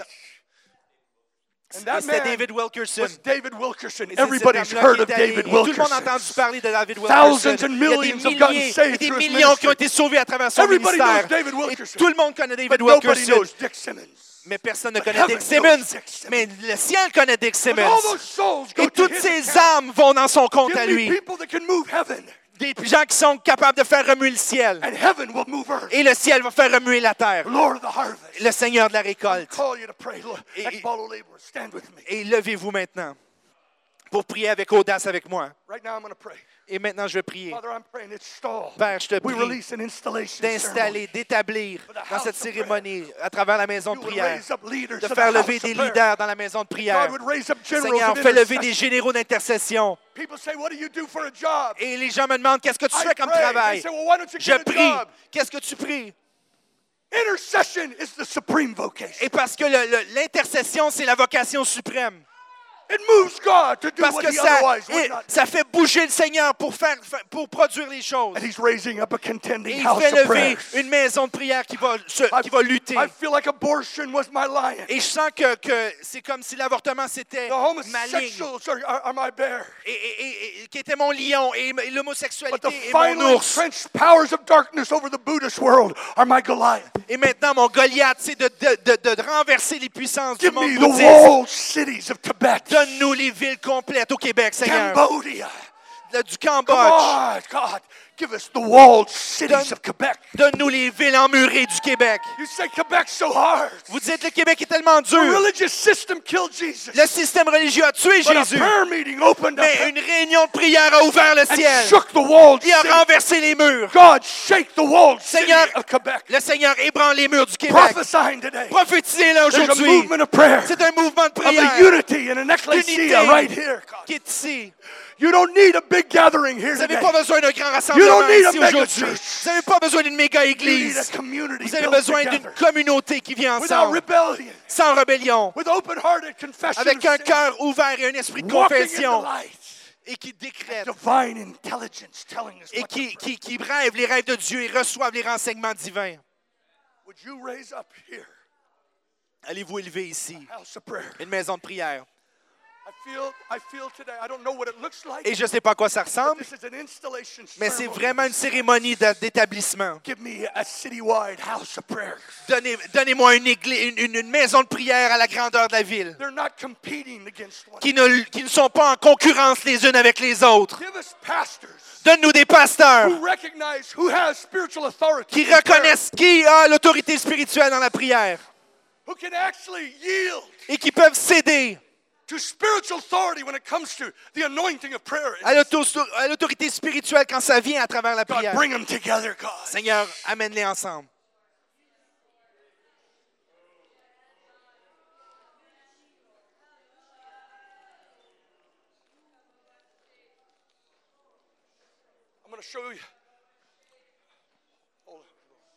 And that C'était man David Wilkerson. was David Wilkerson. Et c'est cet Everybody's homme-là heard qui of est allé, David et tout le monde a Wilkerson. entendu parler de David Thousands Wilkerson. and Il y a des millions have gotten milliers saved et des through his millions qui ont ministry. été sauvés à travers son Everybody knows ministère. David Et Wilkerson. tout le monde connaît David But nobody Wilkerson. knows Dick Simmons. Mais personne ne But connaît heaven Dick knows Simmons. Dick Simmons. Mais le ciel connaît Dick And Simmons. all those souls go Et to toutes his ces account. âmes vont dans son compte Give à me lui. people that can move heaven, Des gens qui sont capables de faire remuer le ciel. and heaven will move earth. Et le ciel va faire remuer la terre. Lord of the harvest. Le Seigneur de la récolte. Call you to pray. Lord, Et- Ekbalo laborers, stand with me. Et levez-vous maintenant pour prier avec audace avec moi. Right now, I'm going to pray. Et maintenant, je vais prier. Father, I'm praying. It's stalled. Père, je te We prie release an installation d'installer, ceremony. d'établir dans cette cérémonie, à travers la maison de You would prière, raise up leaders de of the faire house lever of des prayer. leaders dans la maison de prière. God would raise up generals Seigneur, of fais lever des intercession. généraux d'intercession. People say, what do you do for a job? Et les gens me demandent, qu'est-ce que tu I fais comme pray. travail? They say, well, why don't you Je get a prie. job? Qu'est-ce que tu pries? Intercession is the supreme vocation. Et parce que le- le- l'intercession, c'est la vocation suprême. It moves God to do Parce what que he ça, otherwise would et- not. ça fait bouger le Seigneur pour, faire, pour produire les choses. And he's raising up a Et contending il house fait of lever prayers. une maison de prière qui va, se- I- qui va lutter. I feel like abortion was my lion. Et je sens que, que c'est comme si l'avortement, c'était The ma ligne. homosexuals are, are, are my bear. Et, et- et- et- qui était mon lion. Et, et But l'homosexualité the est mon finally ours. entrenched powers of darkness over the Buddhist world are my Goliath. Et maintenant, mon Goliath, c'est de, de, de, de renverser les puissances du Give monde me the bouddhiste. walled cities of Tibet, Donne-nous les villes complètes au Québec, Seigneur. Cambodia, de- du Come Cambodge. on, God, give us the walled cities Donne- of Quebec. Donne-nous les villes emmurées du Québec. You say Quebec's so hard. Vous dites le Québec est tellement The dur. religious system killed Jesus. Le système religieux a tué But a Jésus. prayer meeting opened up Mais une réunion de prière a ouvert le and ciel. shook the walled Il a city. renversé les murs. God, shake the walled city Seigneur, of Quebec. le Seigneur ébranle les murs du Québec. Prophesying today. Prophétisez-le There's a aujourd'hui. movement of prayer, C'est un mouvement de of the prière unity in an ecclesia Unité. right here. God. qui est ici. You don't need a big gathering here Vous n'avez today. pas besoin d'un grand You rassemblement don't need a ici mega aujourd'hui. church. Vous n'avez pas besoin d'une méga You need a église. community Vous avez built besoin d'une together communauté qui vient without ensemble, rebellion, sans rébellion, with open-hearted confession avec of un sin, cœur ouvert et un esprit de walking in the confession, light, et qui décrète, divine intelligence telling us et what to qui, pray. qui, qui rêvent les rêves de Dieu et reçoivent les renseignements divins. Would you raise up here Allez-vous élever ici a house of prayer? une maison de prière. I feel, I feel today, I don't know what it looks like, Et je ne sais pas à quoi ça but ressemble, this is an installation mais c'est ceremony. vraiment une cérémonie de- d'établissement. Give me a citywide house of prayer. Donnez, donnez-moi une, église, une, une- une maison de prière à la grandeur de la ville, They're not competing against one qui ne, qui ne sont pas en concurrence les unes avec les autres. another. Give us pastors Donne-nous des pasteurs who recognize who has spiritual authority, qui in prayer, reconnaissent qui a l'autorité spirituelle dans la prière who can actually yield et qui peuvent céder to spiritual authority when it comes to the anointing of prayer. à l'auto- à l'autorité spirituelle quand ça vient à travers la God, prière. bring them together, God. Seigneur, amène-les ensemble. I'm going to show you. Hold on.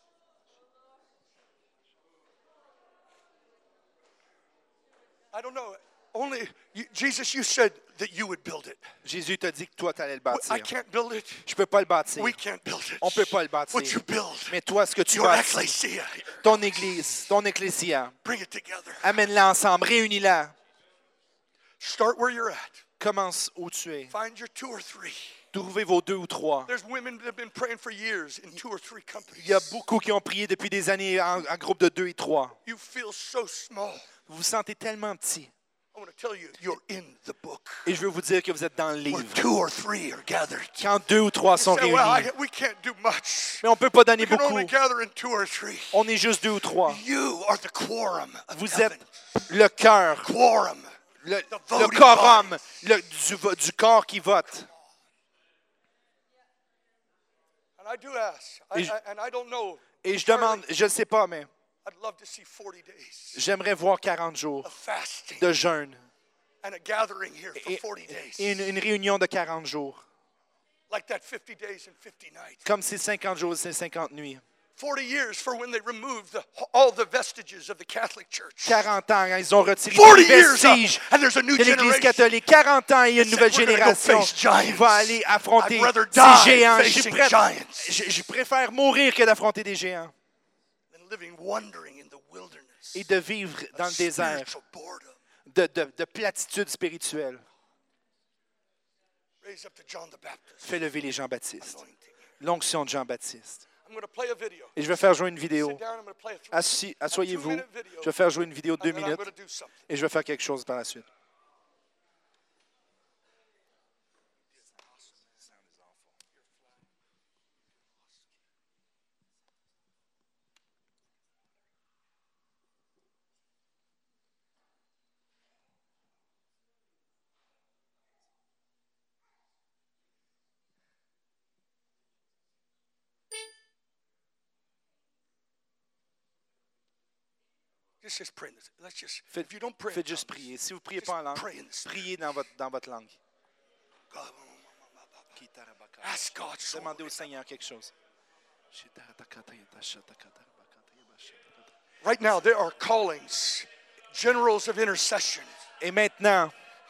I don't know. Only you, Jesus, you said that you would build it. Jésus t'a dit que toi, tu allais le I bâtir. can't build it. Je ne peux pas le bâtir. We can't build it. On ne peut pas le bâtir. What you build, Mais toi, ce que tu your bâtis, ecclesia here, ton église, ton ecclésia, bring it together. amène-la ensemble, réunis-la. Start where you're at. Commence où tu es. Find your two or three. Trouvez vos deux ou trois. There's women that have been praying for years in two or three companies. Il y a beaucoup qui ont prié depuis des années en, en groupe de deux et trois. You feel so small. Vous vous sentez tellement petit. I want to tell you, you're in the book. Et je veux vous dire que vous êtes dans le Where livre. two or three are gathered. Quand deux ou trois sont Say, well, I, réunis. we can't do much. Mais on ne peut pas donner We can beaucoup. only gather in two or three. On est juste deux ou trois. You are the quorum of Vous heaven. êtes le cœur, Quorum. le, The le voting quorum body. le- du, vo- du corps qui vote. And I do ask, I, Et je- I, and I don't know. Et je demande, je ne sais pas, mais I'd love to see forty days j'aimerais voir quarante jours of fasting de jeûne and a gathering here for et, forty days. et une, une réunion de quarante jours. Like that fifty days and fifty nights. Comme ces cinquante jours et ces cinquante nuits. forty years for when they removed the, all the vestiges of the Catholic Church. quarante ans, hein, ils ont retiré forty tous les years up, vestiges and there's a new de l'Église generation. catholique. quarante ans, il y a une They nouvelle said, "We're gonna go génération face qui giants. va aller affronter I'd rather ces die géants. Je, facing pré- giants je- je préfère mourir que d'affronter des géants than living wandering in the wilderness et de vivre dans le of désert spiritual boredom." de, de, de platitude spirituelle. Raise up to John the Baptist. Fais lever les Jean-Baptiste. Anointing. L'onction de Jean-Baptiste. I'm going to play a video. Et je vais faire jouer une vidéo. Sit down, I'm going to play a three- Assis, a asseyez-vous. two-minute video, Je vais faire jouer une vidéo de and deux then I'm minutes going to do something. et je vais faire quelque chose par la suite. Just, just pray in this. Let's just. Faites, if you don't pray, in faites juste tongues, prier. Si vous ne priez just pas en langue, pray in the spirit. priez dans votre, dans votre langue. God, Ask God. so Demandez au Seigneur quelque chose. Right now, there are callings, generals of intercession. Et maintenant,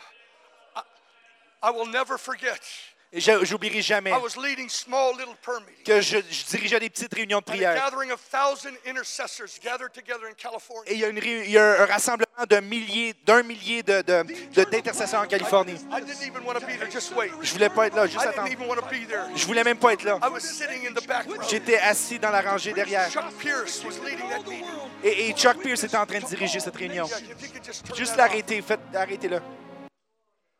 I will never forget. et je j'oublierai jamais I was leading small little prayer meetings. que je, je dirigeais des petites réunions de And a prière. gathering of thousand intercessors gathered together in Et California. il y a, une ré- il y a un rassemblement d'un millier, d'un millier de, de, de- d'intercesseurs en Californie. I didn't even want to be there. Just wait. Je voulais pas être là, juste I didn't attendre. even want to be there. Je voulais même pas être là. I was sitting in the back row. J'étais assis dans la rangée derrière. Chuck Pierce was leading that meeting. Et, et Chuck Pierce était en train de diriger cette réunion. Yeah, if you could just turn Juste that off. l'arrêter, faites, arrêtez-le.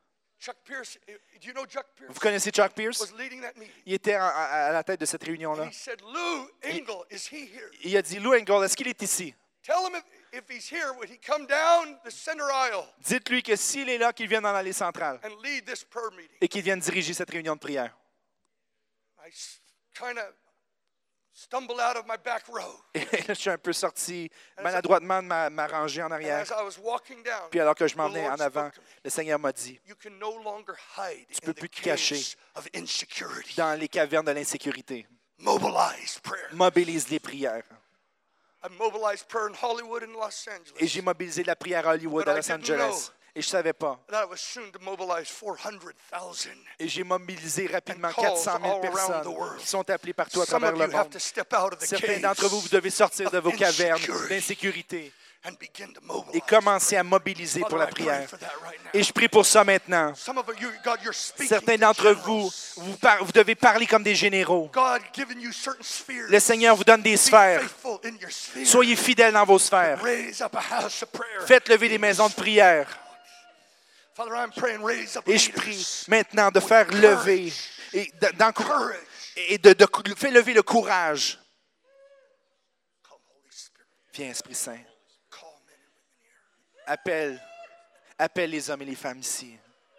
Chuck Pierce, do you know Chuck Pierce? Vous connaissez Chuck Pierce? Was leading that meeting. Il était à, à- à la tête de cette réunion-là. And he said, Lou Engle, is he here? Il a dit, Lou Engle, est-ce qu'il est ici? Tell him if, if he's here, would he come down the center aisle Dites-lui que s'il est là, qu'il vienne dans l'allée centrale and lead this prayer meeting? et qu'il vienne diriger cette réunion de prière. I kind of stumbled out of my back row. Et là, je suis un peu sorti maladroitement de ma, ma rangée en And arrière. as I was walking down, Puis alors que je m'en the venais Lord en avant, spoke to me. le Seigneur m'a dit, You can no longer hide Tu in peux the plus te cacher caves of insecurity. dans les cavernes de l'insécurité. Mobilize prayer. Mobilise les prières. I mobilized prayer in Hollywood and Los Et Angeles. j'ai mobilisé la prière à Hollywood, But à I Los didn't Angeles. know. Et je ne savais pas. That I was soon to mobilize four hundred thousand. Et j'ai mobilisé rapidement And calls quatre cent mille all around personnes the world. qui sont appelées partout à Some travers of le you have monde. to step out of the Certains caves d'entre vous, vous devez sortir de of vos cavernes insecurity d'insécurité and begin to mobilize. et commencer à mobiliser pour Father, la I pray prière. for that right now. Et je prie pour ça maintenant. Some of you, God, you're speaking Certains to d'entre generals. vous, vous, par- vous devez parler comme des généraux. God given you certain spheres. Le Seigneur vous donne des Be sphères. faithful in your sphere. Soyez fidèles dans vos sphères. Raise up a house of prayer. Faites lever des maisons de prière. Father, I'm praying, raise up Et je leaders. prie maintenant de faire lever et de- d'encourager et de, de, de faire lever le courage. Come, Holy Spirit. Viens, Esprit Saint. Call men and women here. Appelle, appelle les hommes et les femmes ici.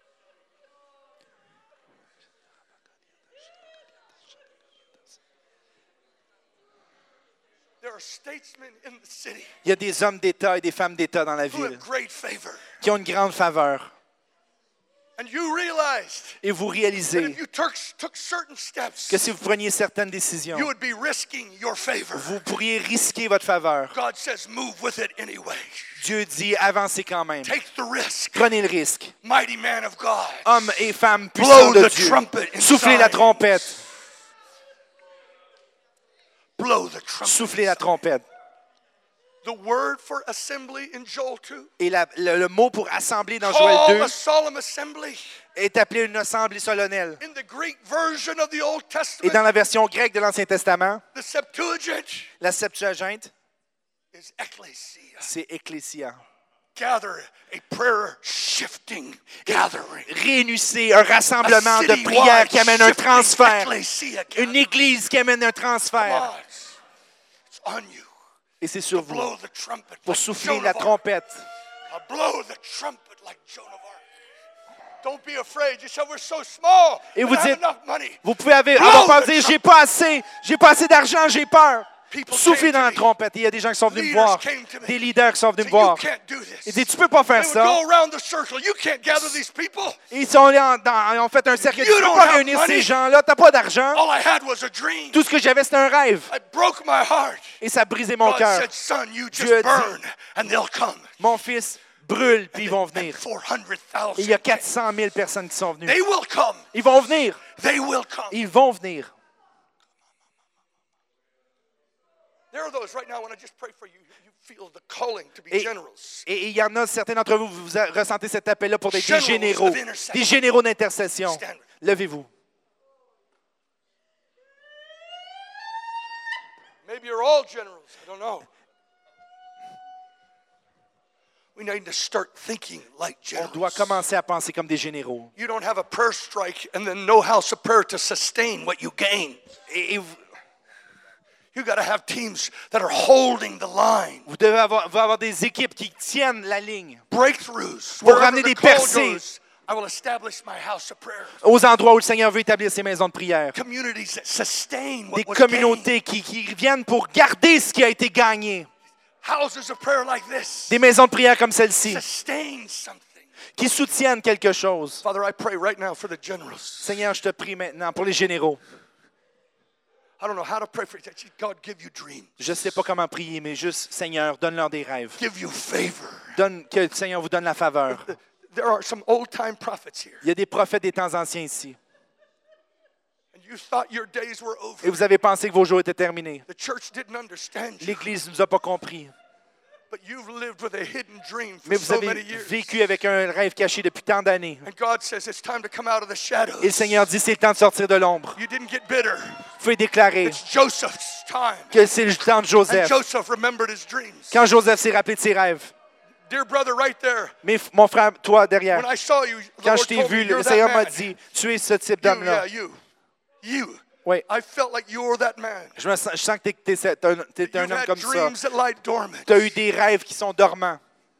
There are statesmen in the city Il y a des hommes d'État et des femmes d'État dans la who have ville great favor. qui ont une grande faveur. And you realized Et vous that réalisez if you took, took certain steps, que si vous preniez certaines décisions, you would be risking your favor. vous pourriez risquer votre faveur. God says, move with it anyway. Dieu dit, avancez quand même. Take the risk. Prenez le risque. Mighty man of God. Hommes et femmes puissants Blow de the Dieu, trumpet inside. soufflez la trompette. Blow the trumpet. Soufflez la trompette. The word for assembly in Joel two. Et la- le, le mot pour assembler dans Joël Call deux a solemn assembly. est appelé une assemblée solennelle. In the Greek version of the Old Et Testament, dans la version grecque de l'Ancien Testament, the Septuagint la Septuaginte, is ecclesia. c'est ecclésia. Gather a prayer shifting gathering. Réunissez un rassemblement A de citywide prières qui amène un shifting transfert. ecclesia Une gathering. église qui amène un Come transfert. on. It's on you. Et c'est sur vous Blow the trumpet pour like souffler Joan la of Arc. trompette. Uh, Blow the trumpet like Joan of Arc. Don't be afraid. You say we're so small. Et we vous don't have dites- enough money. Vous pouvez avoir, Blow avoir pas the dire trumpet. j'ai pas assez, j'ai pas assez d'argent, j'ai peur. People Soufflez came dans to la me. trompette. Et il y a des gens qui sont venus me Leaders voir. came to me. Des leaders qui sont venus Say, me voir. you can't do this. Ils disent tu peux pas faire They would ça. go around the circle. You can't gather these people. Ils sont allés en, dans, ils ont fait un cercle. You Tu peux don't pas have réunir money. ces gens-là. T'as pas d'argent. All I had was a dream. Tout ce que j'avais c'était un rêve. It broke my heart. Et ça a brisé mon God cœur. said, son, you just Dieu a dit- burn and they'll come. Mon fils brûle puis ils vont And venir. four hundred thousand. Et il y a quatre cent mille personnes qui sont venues. They will come. Ils vont venir. They will come. Ils vont venir. There are those right now when I just pray for you, you feel the calling to be Et generals. et- et il y en a certains d'entre vous, vous a- ressentez cet appel-là pour être des Generals généraux. of intercession. Des généraux d'intercession. Stand. Levez-vous. Maybe you're all generals. I don't know. We need to start thinking like On doit generals. commencer à penser comme des généraux. You don't have a prayer strike and then no house of prayer to sustain what you gain. Et, et vous, You got to have teams that are holding the line. vous devez avoir, vous avoir des équipes qui tiennent la ligne Breakthroughs. Pour Wherever ramener the des call percées. goes, I will establish my house of prayer. aux endroits où le Seigneur veut établir ses maisons de prière. Communities that sustain what Des was gained. communautés qui, qui viennent pour garder ce qui a été gagné. Houses of prayer like this Des maisons de prière comme celle-ci sustain something. qui soutiennent quelque chose. Father, I pray right now for the generals. Seigneur, je te prie maintenant pour les généraux. I don't know how to pray for you. God, give you dreams. Je ne sais pas comment prier, mais juste, Seigneur, donne-leur des rêves. Give you favor. Donne, que le Seigneur vous donne la faveur. There are some old-time prophets here. Il y a des prophètes des temps anciens ici. And you thought your days were over. Et vous avez pensé que vos jours étaient terminés. The church didn't understand you. L'Église ne nous a pas compris. But you've lived with a hidden dream for Mais vous so avez many years. vécu avec un rêve caché depuis tant d'années. And God says it's time to come out of the shadows. Et le Seigneur dit, c'est le temps de sortir de l'ombre. You didn't get bitter. Vous pouvez déclarer It's Joseph's time. que c'est le temps de And Joseph. Joseph remembered his dreams. Quand Joseph s'est rappelé de ses rêves, dear brother right there, Mais f- mon frère, toi derrière, when I saw you, the quand je Lord t'ai told me, vu, you're le that Seigneur m'a man. dit, tu es ce type You, d'homme-là. yeah, you. You. Oui. I felt like you were that man. Je, me sens, je sens que tu es un, t'es un You've homme had comme ça. dreams that lie dormant. Tu as eu des rêves qui sont dormants.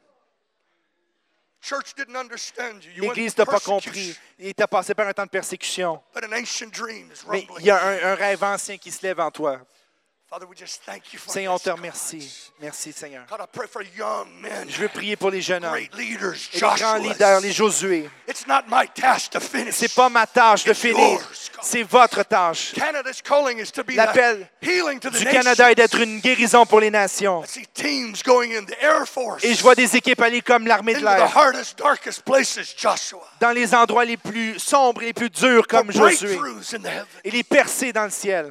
Church didn't understand you. You went L'Église through t'a pas compris. persecution, Il t'a passé par un temps de persécution. but an ancient dream is Mais rumbling. il y a un, un rêve ancien qui se lève en toi. Father, we just thank you for Seigneur, on this, te God. remercie. Merci, Seigneur. God, I pray for young men, Je veux prier pour les jeunes hommes, great leaders, et les grands Joshuas. leaders, les Josué. It's not my task to finish. C'est pas ma tâche de It's finir. yours, God. C'est votre tâche. Canada's calling is to be L'appel the healing to the du nations. Canada est d'être une guérison pour les nations. I see teams going in the Air Force, Et je vois des équipes aller comme l'armée de into the l'air, hardest, darkest places, Joshua. dans les endroits les plus sombres et les plus durs comme For Josué, breakthroughs in the heavens. et les percer dans le ciel.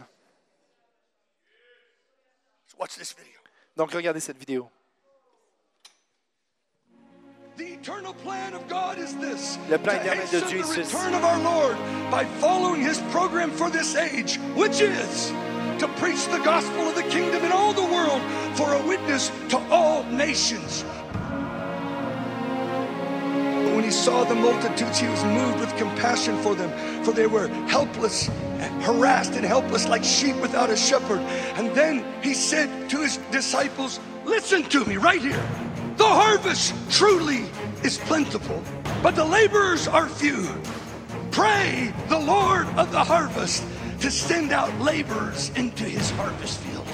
So watch this video. Donc regardez cette vidéo. The eternal plan of God is this. Le plan to éternel de hasten Dieu est the ceci. return of our Lord by following His program for this age, which is to preach the gospel of the kingdom in all the world for a witness to all nations. But when He saw the multitudes, He was moved with compassion for them, for they were helpless, harassed and helpless like sheep without a shepherd. And then He said to His disciples, listen to me right here. The harvest truly is plentiful, but the laborers are few. Pray the Lord of the harvest to send out laborers into His harvest field.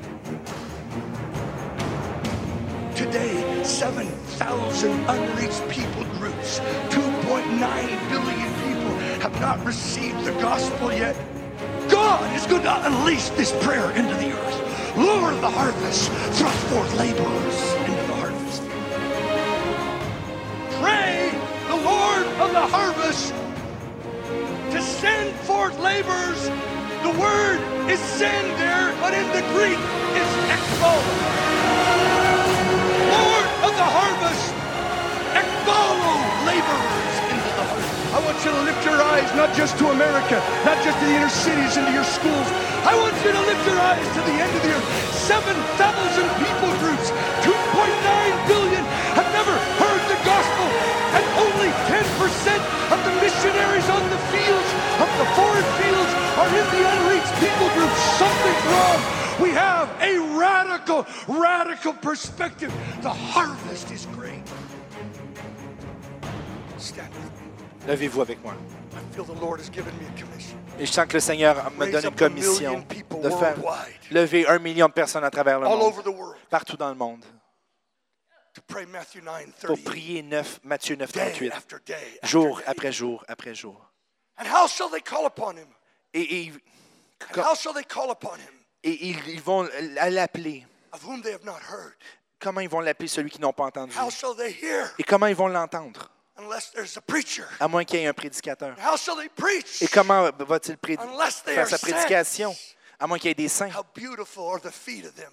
Today, seven thousand unreached people groups, two point nine billion people have not received the gospel yet. God is going to unleash this prayer into the earth. Lord of the harvest, thrust forth laborers into the harvest. Pray the Lord of the harvest to send forth laborers. The word is send there, but in the Greek it's ekbo. Lord of the harvest, ekbalo laborers into the harvest. I want you to lift your eyes not just to America, not just to the inner cities, into your schools. I want you to lift your eyes to the end of the earth. seven thousand people groups, two point nine billion have never heard the gospel, and only ten percent of the missionaries on the fields, of the foreign fields, are in the unreached people groups. Something's wrong. We have a radical, radical perspective. The harvest is great. Stand with me. Levez-vous avec moi. I feel the Lord has given me a commission. Et je sens que le Seigneur me donne une commission de faire lever un million de personnes à travers le All monde, over the world partout dans le monde, to pray Matthew nine pour thirty prier neuf, Matthieu neuf, day trente-huit, after day after jour day. après jour après jour. And how shall they call upon him? Et, et, And how shall they call upon him et ils, ils vont l'appeler. of whom they have not heard? Comment ils vont l'appeler celui qu'ils n'ont pas entendu? How shall they hear Et comment ils vont l'entendre? unless there's a preacher? À moins qu'il y ait un prédicateur. How shall they preach Et comment va-t-il prédi- unless they faire are sa prédication? sent? À moins qu'il y ait des saints. How beautiful are the feet of them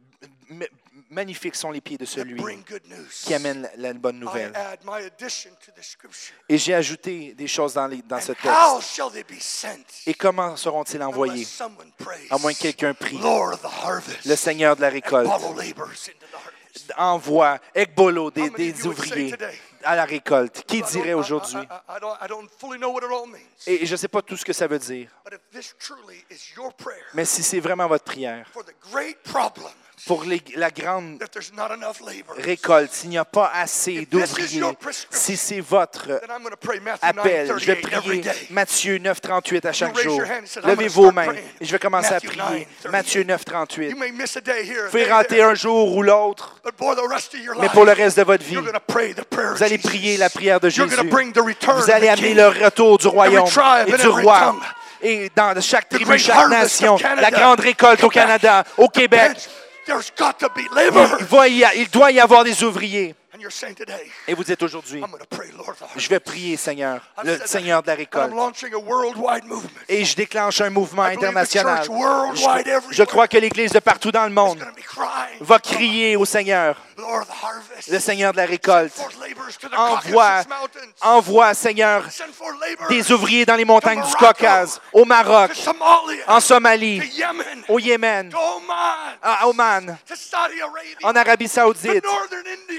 M- magnifiques sont les pieds de that celui bring good news. qui amène la, la bonne I nouvelle. add my addition to the scripture. Et j'ai ajouté des choses dans, les- dans ce And how texte. shall they be sent Et comment seront-ils envoyés? unless someone prays? À moins que quelqu'un prie. Lord of the harvest, Le Seigneur de la and récolte follow laborers into the harvest. envoie Ekbolo, des, How many of des you would say ouvriers today? à la récolte. Qui I don't- dirait I- aujourd'hui? I, I, I don't, I don't fully know what it all means. Et je ne sais pas tout ce que ça veut dire. But if this truly is your prayer Mais si c'est vraiment votre prière, for the great problem pour les- la grande that there's not enough laborers, récolte, s'il n'y a pas assez If this is d'ouvriers, your prescription, si c'est votre then I'm going to pray Matthew appel, nine je vais thirty-eight every prier day. Matthieu neuf, trente-huit à chaque raise jour. your hand and say, I'm gonna Levez vos start mains praying. et je vais commencer Matthew à prier. nine thirty-eight. Matthieu neuf, trente-huit. You may miss a day here, Vous a pouvez day rater there, un jour ou l'autre, but for the rest of your mais life, pour le reste de votre vie, you're going to pray the prayer of vous allez Jesus. prier la prière de You're Jésus. going to bring the return Vous allez of the amener King. le retour du royaume tribe et and du every roi. tongue. Et dans chaque The tribu, great chaque harvest nation, of Canada, la grande récolte au Quebec, Canada, au Québec, There's got to be il, laborers. va y a- il doit y avoir des ouvriers. And you're saying today, Et vous dites aujourd'hui, I'm going to pray, Lord, the je vais prier, Seigneur, I've le said that, Seigneur de la and I'm récolte. launching a worldwide movement. Et je déclenche un mouvement I believe the international. church worldwide Je, everywhere je crois que l'Église de partout dans le It's monde going to be crying, va crier au Seigneur, Lord, the harvest. le Seigneur de la Send récolte. forth laborers to the Envoie, Caucasus Mountains. envoie, Seigneur, Send forth laborers des ouvriers dans les montagnes du Morocco, Caucase, au Maroc, to Somalia, en Somalie, to Yemen, au Yémen, to Oman, à Oman, to Saudi Arabia, en Arabie to Saoudite, Northern India,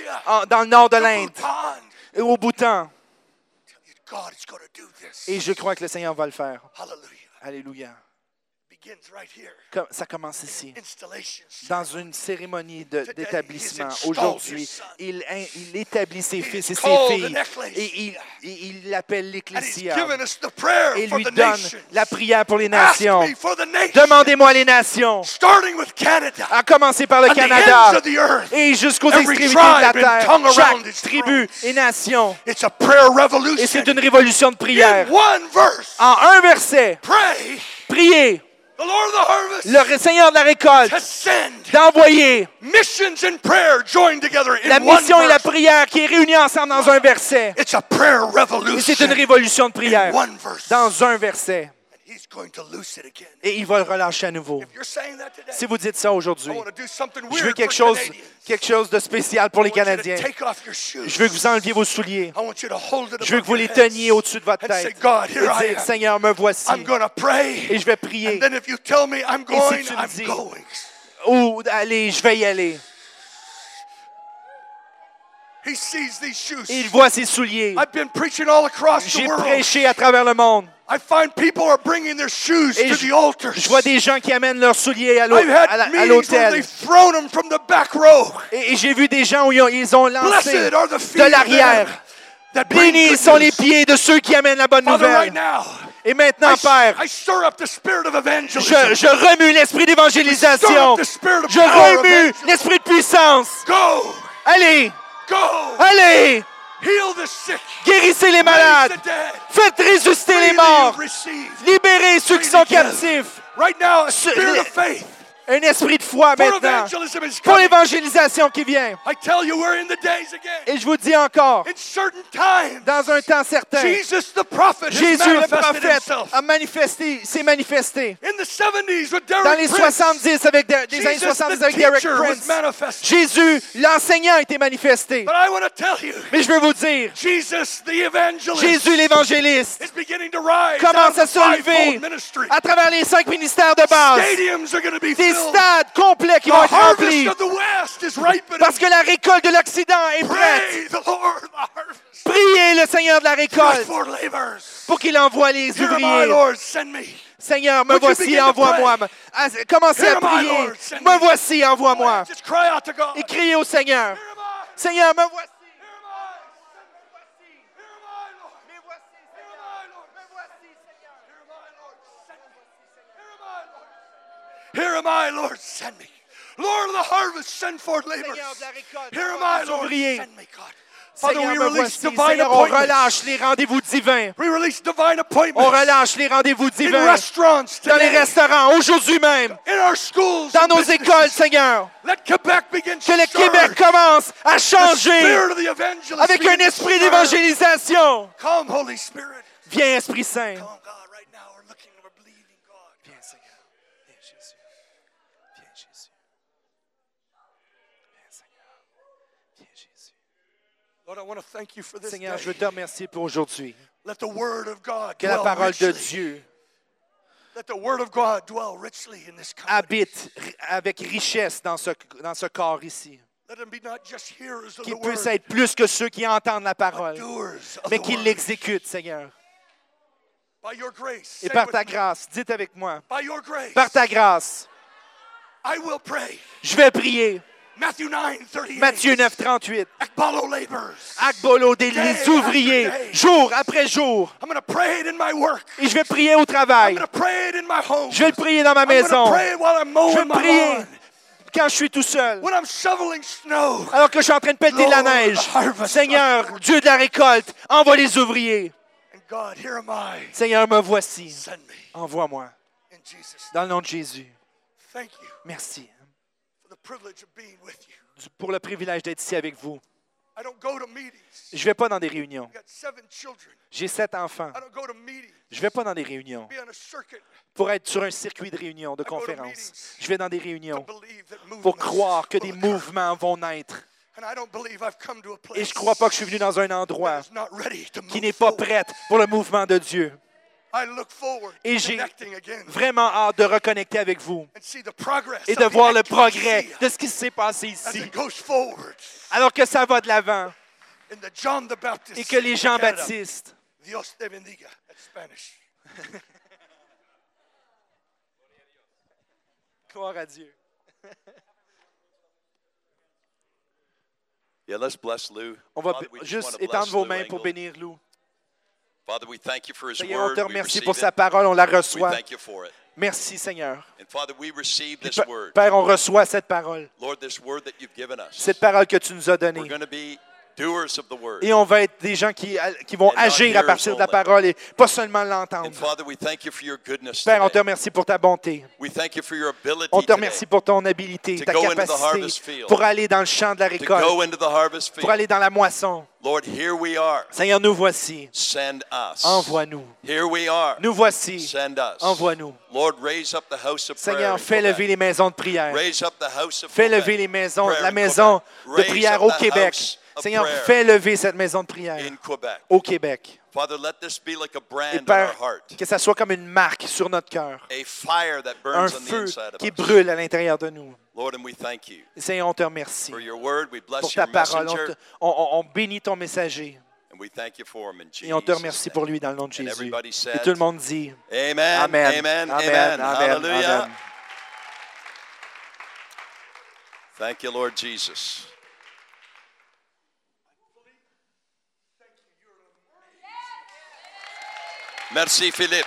India, en- dans le nord de to l'Inde, Bhutan. et au Bhoutan. God is going to do this. Et je crois que le Seigneur va le faire. Hallelujah. Alléluia. Begins right here. Comme- Ça commence ici. Installation. Dans une cérémonie de- Today, d'établissement, he's installed aujourd'hui, his son. il, in- il établit ses fils et ses called filles an ecclesia. et il, et il l'appelle And he's l'Ecclésia given us the prayer et for lui the donne nations. la prière pour les Ask nations. me for the nations. Demandez-moi les nations, Starting with Canada. à commencer par le And the Canada ends of the earth. et jusqu'aux Every extrémités de la tribe and terre, tongue around chaque his tribu throne. et nation. It's a prayer Et revolution. c'est une révolution de prière. In one verse. En un verset, Pray. priez The Lord of the harvest. le Seigneur de la récolte To send d'envoyer missions and prayer joined together in la one mission et la verse. prière qui est réunie ensemble dans un verset. It's a prayer Et revolution. c'est une révolution de prière in one verse. dans un verset. And he's going to loose it again. Et il va le relâcher à nouveau. If you're saying that today, Si vous dites ça aujourd'hui, I want to do something je veux weird quelque for chose, Canadians. quelque chose de spécial pour les I want you to Canadiens. take off your shoes. Je veux que vous enleviez vos souliers. I want you to hold it Je veux above que vous your les heads teniez au-dessus de votre and say, tête. God, Et here I dire, am. Seigneur, me voici. I'm going to pray. Et je vais And prier. then if you tell me I'm si going, tu me I'm dis- going. Ou allez, je vais y aller. He sees these shoes. Et il voit ses souliers. I've been preaching all across the J'ai world. prêché à travers le monde. I find people are bringing their shoes Et to je, the altars. je vois des gens qui amènent leurs souliers à l'hô- I've had à la- à meetings where l'hôtel. they've thrown them from the back row. Et, et j'ai vu des gens où ils ont, ils ont lancé Blessed are the feet de of l'arrière. them that bring Bénis good sont les news. pieds de ceux qui amènent la bonne Father, right nouvelle. now, Et maintenant, I, Père, I stir up the spirit of evangelism. je, je remue l'esprit d'évangélisation. The spirit of Je power remue evangelism. l'esprit de puissance. Go, Allez, go, allez, heal the sick, guérissez les raise malades. the dead. Faites ressusciter les Freely morts. you receive. Libérez ceux qui sont Freely give. captifs. Right now, a Ce- spirit les- of faith Un esprit de foi for maintenant. evangelism is Pour coming. l'évangélisation qui vient. I tell you, we're in the days again. Et je vous dis encore, In certain times, dans un temps certain, Jesus the prophet has Jésus le manifested prophète himself. a manifesté, s'est manifesté. In the seventies with Dans Derek les Prince, soixante-dix, avec des, des années Jesus soixante-dix the avec Derek teacher was Prince. manifested. Jésus, l'enseignant, a été manifesté. But I want to tell you, Mais je veux vous dire, Jesus the evangelist Jésus l'évangéliste is beginning to rise commence out à of se the lever fivefold ministry. à travers les cinq ministères de base. Stadiums are going to be Des filled. stades complets qui The vont être harvest remplis. of the West is ripening. Parce que la récolte de l'Occident est prête. Pray the Lord the harvest. Priez le Seigneur de la Look récolte for laborers. pour qu'il envoie les Here, my ouvriers. Lord, send me. Seigneur, me Would you voici, begin to envoie-moi. Ah, Commencez Here, à my prier. Lord, send Me me. voici, envoie-moi. Just cry out to God. Et criez au Seigneur. Here am I. Seigneur, me voici. Here am I. Here am I, Lord. Me voici, Here am I, Lord. Me voici, Seigneur. Here am I, Lord. Send me. Here am I, Lord. Here am I, Lord. Send me. Lord of the harvest, send forth laborers. Seigneur de la récolte, Here am envoie I, des Lord. ouvriers. Send me, God. Father, Seigneur, we me release voici. divine Seigneur, on appointments. relâche les rendez-vous divins. We release divine appointments. On relâche les rendez-vous in divins restaurants dans les today. restaurants, aujourd'hui même, In our schools. dans and nos businesses. écoles, Seigneur. Let Quebec begin Que le to Québec surge. commence à The changer spirit of the evangelist avec begin un to esprit surge. d'évangélisation. Come, Holy Spirit. Viens, Esprit Saint. Come, God, right now we're looking, we're believing, God. Viens, Seigneur. Viens, Jésus. Viens, Jésus. Viens, Seigneur. Viens, Jésus. Lord, I want to thank you for this Seigneur, day. je veux te remercier pour aujourd'hui. Let the word of God Que la dwell parole de richly. Dieu Let the word of God dwell richly in this company. habite ri- avec richesse dans ce, dans ce corps ici. Let them be not just hearers of the Qu'il word, puisse être plus que ceux qui entendent la parole, doers of mais the qu'ils word. l'exécutent, Seigneur. By your grace, Et say par with ta me, grâce, dites avec moi, by your grace, par ta grâce, I will pray. je vais prier. Matthew nine thirty-eight. Matthieu neuf, trente-huit. Akbalo laborers. Akbolo, des Day les ouvriers, after day. jour après jour. I'm going to pray it in my work. Et je vais prier au I'm travail. going to pray it in my home. Je vais le prier dans ma I'm going maison. to pray it while I'm Je mowing vais my prier lawn. quand je suis tout seul. When I'm shoveling snow. Alors que je suis en train de pelleter de la Lord, neige. the harvest. Seigneur, Dieu de la récolte, envoie les ouvriers. And God, here am I. Seigneur, me voici. Send me. Envoie-moi. In Jesus' name. Dans le nom de Jésus. Thank you Merci for the privilege of being with you. pour le privilège d'être ici avec vous. I don't go to meetings. Je ne vais pas dans des réunions. I got seven children. J'ai sept enfants. I don't go to meetings. Je ne vais pas dans des réunions Be on a circuit. pour être sur un circuit de réunions, de go to conférences. meetings Je vais dans des To réunions believe that movements pour croire que des will occur. mouvements vont naître. And I don't believe I've come to a place Et je ne crois pas que je suis venu dans un endroit that is not ready to qui move n'est pas forward. prêt pour le mouvement de Dieu. I look forward Et to j'ai connecting again vraiment hâte de reconnecter avec vous and see the progress et of de the voir le progrès ecclesia de ce qui s'est passé as ici. it goes forward Alors que ça va de l'avant in the John the Baptist et que les City of Canada. Jean-Baptistes, Dios te bendiga. That's Spanish. gloire à Dieu. Yeah, let's bless Lou. On va Father, we just juste want to étendre bless vos Lou mains pour Engle. bénir Lou. Father, we thank you for his Seigneur, on word. te We remercie receive pour sa it. parole, on la We reçoit. thank you for it. Merci, Seigneur. And Father, we receive this P- word. Père, on reçoit cette parole, Lord, this word that you've given us. cette parole que tu nous as We're donnée. going to be doers of the word. Et on va être des gens qui, qui vont And not agir à hearers partir de la only. parole et pas seulement l'entendre. And Father, we thank you for your goodness Père, on te today. remercie pour ta bonté. We thank you for your ability On te today remercie pour ton habilité, to ta go into the harvest capacité field. pour aller dans le champ de la to récolte, go into the harvest pour field. aller dans la moisson. Lord, here we are. Seigneur, nous voici. Send us. Envoie-nous. Here we are. Nous voici. Send us. Envoie-nous. Lord, raise up the house of prayer. Seigneur, in fais Quebec. lever les maisons de prière. Raise up the house of Fais Quebec. lever les maisons, Prayer la in maison Quebec. de Raise prière up au the Québec. house of Seigneur, prayer fais lever cette maison de prière in Quebec. au Québec. Father, let this be like a Et brand on our Père, heart. que ça soit comme une marque sur notre cœur. A fire that Un burns on the feu inside of qui us. brûle à l'intérieur de nous. Lord, and we thank you Et Seigneur, on te remercie for your word. We pour bless ta your parole. On, messenger. te- on- on- on bénit ton messager. And we thank you for him in Jesus' Et on te remercie pour name. lui dans le nom de And Jésus. everybody Et said, tout le monde dit Amen, Amen. amen, amen, Amen. Amen. Hallelujah. Amen. Thank you, Lord Jesus. Merci, Philippe.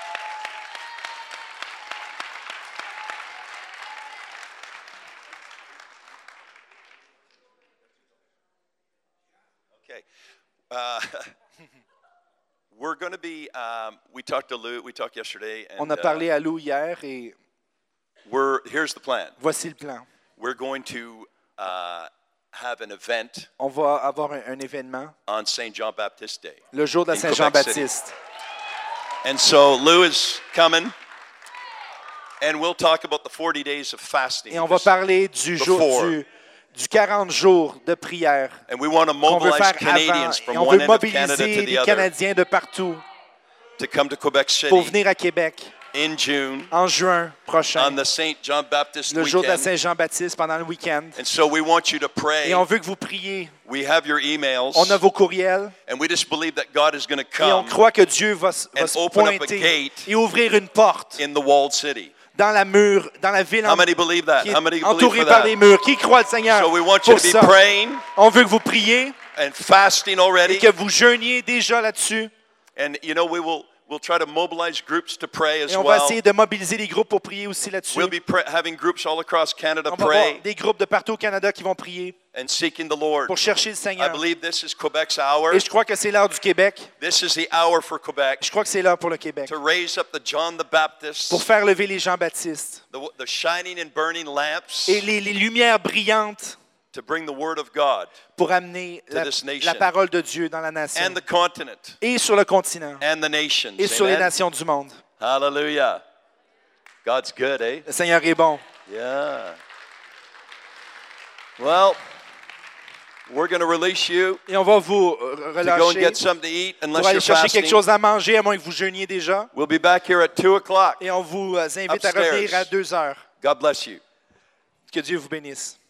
Okay. Uh, we're going to be, um, we talked to Lou, we talked yesterday, and On a parlé à Lou hier et uh, we're, here's the plan. voici le plan. We're going to uh, have an event On va avoir un, un événement on Saint John Baptist Day. le jour de la In Quebec Saint-Jean-Baptiste. And so Lou is coming, and we'll talk about the forty days of fasting. Et on va parler du jour Before. du, du quarante jours de prière And we want to qu'on veut mobilize faire avant. Canadians Et from on one veut end of Canada mobiliser to the les other Canadiens de partout to come to Quebec pour City venir à Québec in June en juin prochain, on the Saint John Baptist le jour de la weekend. Saint-Jean-Baptiste pendant le week-end. And so we want you to pray. Et on veut que vous priez. We have your emails, On a vos courriels. and we just believe that God is going to Et on come croit que Dieu va, s- va and se open up a pointer gate et ouvrir une porte in the walled city. dans la mur, dans la ville How en- many believe that? qui How many est believe entourée for par that? des murs. Qui croit le Seigneur So we want you pour to be ça? praying On veut que vous priez and fasting et already. que vous jeûniez déjà là-dessus. And you know, we will we'll try to mobilize groups to pray as Et on va well. essayer de mobiliser les groupes pour prier aussi là-dessus. We'll be pra- having groups all across Canada On va avoir pray des groupes de partout au Canada qui vont prier and seeking the Lord. pour chercher le I Seigneur. believe this is Quebec's hour. Et je crois que c'est l'heure du Québec. This is the hour for Quebec Je crois que c'est l'heure pour le Québec. to raise up the John the Baptist, Pour faire lever les Jean-Baptistes. the, the shining and burning lamps, Et les, les lumières brillantes to bring the word of God pour amener To la, this nation. la parole de Dieu dans la nation. and the continent Et sur le continent. and the nations. Et sur les Amen? nations du monde. Hallelujah. God's good, eh? Le Seigneur est bon. Yeah. Well, we're going to release you Et on va vous euh, to go and relâcher get something to eat pour unless aller you're chercher fasting. quelque chose à manger, à moins que vous jeûniez déjà. We'll be back here at two o'clock. Et on vous euh, invite à Upstairs. revenir à deux heures. God bless you. Que Dieu vous bénisse.